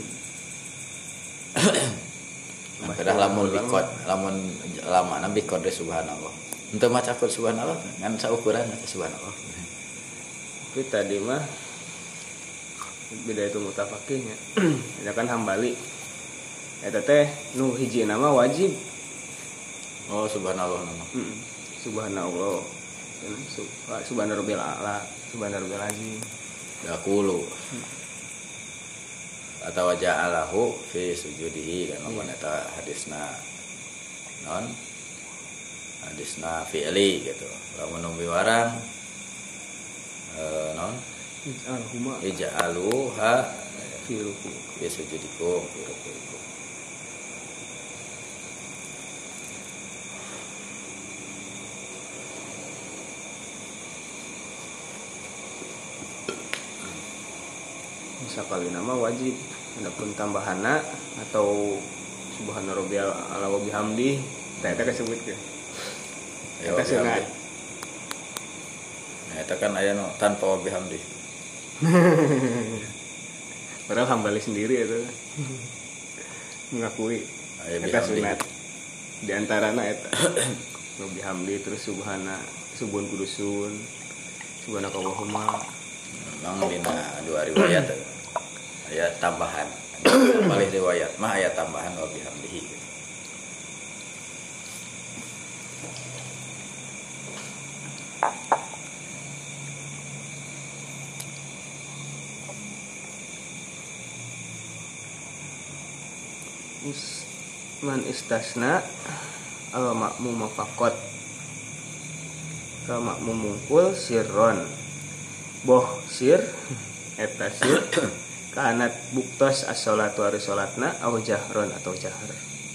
Padahal lamun bikot, lamun lamana bikot de subhanallah. Henteu maca subhanallah ngan saukuran subhanallah. Tapi tadi mah beda itu mutafaqihnya. Ada kan Hambali. Eta teh nu hiji nama wajib. Oh subhanallah nama. Subhanallah. Subhanarabbil a'la, subhanarabbil azim. Yaqulu. Atau ja'alahu fi sujudihi kan lamun eta hadisna non hadisna fi'li gitu. Lamun nu biwarang non ija'aluha fi ruku fi sujudikum fi rukuikum. Sakali nama wajib, adapun tambahana atau subhanarabbiyal a'la wa bihamdi eta kasebutkeun. Eta sunat. Nah, eta kan aya tanpa wa bihamdi. Padahal Hambali sendiri itu mengakui eta sunat. Di antarana eta wa bihamdi terus subun kudusun subhanakallahumma. Memang dina dua riwayat aya tambahan. Paling riwayat mah aya tambahan wa bihamdihi. Man istasna al makmum faqat ka makmum mungkul sirron boh sir eta sir kanat buktos as-sholatu ari salatna au jahron atau jahar.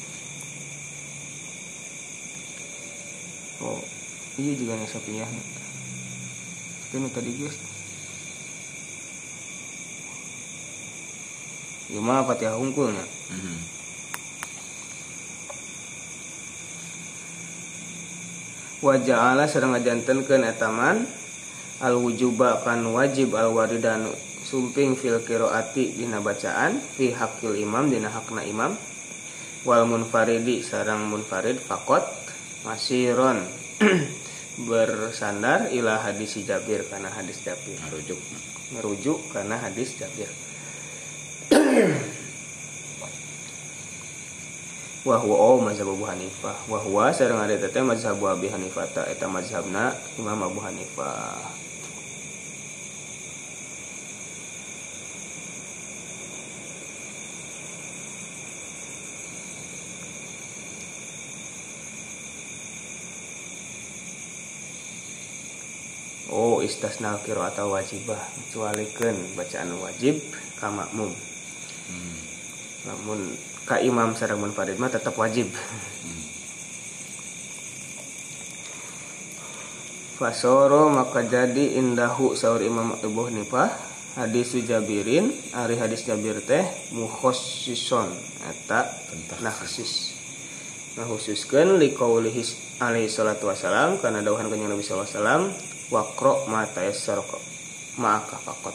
Oh iya juga nih sapinya itu tadi guys ya mah Fatihah hungkulnya. Wa ja'ala sareng ngajantenkeun eta man al wujuba kan wajib al waridan sumping fil qiraati dina bacaan fi haqqil imam dina hakna imam wal munfaridi sareng munfarid faqat masiron bersandar ila hadis Jabir kana hadis Jabir merujuk kana hadis Jabir. Wa huwa mazhab Abu Hanifah wa huwa sareng ari teh mazhab Abi Hanifah ta eta mazhabna Imam Abu Hanifah. Oh istasna qiraat wajibah kecualikeun bacaan wajib ka makmum. Namun ka imam sareng munfarid mah tetap wajib. Fasoro maka jadi indahu saur Imam Abu Hanifah hadis Jabirin ari hadis Jabir teh mukhassison eta nakhsis. Ngakhususkeun liqaulihi alaihi salatu wasalam kana dawuhan kanjeng Nabi sallallahu alaihi wasallam waqra ma tayassara ma'aka faqat.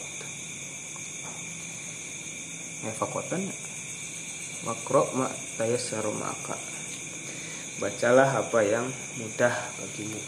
Faqatan waqra ma tayassara ma'aka. Bacalah apa yang mudah bagimu.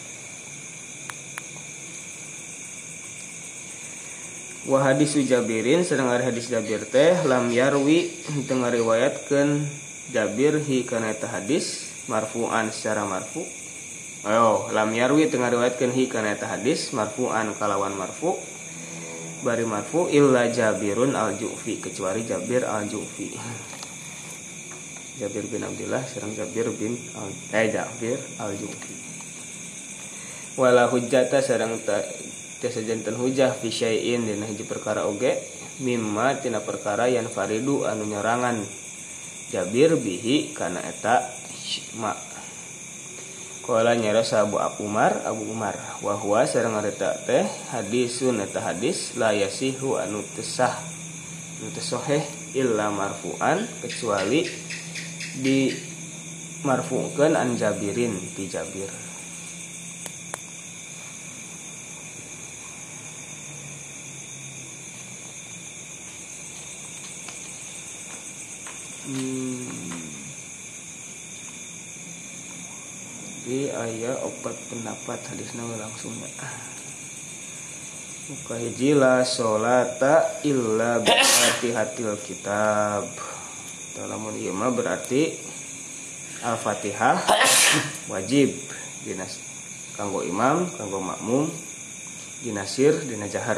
Wa hadis Jabirin sedang ada hadis Jabir teh lam yarwi teu ngariwayatkeun Jabir hi kana eta hadis marfu'an secara marfu. Lam yarwi teu ngariwayatkeun hi kana eta hadis marfu'an kalawan marfu. Bari marfu illa Jabirun al-Ju'fi kecuali Jabir al-Ju'fi. Jabir bin Abdullah sareng Jabir bin Jabir al-Ju'fi. Wala hujjata sareng tiasa janten hujah fi syai'in dina hiji perkara oge mimma tina perkara yang faridu anu nyerangan Jabir bihi kana eta ma. Qala nyarasa Abu Umar wa huwa sareng eta teh hadisun eta hadis la yasihu anu teu sahih illa marfu'an kecuali di marfu'keun an Jabirin ti Jabir. Di aya opat pendapat hadisna langsung muka hiji la sholata illa bi fatihatil kitab. Lamun ieu mah berarti Al-Fatihah wajib dina kanggo imam, kanggo makmum, dina sir, dina jahar.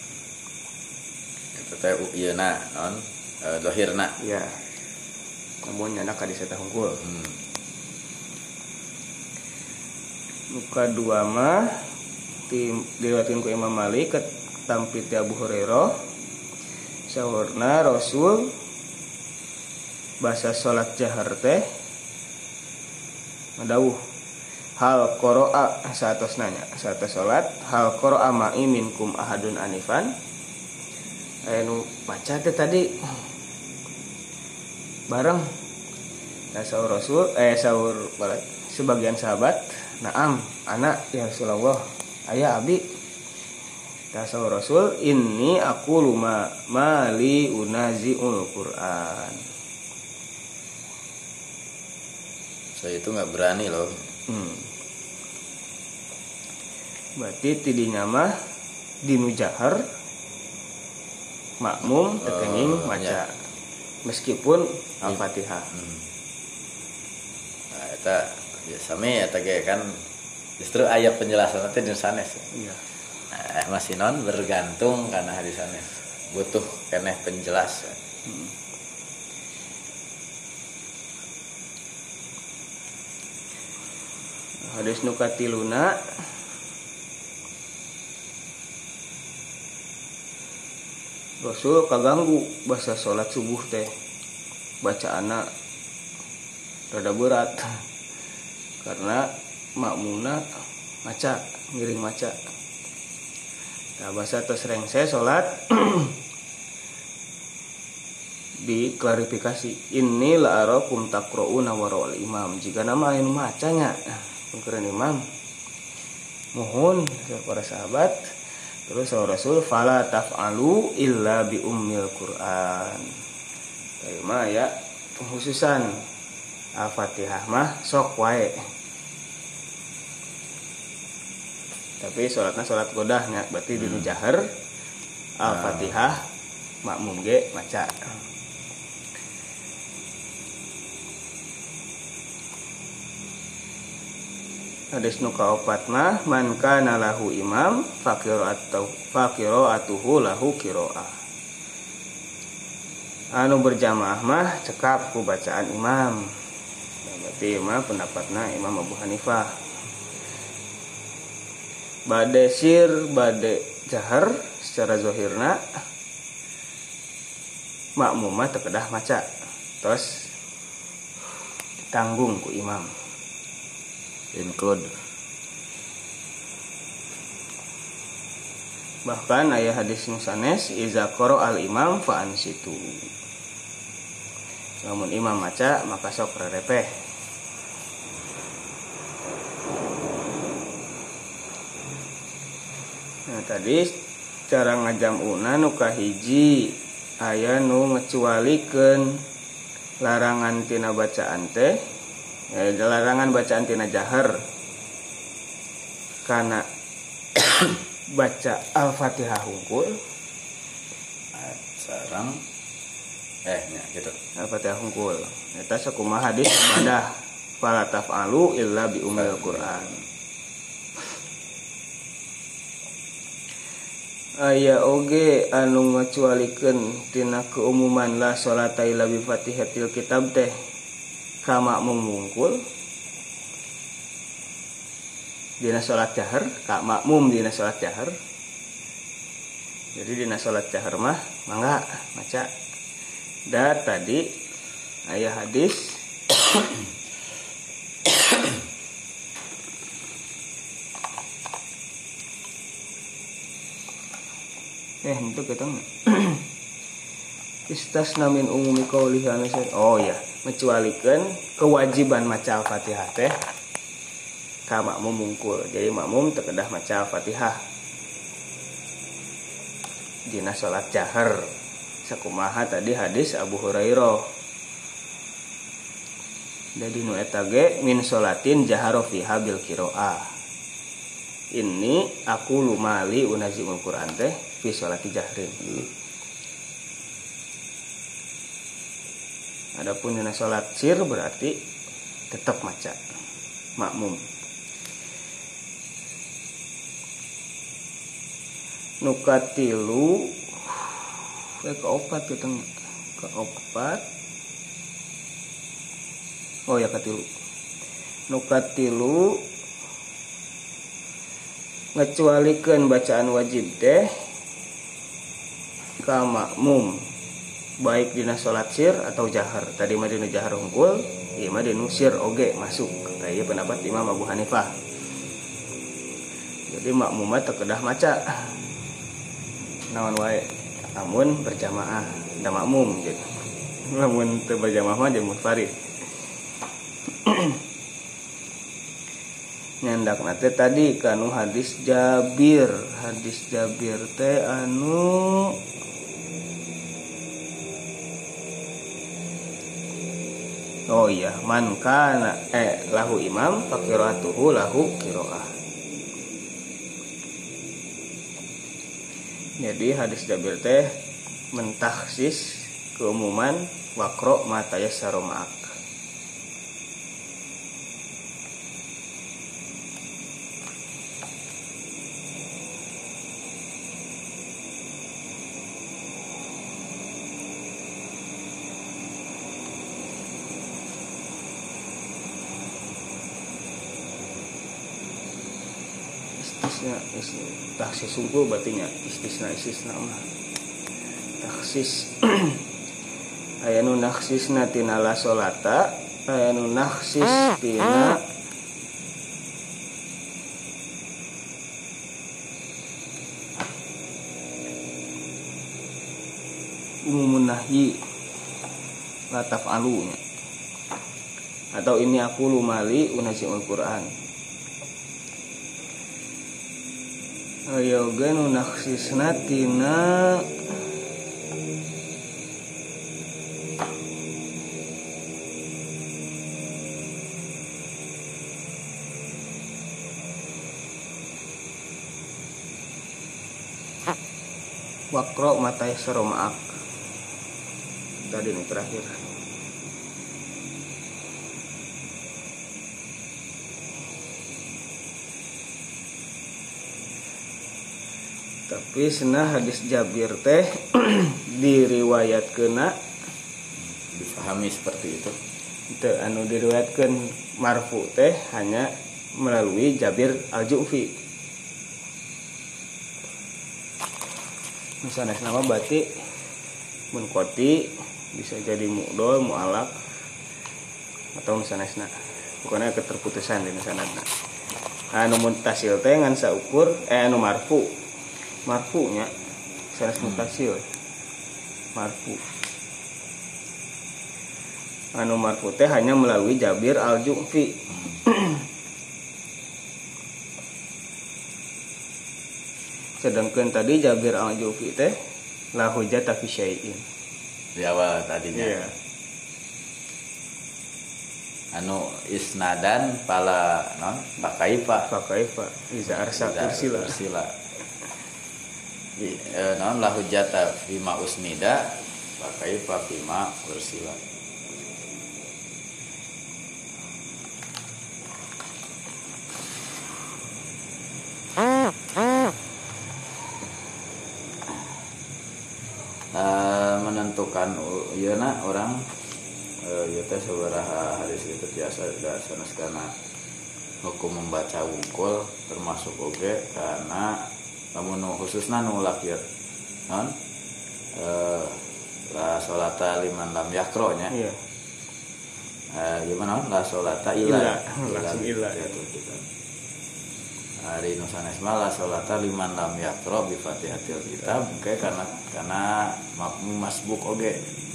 Eta teh ieuna naon dohirna. Ya. Namun nyana ka diseta hungkul. Muka dua mah diriwayatkeun ku Imam Malik tampi ti Abu Hurairah saurna Rasul bahasa salat jahar teh madawuh hal qira'a satos nanya satos salat hal qira'a ma'i minkum ahadun anifan anu baca teh tadi bareng saur Rasul saur sebagian sahabat naam anak ya Rasulullah aya abi saur Rasul inni aqulu mali unaziul Quran. Saya itu nggak berani loh. Berarti tidinya mah dinu jahar makmum tekenging maca meskipun Al-Fatihah. Nah, eta ya sami eta ge kan justru ayat penjelasan teh di sanes. Iya. Nah, masih non bergantung karena hadis sanes. Butuh keneh penjelasan. Hadis nu katiluna Rasul kaganggu basa salat subuh teh bacaana rada berat karena makmuna maca ngiring maca. Nah basa tos rengse salat diklarifikasi ini la arakum taqrauna wara'al imam jika nama anu macanya pengkeun imam mohon para sahabat. Terus Rasul fala taf'alu illa bi ummil Qur'an. Tema ya penghususan Al-Fatihah mah sok wae. Tapi salatna salat godahnya berarti dinu jahar Al-Fatihah makmum ge maca. Hadis nu kaopat mah man kana lahu imam faqira'atuhu lahu qira'ah. Anu berjamaah mah cekap ku bacaan imam. Berarti mah pendapatna Imam Abu Hanifah. Bade sir bade jahar secara zahirna makmum mah teu kedah maca. Terus ditanggung ku imam. Include. Bahkan aya hadis nu sanes iza qara al imam fa ansitu. Lamun imam maca maka sok rerepeh. Nah tadi cara ngajamuna nu kahiji aya nu ngecualikeun larangan tina bacaan teh larangan bacaan tina jahar karena baca Al-Fatihah hungkul sareng nya gitu. Al-Fatihah hungkul eta sakumaha hadis ibadah fala taf'alu illa bi ummil Qur'an. Aya oge anu ngacualikeun tina keumuman la salata illa bi Fatihatil kitab teh ka makmum mungkul dina salat jahar ka makmum dina salat jahar. Jadi dina salat jahar mah mangga maca. Da tadi aya hadis itu ketang istasna min umumi qaulihi oh ya mencualikan kewajiban maca Al-Fatihah teh ka makmum mungkul. Jadi makmum teu kedah maca Al-Fatihah dina salat jahar sakumaha tadi hadis Abu Hurairah. Jadi nu eta ge min salatin jahara fiha bil qiraah. Ini aku lumali unazimul Quran teh fi salati jahrin. Adapun dina salat sir berarti tetap maca makmum. Nukatilu keopat kita keopat. Oh ya katilu. Nukatilu ngecualikeun bacaan wajib teh ka makmum baik dina salat sir atau jahar. Tadi mah dina jahar hungkul, ieu mah dina sir oge masuk. Eta ieu pendapat Imam Abu Hanifah. Jadi makmum mah teu kedah maca. Naon wae namun berjamaah da makmum gitu. Lamun teu berjamaah mah jeung munfarid. Nyandak nate tadi kanu hadis Jabir teh anu oh iya man kana lahu imam faqiratuhu lahu qiraah. Jadi hadis Jabir teh mentaksis keumuman waqra ma tayassara ma'ak. taksis sungkul berarti nya istisna mah taksis aya nu naksisna tina la solata aya nu naksis tina umumun nahyi la taf'alu nya atau ini aku lumali unasiul Quran ayo gen naksisna tina wakro matai seromaak tadi ini terakhir. Tapi senah hadis Jabir teh diriwayatkeuna dipahami seperti itu. Itu anu diriwayatkeun marfu teh hanya melalui Jabir Al-Ju'fi. Misalnya nama berarti munkoti bisa jadi mu'dol, mu'alak atau misalnya pokoknya keterputusan di misalnya. Anu muntasil teh ngan saukur anu marfunya sanes mutasil marfu. Anu marfu teh hanya melalui Jabir Al-Ju'fi. Sedangkan tadi Jabir Al-Ju'fi teh la hujjata fi syai'in. Di awal tadinya. Iya. Anu isnadan pala non pakaifa iza arsa ursila. Non la hujjata bima usnida pakaifa bima ursila. Menentukan yeuna orang ieu teh sabaraha hadis itu biasa sanes kana hukum membaca wungkul termasuk oge karena lamun khususna nu lakir non la sholata liman lam yakro nya. Iya. Gimana la sholata illa langsung illa itu kita. Hari nusanes la sholata liman lam yakro bi Fatihatil Kitab oke karena masbuk oge.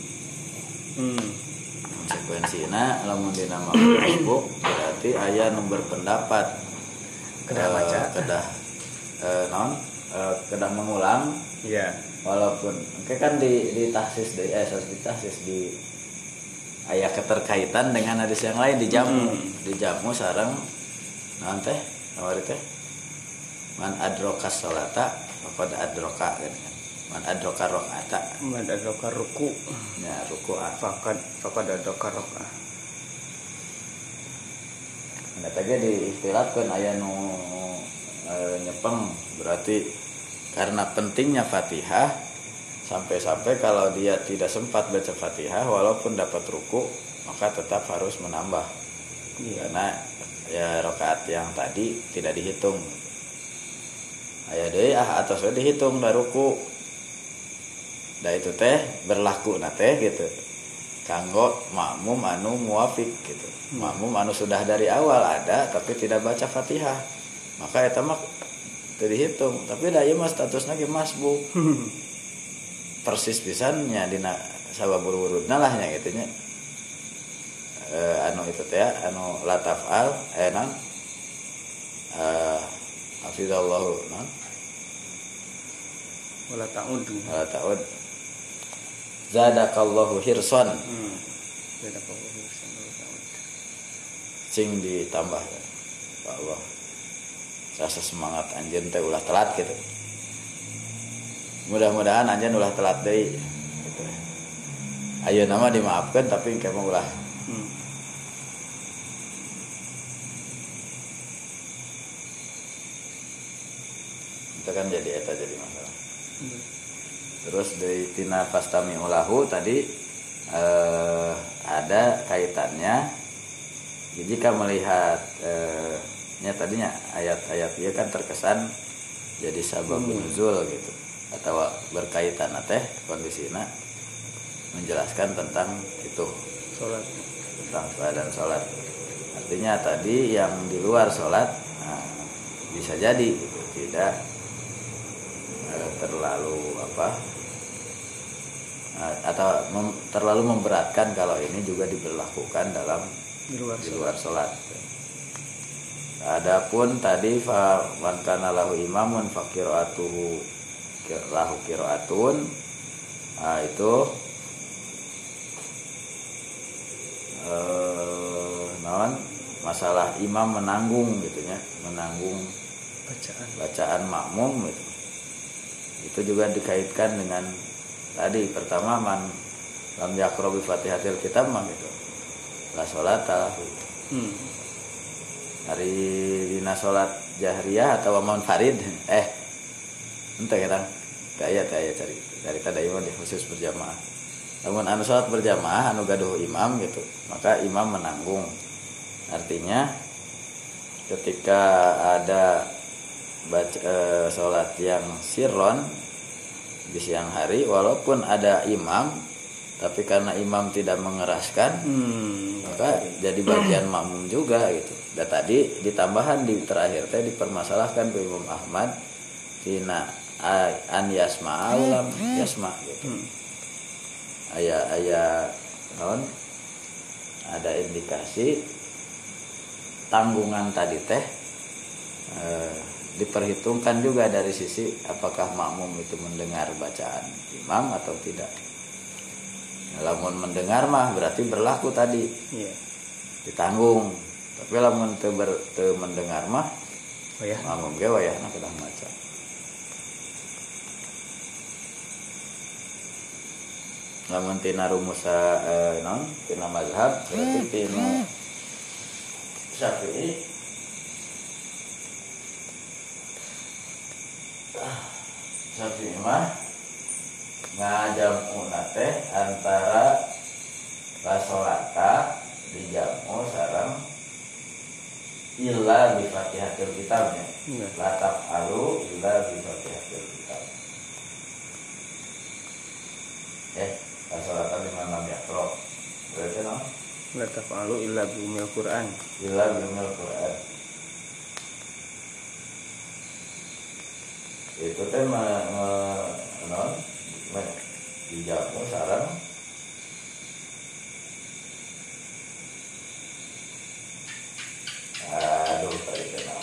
Konsekuensina lamun dina masbuk berarti aya nu berpendapat kedah baca kedah mengulang. Iya. Walaupun kan di tahsis di aya keterkaitan dengan hadis yang lain di jamu sareng naon teh awari teh man adroka sholata faqad adroka kan man adroka rakaata man adroka ruku ya ruku faqad adroka rakaat. Nah tadi diistilahkeun aya nu nyepeng berarti karena pentingnya Fatihah sampai-sampai kalau dia tidak sempat baca Fatihah walaupun dapat ruku maka tetap harus menambah. Karena ya rakaat yang tadi tidak dihitung. Aya deui atau sudah dihitung da ruku. Da itu teh berlaku na teh gitu. Kanggo makmum anu muafik gitu. Makmum anu sudah dari awal ada tapi tidak baca Fatihah. Maka eta mah teu dihitung, tapi da ieu mah statusna ge masbuk. Persis pisannya dina sababur-urudna lah nya kitu nya. Anu itu teh anu la taf'al nan hafizallahu nan wala ta'ud zadakallahu hirsan. Zadakallahu hirsan wala ta'ud. Cing ditambah ya. Pak Allah. Rasa semangat anjeun teh ulah telat gitu. Mudah-mudahan anjeun ulah telat deui gitu. Ayeuna mah dimaafkeun tapi engke mah ulah. Itu kan jadi eta jadi masalah. Terus dari tina fastami ulahu tadi ada kaitannya. Jika melihat nya tadinya ayat-ayat dia kan terkesan jadi sababun nuzul gitu atau berkaitan teh kondisina menjelaskan tentang itu Sholat. tentang keadaan sholat. Artinya tadi yang di luar sholat bisa jadi gitu, tidak terlalu atau terlalu memberatkan kalau ini juga diberlakukan dalam di luar sholat. Adapun tadi man kana lahu imamun faqira'atuhu lahu qira'atun, itu masalah imam menanggung gitunya, menanggung bacaan makmum gitu. Itu juga dikaitkan dengan tadi pertama man lam yaqra bi Fatihatil Kitab mah gitu. La sholata lahu. Hari dina salat jahriyah atau munfarid ente kan daya cari tadi imam di khusus berjamaah. Namun anu salat berjamaah anu gaduh imam gitu, maka imam menanggung. Artinya ketika ada salat yang sirron di siang hari walaupun ada imam tapi karena imam tidak mengeraskan maka jadi bagian makmum juga gitu. Dan tadi ditambahan di terakhir teh dipermasalahkan ke Imam Ahmad tina an yasma ulam yasma gitu. Aya ada indikasi tanggungan tadi teh diperhitungkan juga dari sisi apakah makmum itu mendengar bacaan imam atau tidak. Lamun mendengar mah berarti berlaku tadi ditanggung, tapi lamun teu mendengar mah makmum ge wayahna kedah maca. Lamun tina rumus tina mazhab berarti tina Syafi'i mah ngajamu teh antara basolata dijamu sareng illa bi Fatihatil Kitabnya. La taf'alu illa bi Fatihatil Kitab. Basolata di mana yaqra. Berarti no? La taf'alu illa bi umil Qur'an. Illa bi umil Qur'an. Itu teh dijamu sareng tadi kenal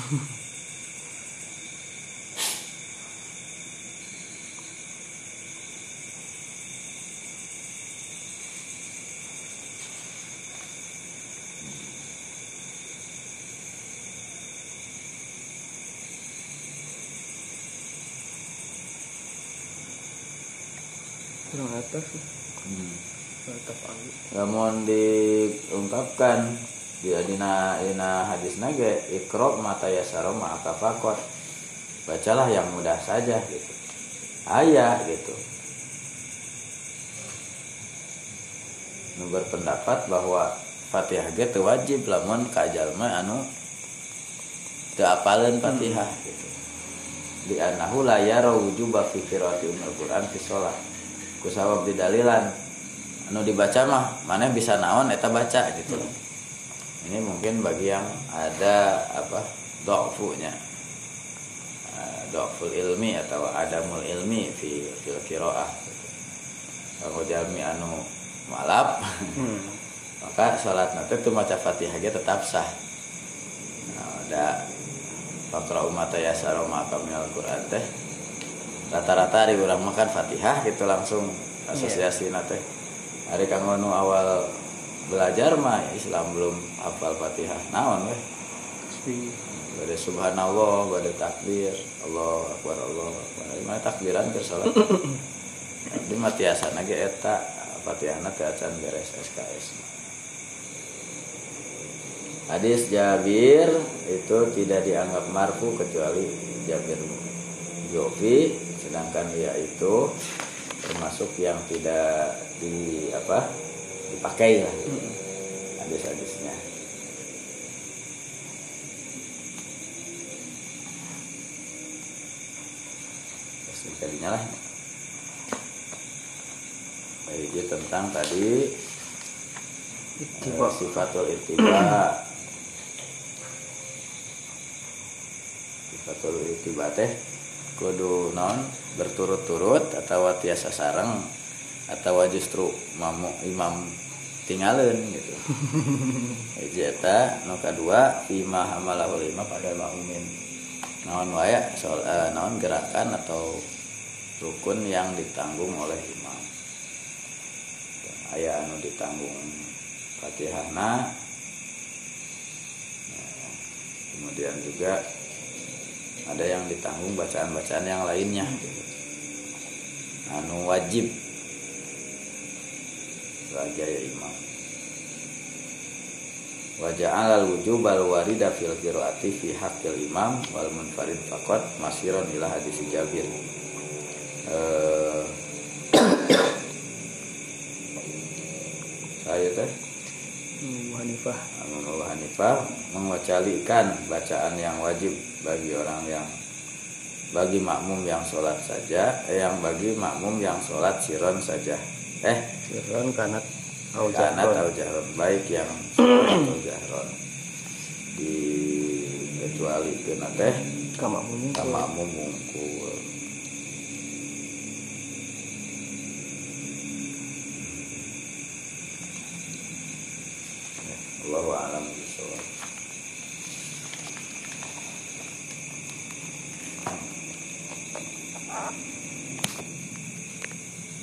kurang atas namun diungkapkan dina hadis nage ikra mata yasara ma'aka faqat, bacalah yang mudah saja gitu gitu. Nu berpendapat bahwa Fatihah ge teu wajib lamun ka jalma anu teu apaleun Fatihah gitu. Di annahu la yara wujuba fi qiraati umul Qur'an fi shalah. Kusabab didalilan anu dibaca mah maneh bisa naon eta baca gitu loh. Ini mungkin bagi yang ada dha'funya, dha'ful ilmi atau adamul ilmi fil qiraah. Kalau jalmi anu malap maka salat nanti teu maca Fatihah ge tetap sah. Ada faqra'u ma tayassara ma'aka minal Qur'an teh rata-rata di urang makan Fatihah gitu langsung asosiasi teh. Hari kanggo nu awal belajar mah Islam belum hafal Fatihah naon weh. Bade subhanallah, bade takbir, Allahu akbar, Allahu akbar. Mana takbiran ke salat. Di matiasana ge eta Fatihahna teh acan beres SKS. Hadis Jabir itu tidak dianggap marfu kecuali Jabir Jofi, sedangkan dia itu termasuk yang tidak dipakai lah hadis-hadisnya. kadinya lah. Jadi tentang tadi sifatul ittiba. Sifatul ittiba teh kudu naon berturut-turut atau tiasa sareng atau justru imam tinggalin gitu. Eta nu kadua fima hamalahul imam pada makmumin. Naon wae soal naon gerakan atau rukun yang ditanggung oleh imam. Aya anu ditanggung Fatihahna. Kemudian juga ada yang ditanggung bacaan-bacaan yang lainnya gitu. Anu wajib sebagai imam. Wa ja'al al-wujub al-warida fil qiraati fi haqqil imam wal munfarid faqat masiran ila hadis Jabir. Saya teh Abu Hanifah mengwacalikan bacaan yang wajib bagi makmum yang sholat saja, yang bagi makmum yang sholat siron saja. Siron kanat au jahron, baik yang sholat atau jahron. Kecuali kena teh ka makmum mungkul. Allahu a'lam bishawab.